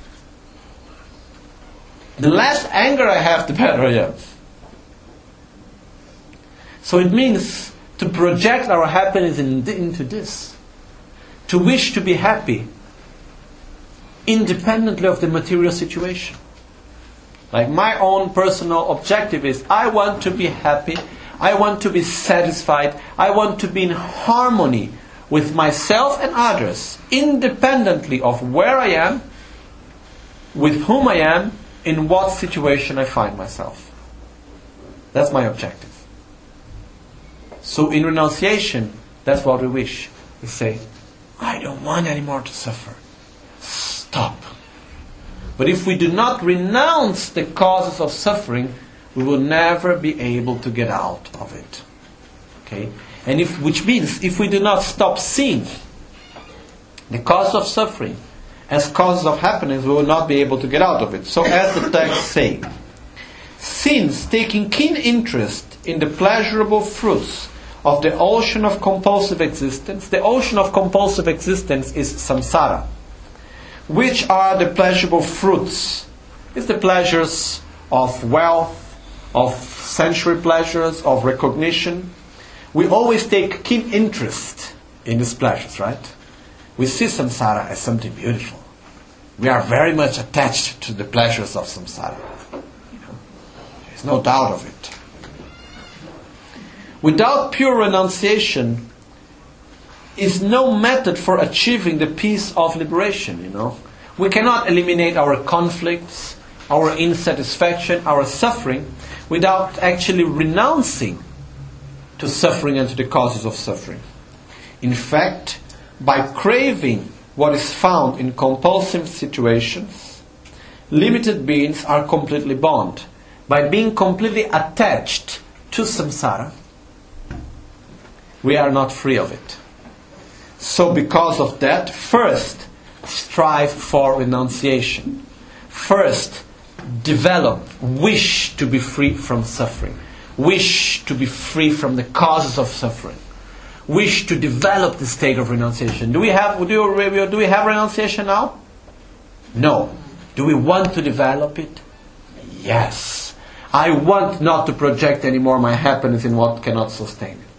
[SPEAKER 3] The less anger I have, the better I am. So it means to project our happiness into this. To wish to be happy independently of the material situation. Like my own personal objective is, I want to be happy, I want to be satisfied, I want to be in harmony with myself and others, independently of where I am, with whom I am, in what situation I find myself. That's my objective. So in renunciation, that's what we wish. We say, I don't want anymore to suffer. Stop. But if we do not renounce the causes of suffering, we will never be able to get out of it. Okay? And which means, if we do not stop seeing the cause of suffering as causes of happiness, we will not be able to get out of it. So as the text says, since taking keen interest in the pleasurable fruits of the ocean of compulsive existence, the ocean of compulsive existence is samsara. Which are the pleasurable fruits? It's the pleasures of wealth, of sensory pleasures, of recognition. We always take keen interest in these pleasures, right? We see samsara as something beautiful. We are very much attached to the pleasures of samsara. There's no doubt of it. Without pure renunciation is no method for achieving the peace of liberation, We cannot eliminate our conflicts, our insatisfaction, our suffering, without actually renouncing to suffering and to the causes of suffering. In fact, by craving what is found in compulsive situations, limited beings are completely bound. By being completely attached to samsara, we are not free of it. So because of that, first, strive for renunciation. First, develop, wish to be free from suffering. Wish to be free from the causes of suffering. Wish to develop the state of renunciation. Do we have renunciation now? No. Do we want to develop it? Yes. I want not to project anymore my happiness in what cannot sustain it.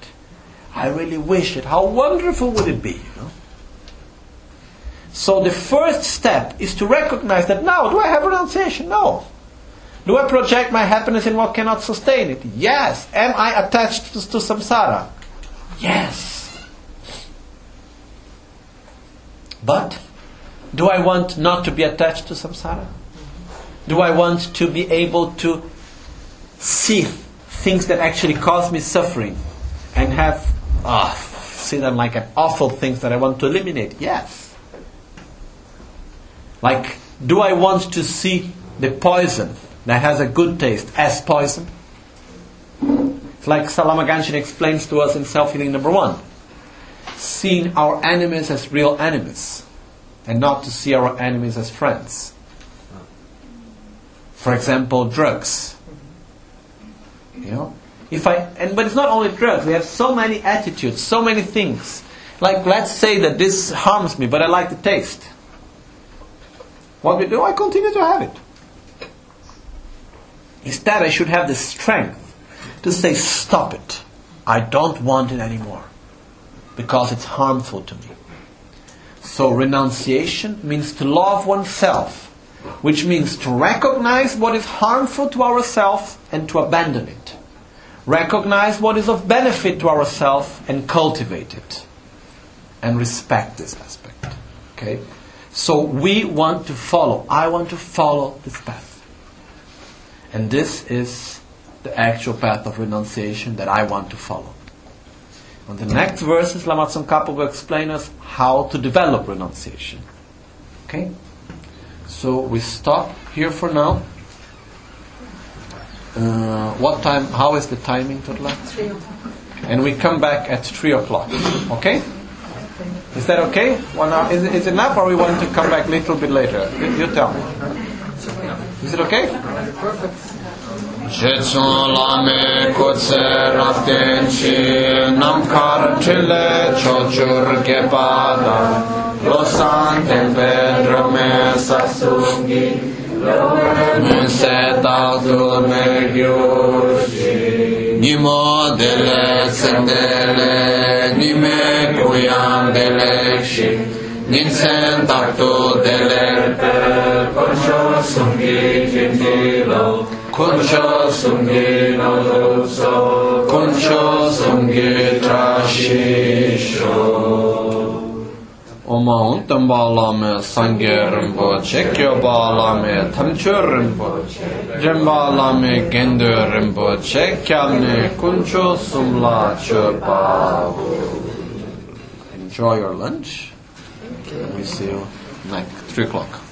[SPEAKER 3] I really wish it. How wonderful would it be? You know? So the first step is to recognize that now, do I have renunciation? No. Do I project my happiness in what cannot sustain it? Yes. Am I attached to samsara? Yes. But do I want not to be attached to samsara? Do I want to be able to see things that actually cause me suffering and see them like an awful things that I want to eliminate? Yes. Like, do I want to see the poison that has a good taste as poison? It's like Salama Ganshin explains to us in Self-Healing number 1. Seeing our enemies as real enemies and not to see our enemies as friends. For example, drugs. You know? But it's not only drugs. We have so many attitudes, so many things. Like, let's say that this harms me, but I like the taste. What we do, I continue to have it. Instead, I should have the strength to say, stop it. I don't want it anymore. Because it's harmful to me. So renunciation means to love oneself, which means to recognize what is harmful to ourselves and to abandon it. Recognize what is of benefit to ourselves and cultivate it. And respect this aspect. Okay? So we want to follow. I want to follow this path. And this is the actual path of renunciation that I want to follow. On the next verses, Lama Tsongkhapa will explain us how to develop renunciation. Okay? So we stop here for now. What time? How is the timing, Totla?
[SPEAKER 4] 3 o'clock.
[SPEAKER 3] And we come back at 3 o'clock. Okay? Is that okay? 1 hour? Is it enough, or we want to come back a little bit later? You tell me. Is it okay?
[SPEAKER 4] Perfect.
[SPEAKER 1] Jetson lame kotse raften chi namkar chile chochur gepada losan tempe drame sasungi nse tazul me gyushi nimo dele sendele nime kuyam dele shi ninsen takto dele konsho sungi jindilo Kuncho sungi no so, kuncho sungi trashisho. Oma untambala me sangye rinpoche, kyobala me tamcho rinpoche, jambala me gendo rinpoche, kyamne kuncho sumla chopa. Enjoy your lunch. We see you next 3 o'clock.